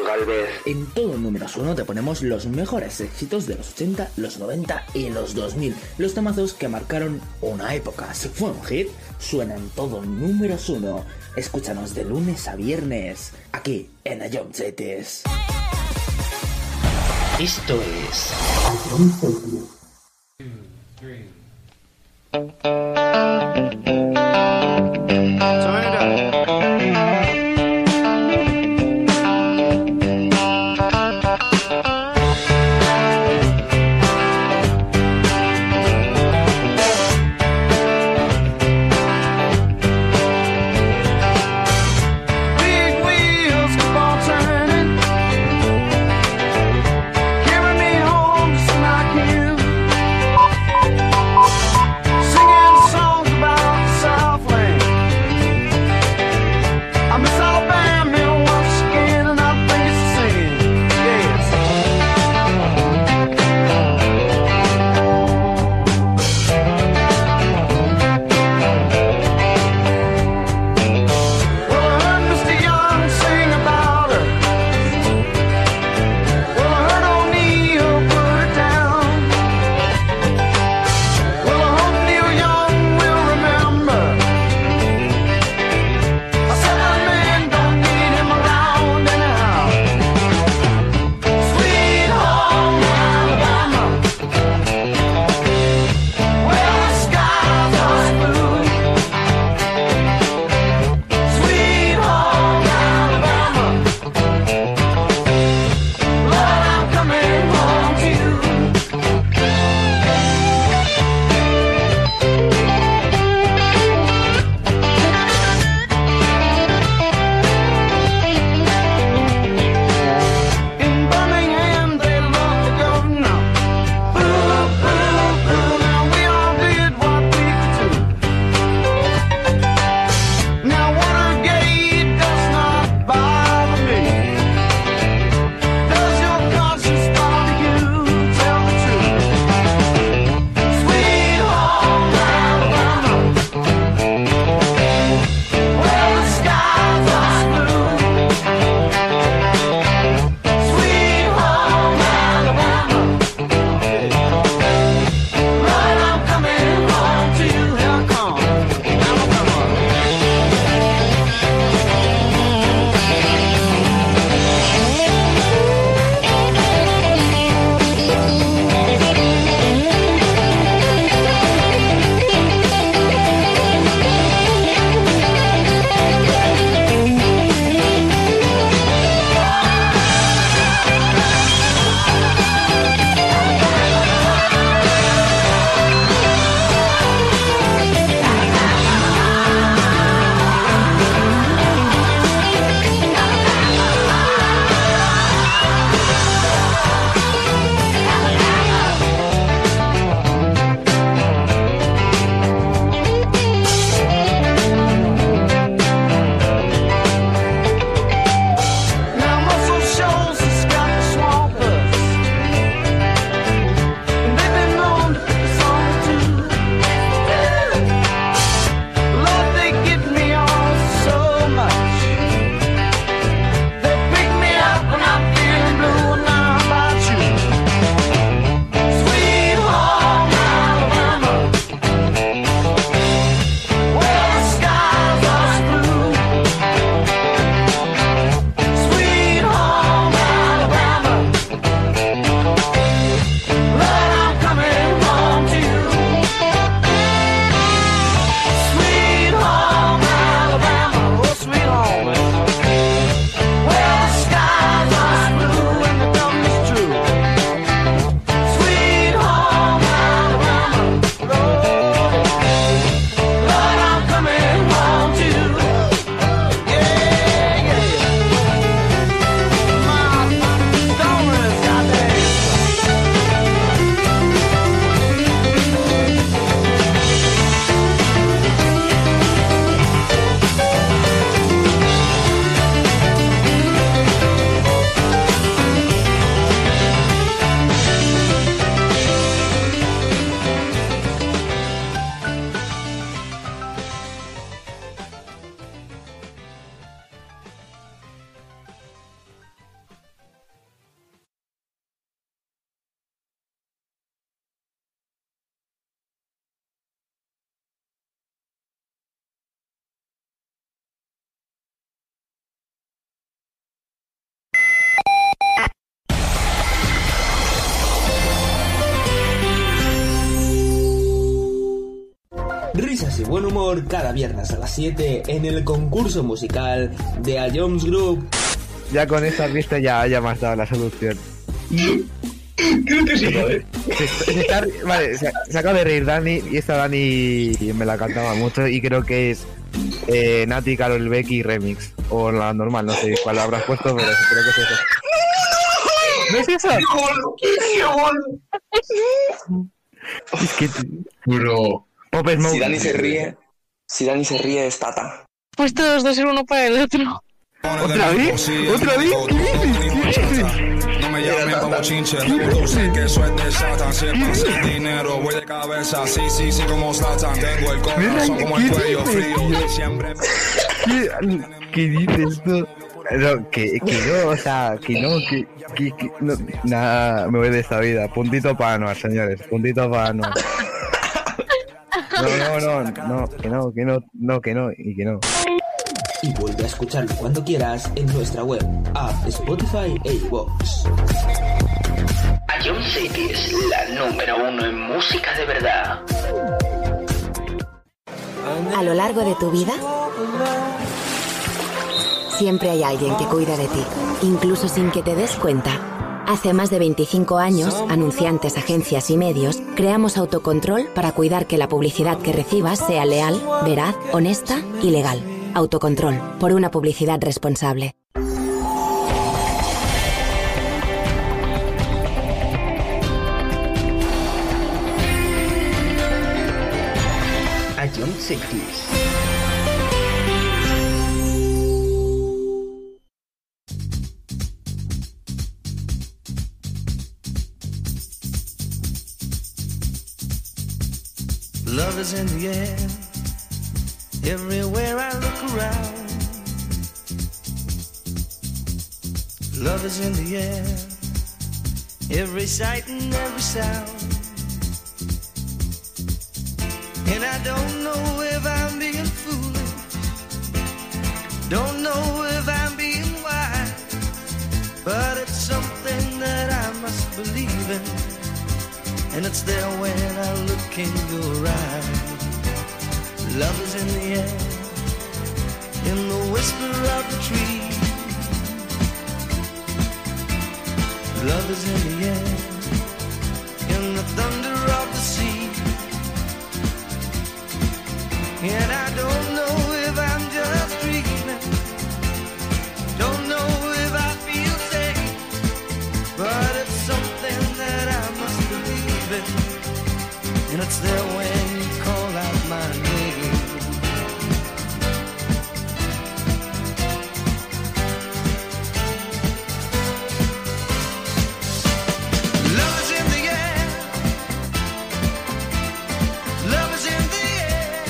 Galvez. En todo números uno te ponemos los mejores éxitos de los ochenta, los noventa y los dos mil. Los temazos que marcaron una época. Si fue un hit, suena en todo números uno. Escúchanos de lunes a viernes, aquí en Ion Cities. Esto es Singing Risas y buen humor cada viernes a las siete en el concurso musical de A Jones Group. Ya con esa pista ya, ya me has dado la solución. Creo que sí, ¿vale? Se, se está, vale, se, se acaba de reír Dani y esta Dani me la cantaba mucho y creo que es eh, Nati, Karol Becky remix. O la normal, no sé cuál habrás puesto, pero creo que es eso. ¿No es eso? ¡Qué bueno! ¡Qué bueno! Es que... Bro. Si Dani se ríe, si Dani se ríe es Tata. Pues todos dos ser uno para el otro. ¿Otra vez? ¿Otra vez? ¿Qué dices? ¿Qué dices? No me llamen como chinche, tú sé que eso es de Satan. Si es para el dinero, voy de cabeza. Sí, sí, sí, como Satan. Tengo el corazón como el cuello frío. Siempre. ¿Qué, ¿Qué dices tú? No, que, que no, o sea, que no, que, que, que no, nada, me voy de esta vida. Puntito para Anuar, señores, puntito para Anuar. No, no, no, no, que no, que no, no, que no, y que no. Y vuelve a escucharlo cuando quieras en nuestra web, app, Spotify e iVoox. A John City es la número uno en música de verdad. A lo largo de tu vida, siempre hay alguien que cuida de ti, incluso sin que te des cuenta. Hace más de veinticinco años, anunciantes, agencias y medios, creamos Autocontrol para cuidar que la publicidad que recibas sea leal, veraz, honesta y legal. Autocontrol, por una publicidad responsable. A John City. Love is in the air, everywhere I look around. Love is in the air, every sight and every sound. And I don't know if I'm being foolish, don't know if I'm being wise, but it's something that I must believe in. And it's there when I look in your eyes. Love is in the air, in the whisper of the tree. Love is in the air, in the thunder of the sea. And I don't know if I'm just dreaming, don't know if I feel safe, but it's something that I must believe in. And it's there when you call out my name. Love is in the air, love is in the air.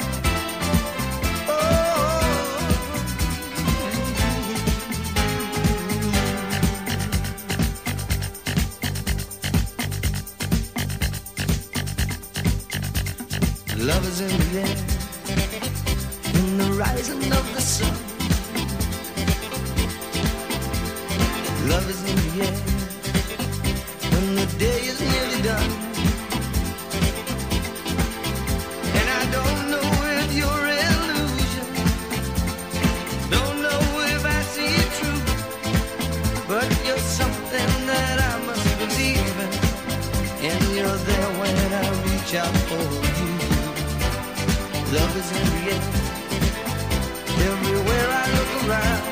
Oh, love is in the air, in the rising of the sun. Love is in the air, when the day is nearly done. And I don't know if you're illusion, don't know if I see it true, but you're something that I must believe in. And you're there when I reach out for you. Love is in the air, everywhere I look around.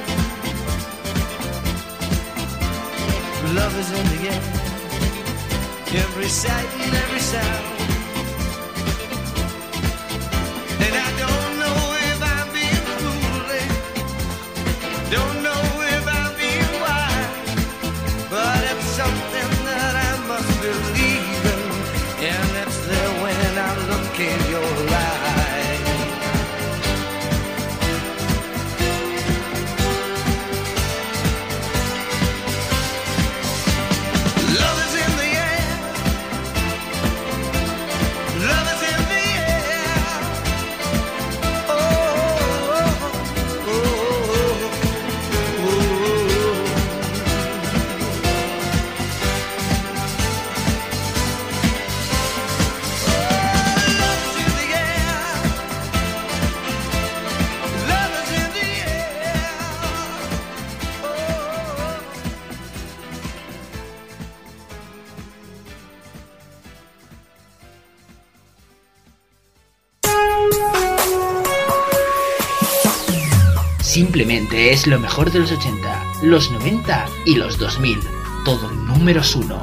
Love is in the air, every sight and every sound. And I don't know if I'm being foolish, don't know if I'm being wise, but it's something that I must believe in. And it's there when I look in your eyes. Love is in the air, Simplemente es lo mejor de los ochenta, los noventa y los dos mil. Todo números uno.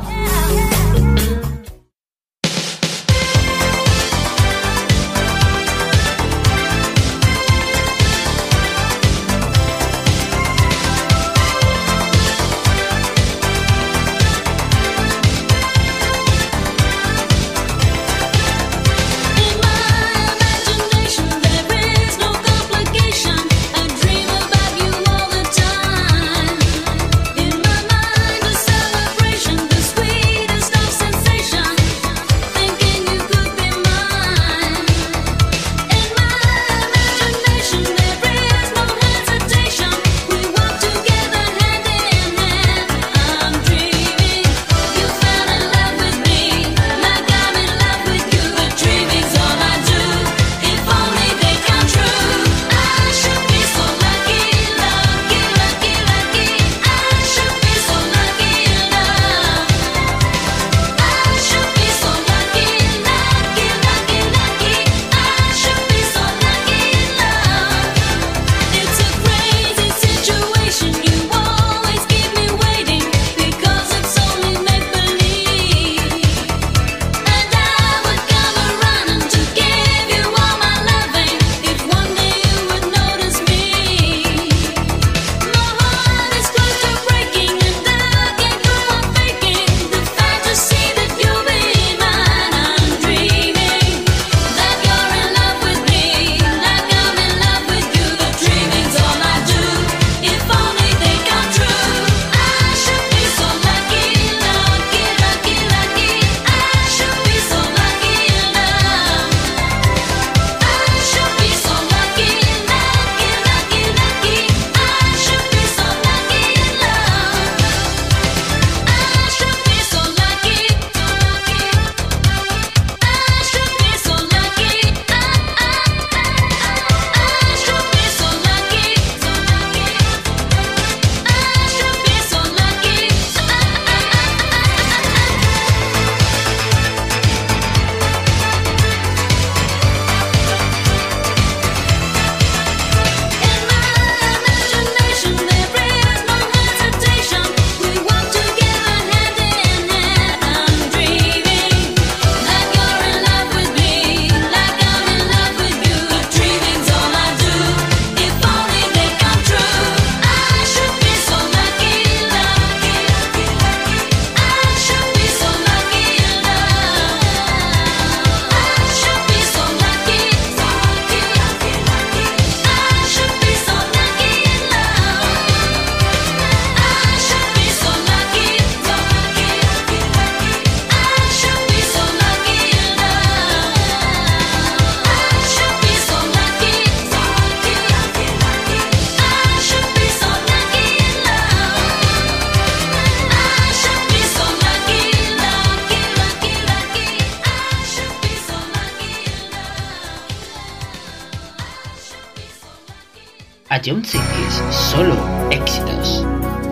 A John Cities, solo éxitos.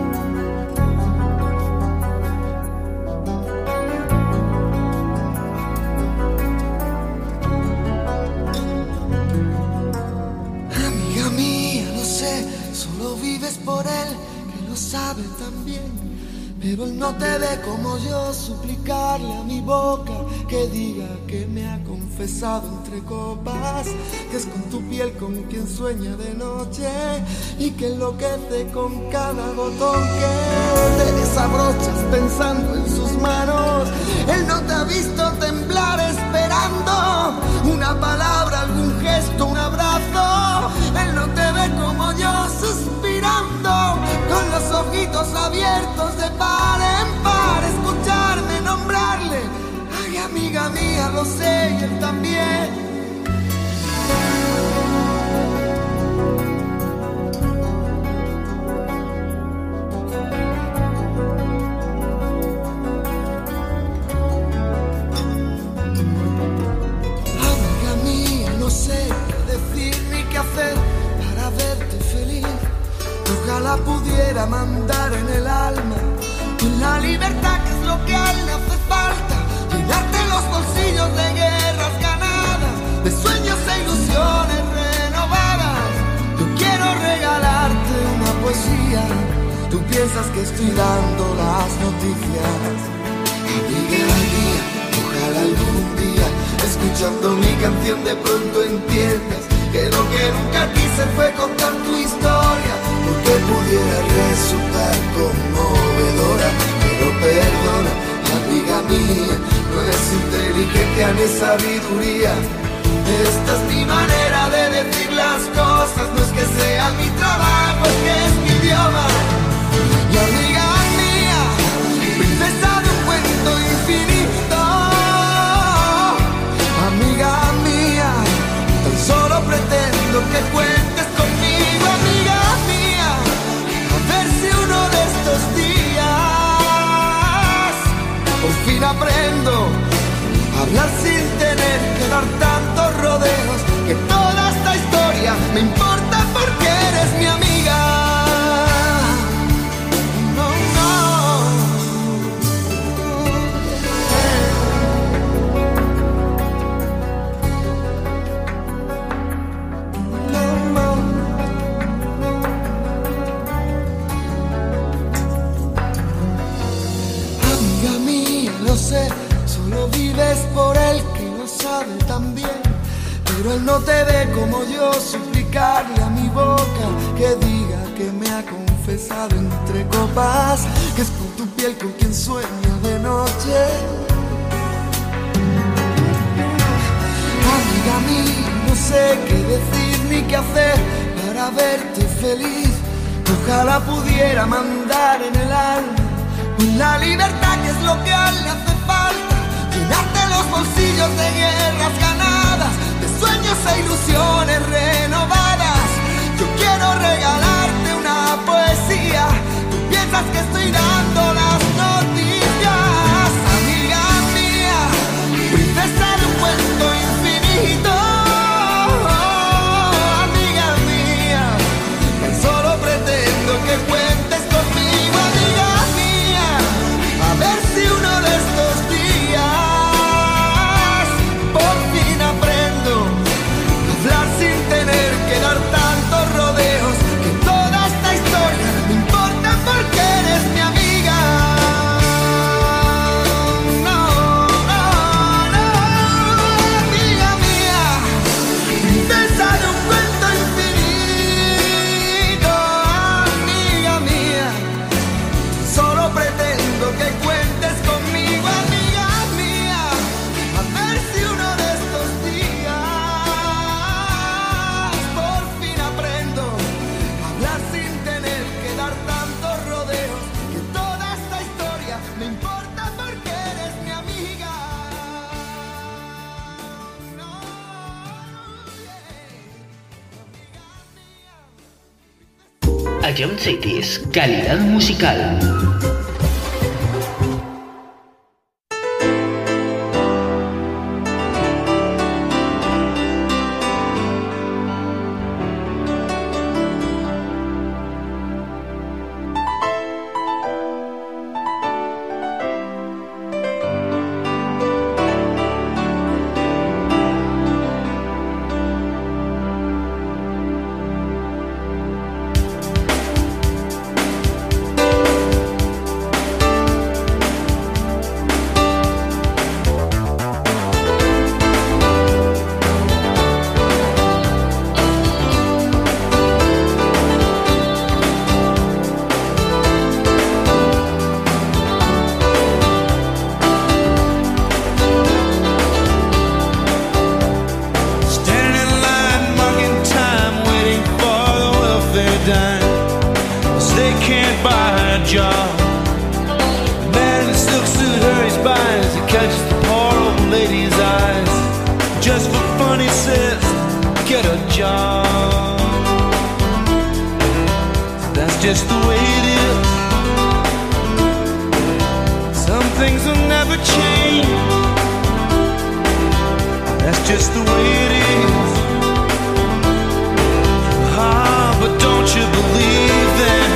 Amiga mía, lo sé, solo vives por él, que lo sabe también. Pero él no te ve como yo, suplicarle a mi boca que diga que me ha confesado entre copas, que es con tu piel con quien sueña de noche y que enloquece con cada botón que te desabrochas pensando en sus manos. Él no te ha visto temblar esperando una palabra, algún gesto, un abrazo. Él no te ve como yo suspirando con los ojitos abiertos de par en par, escucharme nombrarle. Ay, amiga mía, lo sé, y él también. Amiga mía, no sé qué decir ni qué hacer para verte feliz. Ojalá pudiera mandar en el alma con la libertad que es lo que a él le hace falta, llenarte los bolsillos de guerras ganadas, de sueños e ilusiones renovadas. Yo quiero regalar Tú piensas que estoy dando las noticias. Amiga mía, ojalá algún día, escuchando mi canción, de pronto entiendas que lo que nunca quise fue contar tu historia, porque pudiera resultar conmovedora. Pero perdona, amiga mía, no es inteligencia ni sabiduría. Esta es mi manera de decir las cosas, no es que sea mi trabajo, es que es mi idioma. Y amiga mía, princesa de un cuento infinito, amiga mía, tan solo pretendo que cuentes conmigo, amiga mía, a ver si uno de estos días por fin aprendo a hablar sin tener que dar tantos rodeos, que toda esta historia me importa porque eres mi amiga. No, no. No, no. Amiga mía, lo sé, solo vives por él, que lo sabe también, pero él no te ve como yo. Suplicarle a mi boca que diga que me ha confesado entre copas, que es con tu piel con quien sueño de noche. Amiga mía, no sé qué decir ni qué hacer para verte feliz. Ojalá pudiera mandar en el alma la libertad, que es lo que a él le hace falta, llenarte los bolsillos de guerras ganadas, de sueños e ilusiones renovadas. Yo quiero regalarte una poesía, tú piensas que estoy dando las noticias. Amiga mía, princesa de un cuento infinito, amiga mía, tan solo pretendo que cuentes conmigo, amiga mía, a ver si uno de estos días por fin aprendo a hablar sin tener que dar tantos rodeos, que toda esta historia me importa porque eres mi amiga. No, no, no, amiga mía, princesa de un cuento infinito, amiga mía, solo pretendo que cuentes conmigo, amiga mía, a ver si uno de estos días por fin aprendo a hablar sin tener que dar tantos rodeos, que toda esta historia me importa porque eres mi amiga. A John Cities, calidad musical. job. The man in the silk suit hurries by as he catches the poor old lady's eyes. Just for fun, he says, get a job. That's just the way it is. Some things will never change. That's just the way it is. Ah, but don't you believe them?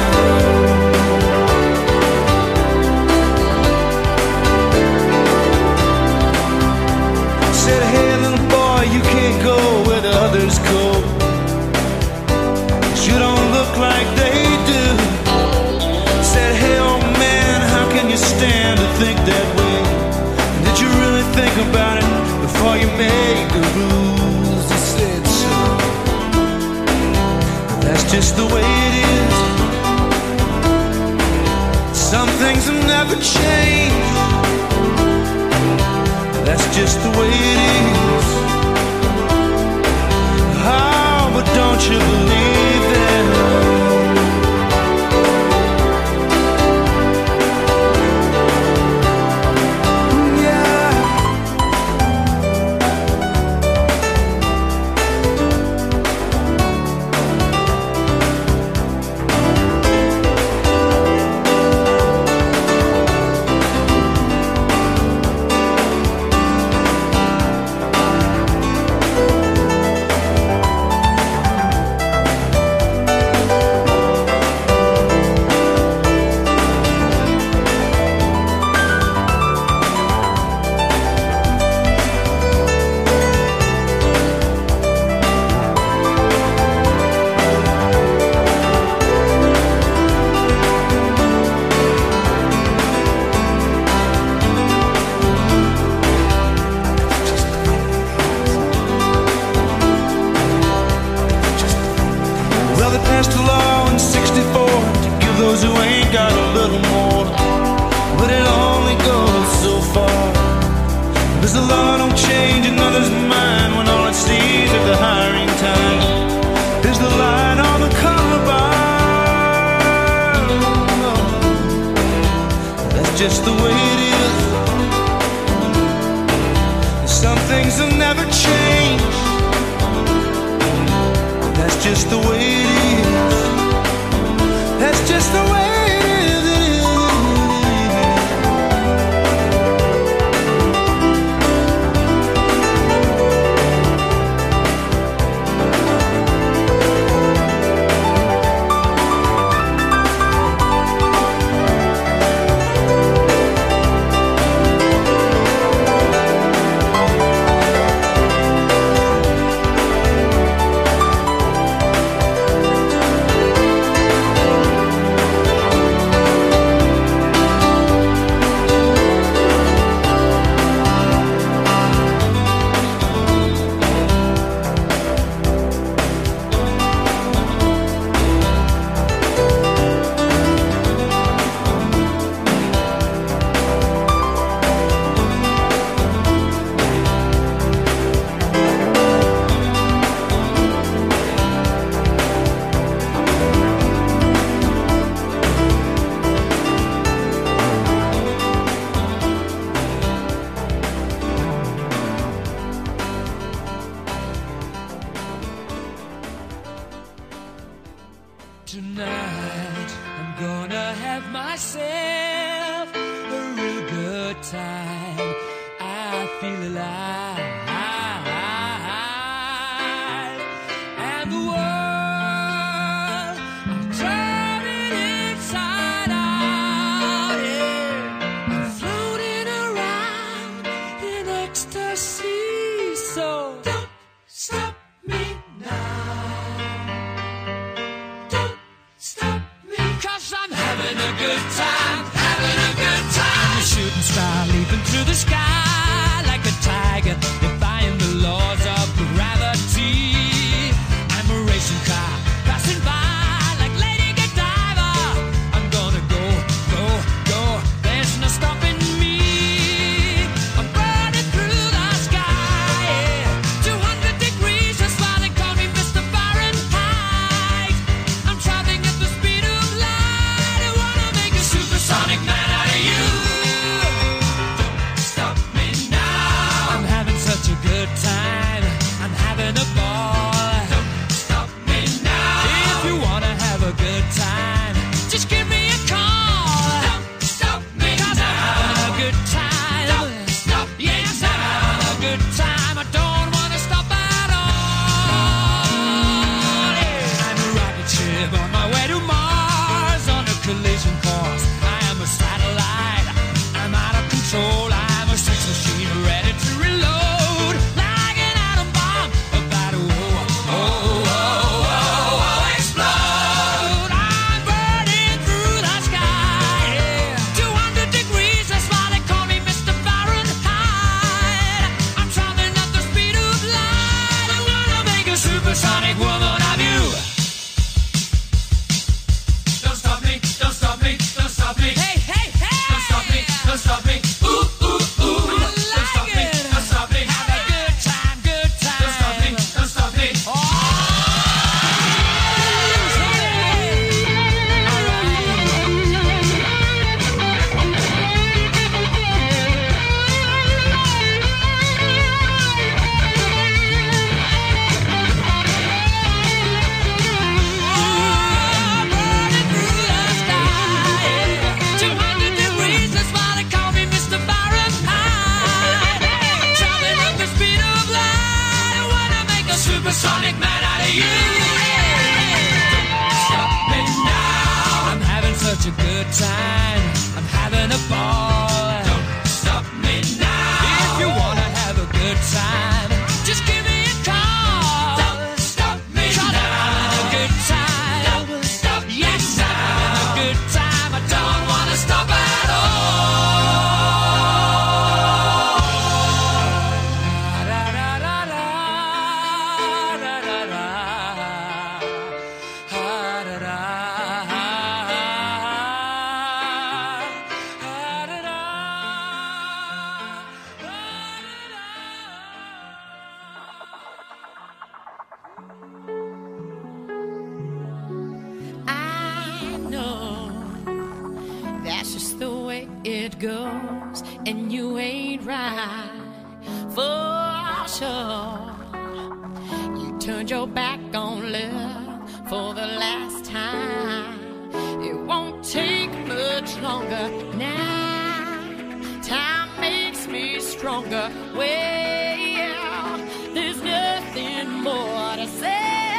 Said, hey little boy, you can't go where the others go. You don't look like they do. That's just the way it is. Some things have never changed. That's just the way it is. Oh, but don't you believe that? Just the way it is. Some things have never changed. That's just the way it is. That's just the way it is. Tonight I'm gonna have myself a real good time. I feel alive, and the world I'm turning inside out. Yeah, I'm floating around in ecstasy. So don't stop me now. Cause I'm having a good time, having a good time. A shooting star leaping through the sky like a tiger, defying the laws of gravity. I'm a racing car passing by like Lady Godiva. I'm gonna go, go, go. There's no stopping me. I'm burning through the sky, yeah. two hundred degrees, that's why they call me Mister Fahrenheit. I'm traveling at the speed of light. I wanna make a supersonic man out of you. Don't stop me now. I'm having such a good time. I'm having a ball. Don't stop me now. If you wanna have a good time, just give me a call. Don't stop me now. 'Cause I'm having a good time. Don't stop me now. Yes, I'm having a good time. I don't wanna stop at all. Yeah. I'm a rocket ship on my way to Mars on a collision course. I am a satellite. I'm out of control. I'm a sex machine ready to reload. Like an atom bomb about to oh, oh, oh, oh, oh, explode. I'm time. I'm having a ball. Don't stop me now. If you wanna have a good time, just give me a call. Don't stop me now. I'm having a good time. Don't stop me now. Yes, I'm having a good time. I don't wanna stop at I know that's just the way it goes, and you ain't right for sure. You turned your back on love for the last time. It won't take much longer now. Time makes me stronger. Well, there's nothing more to say.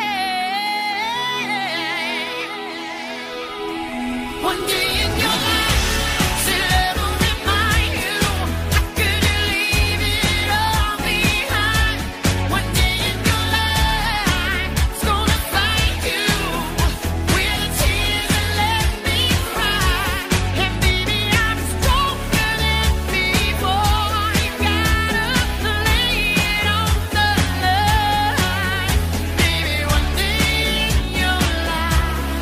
One day in your life, say love will remind you. How could you leave it all behind? One day in your life, it's gonna find you with the tears that let me cry. And baby, I'm stronger than before. You gotta lay it on the line. Baby, one day in your life,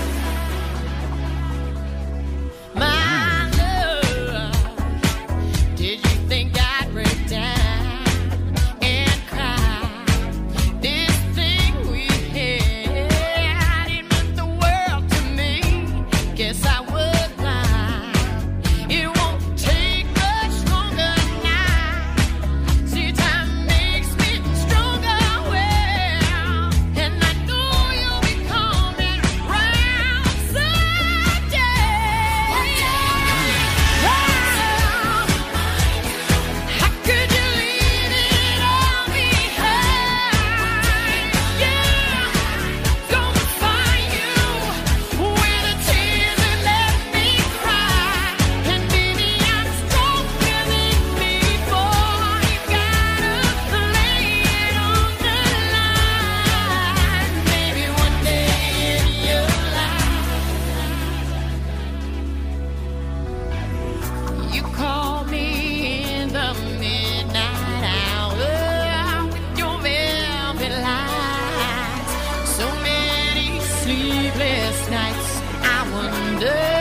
my love, did you think I'd break down and cry? This thing we had, it meant the world to me. Guess I was blind. It won't take much longer now. See, time makes me stronger, well, and I know you'll be coming round someday. How could you leave it all behind? Yeah, gonna find you with the tears that let me cry. And baby, I'm stronger than before. You gotta lay it on the line. Maybe one day in your life, you call me in the midnight hour with your velvet lights. So many sleepless nights, I wonder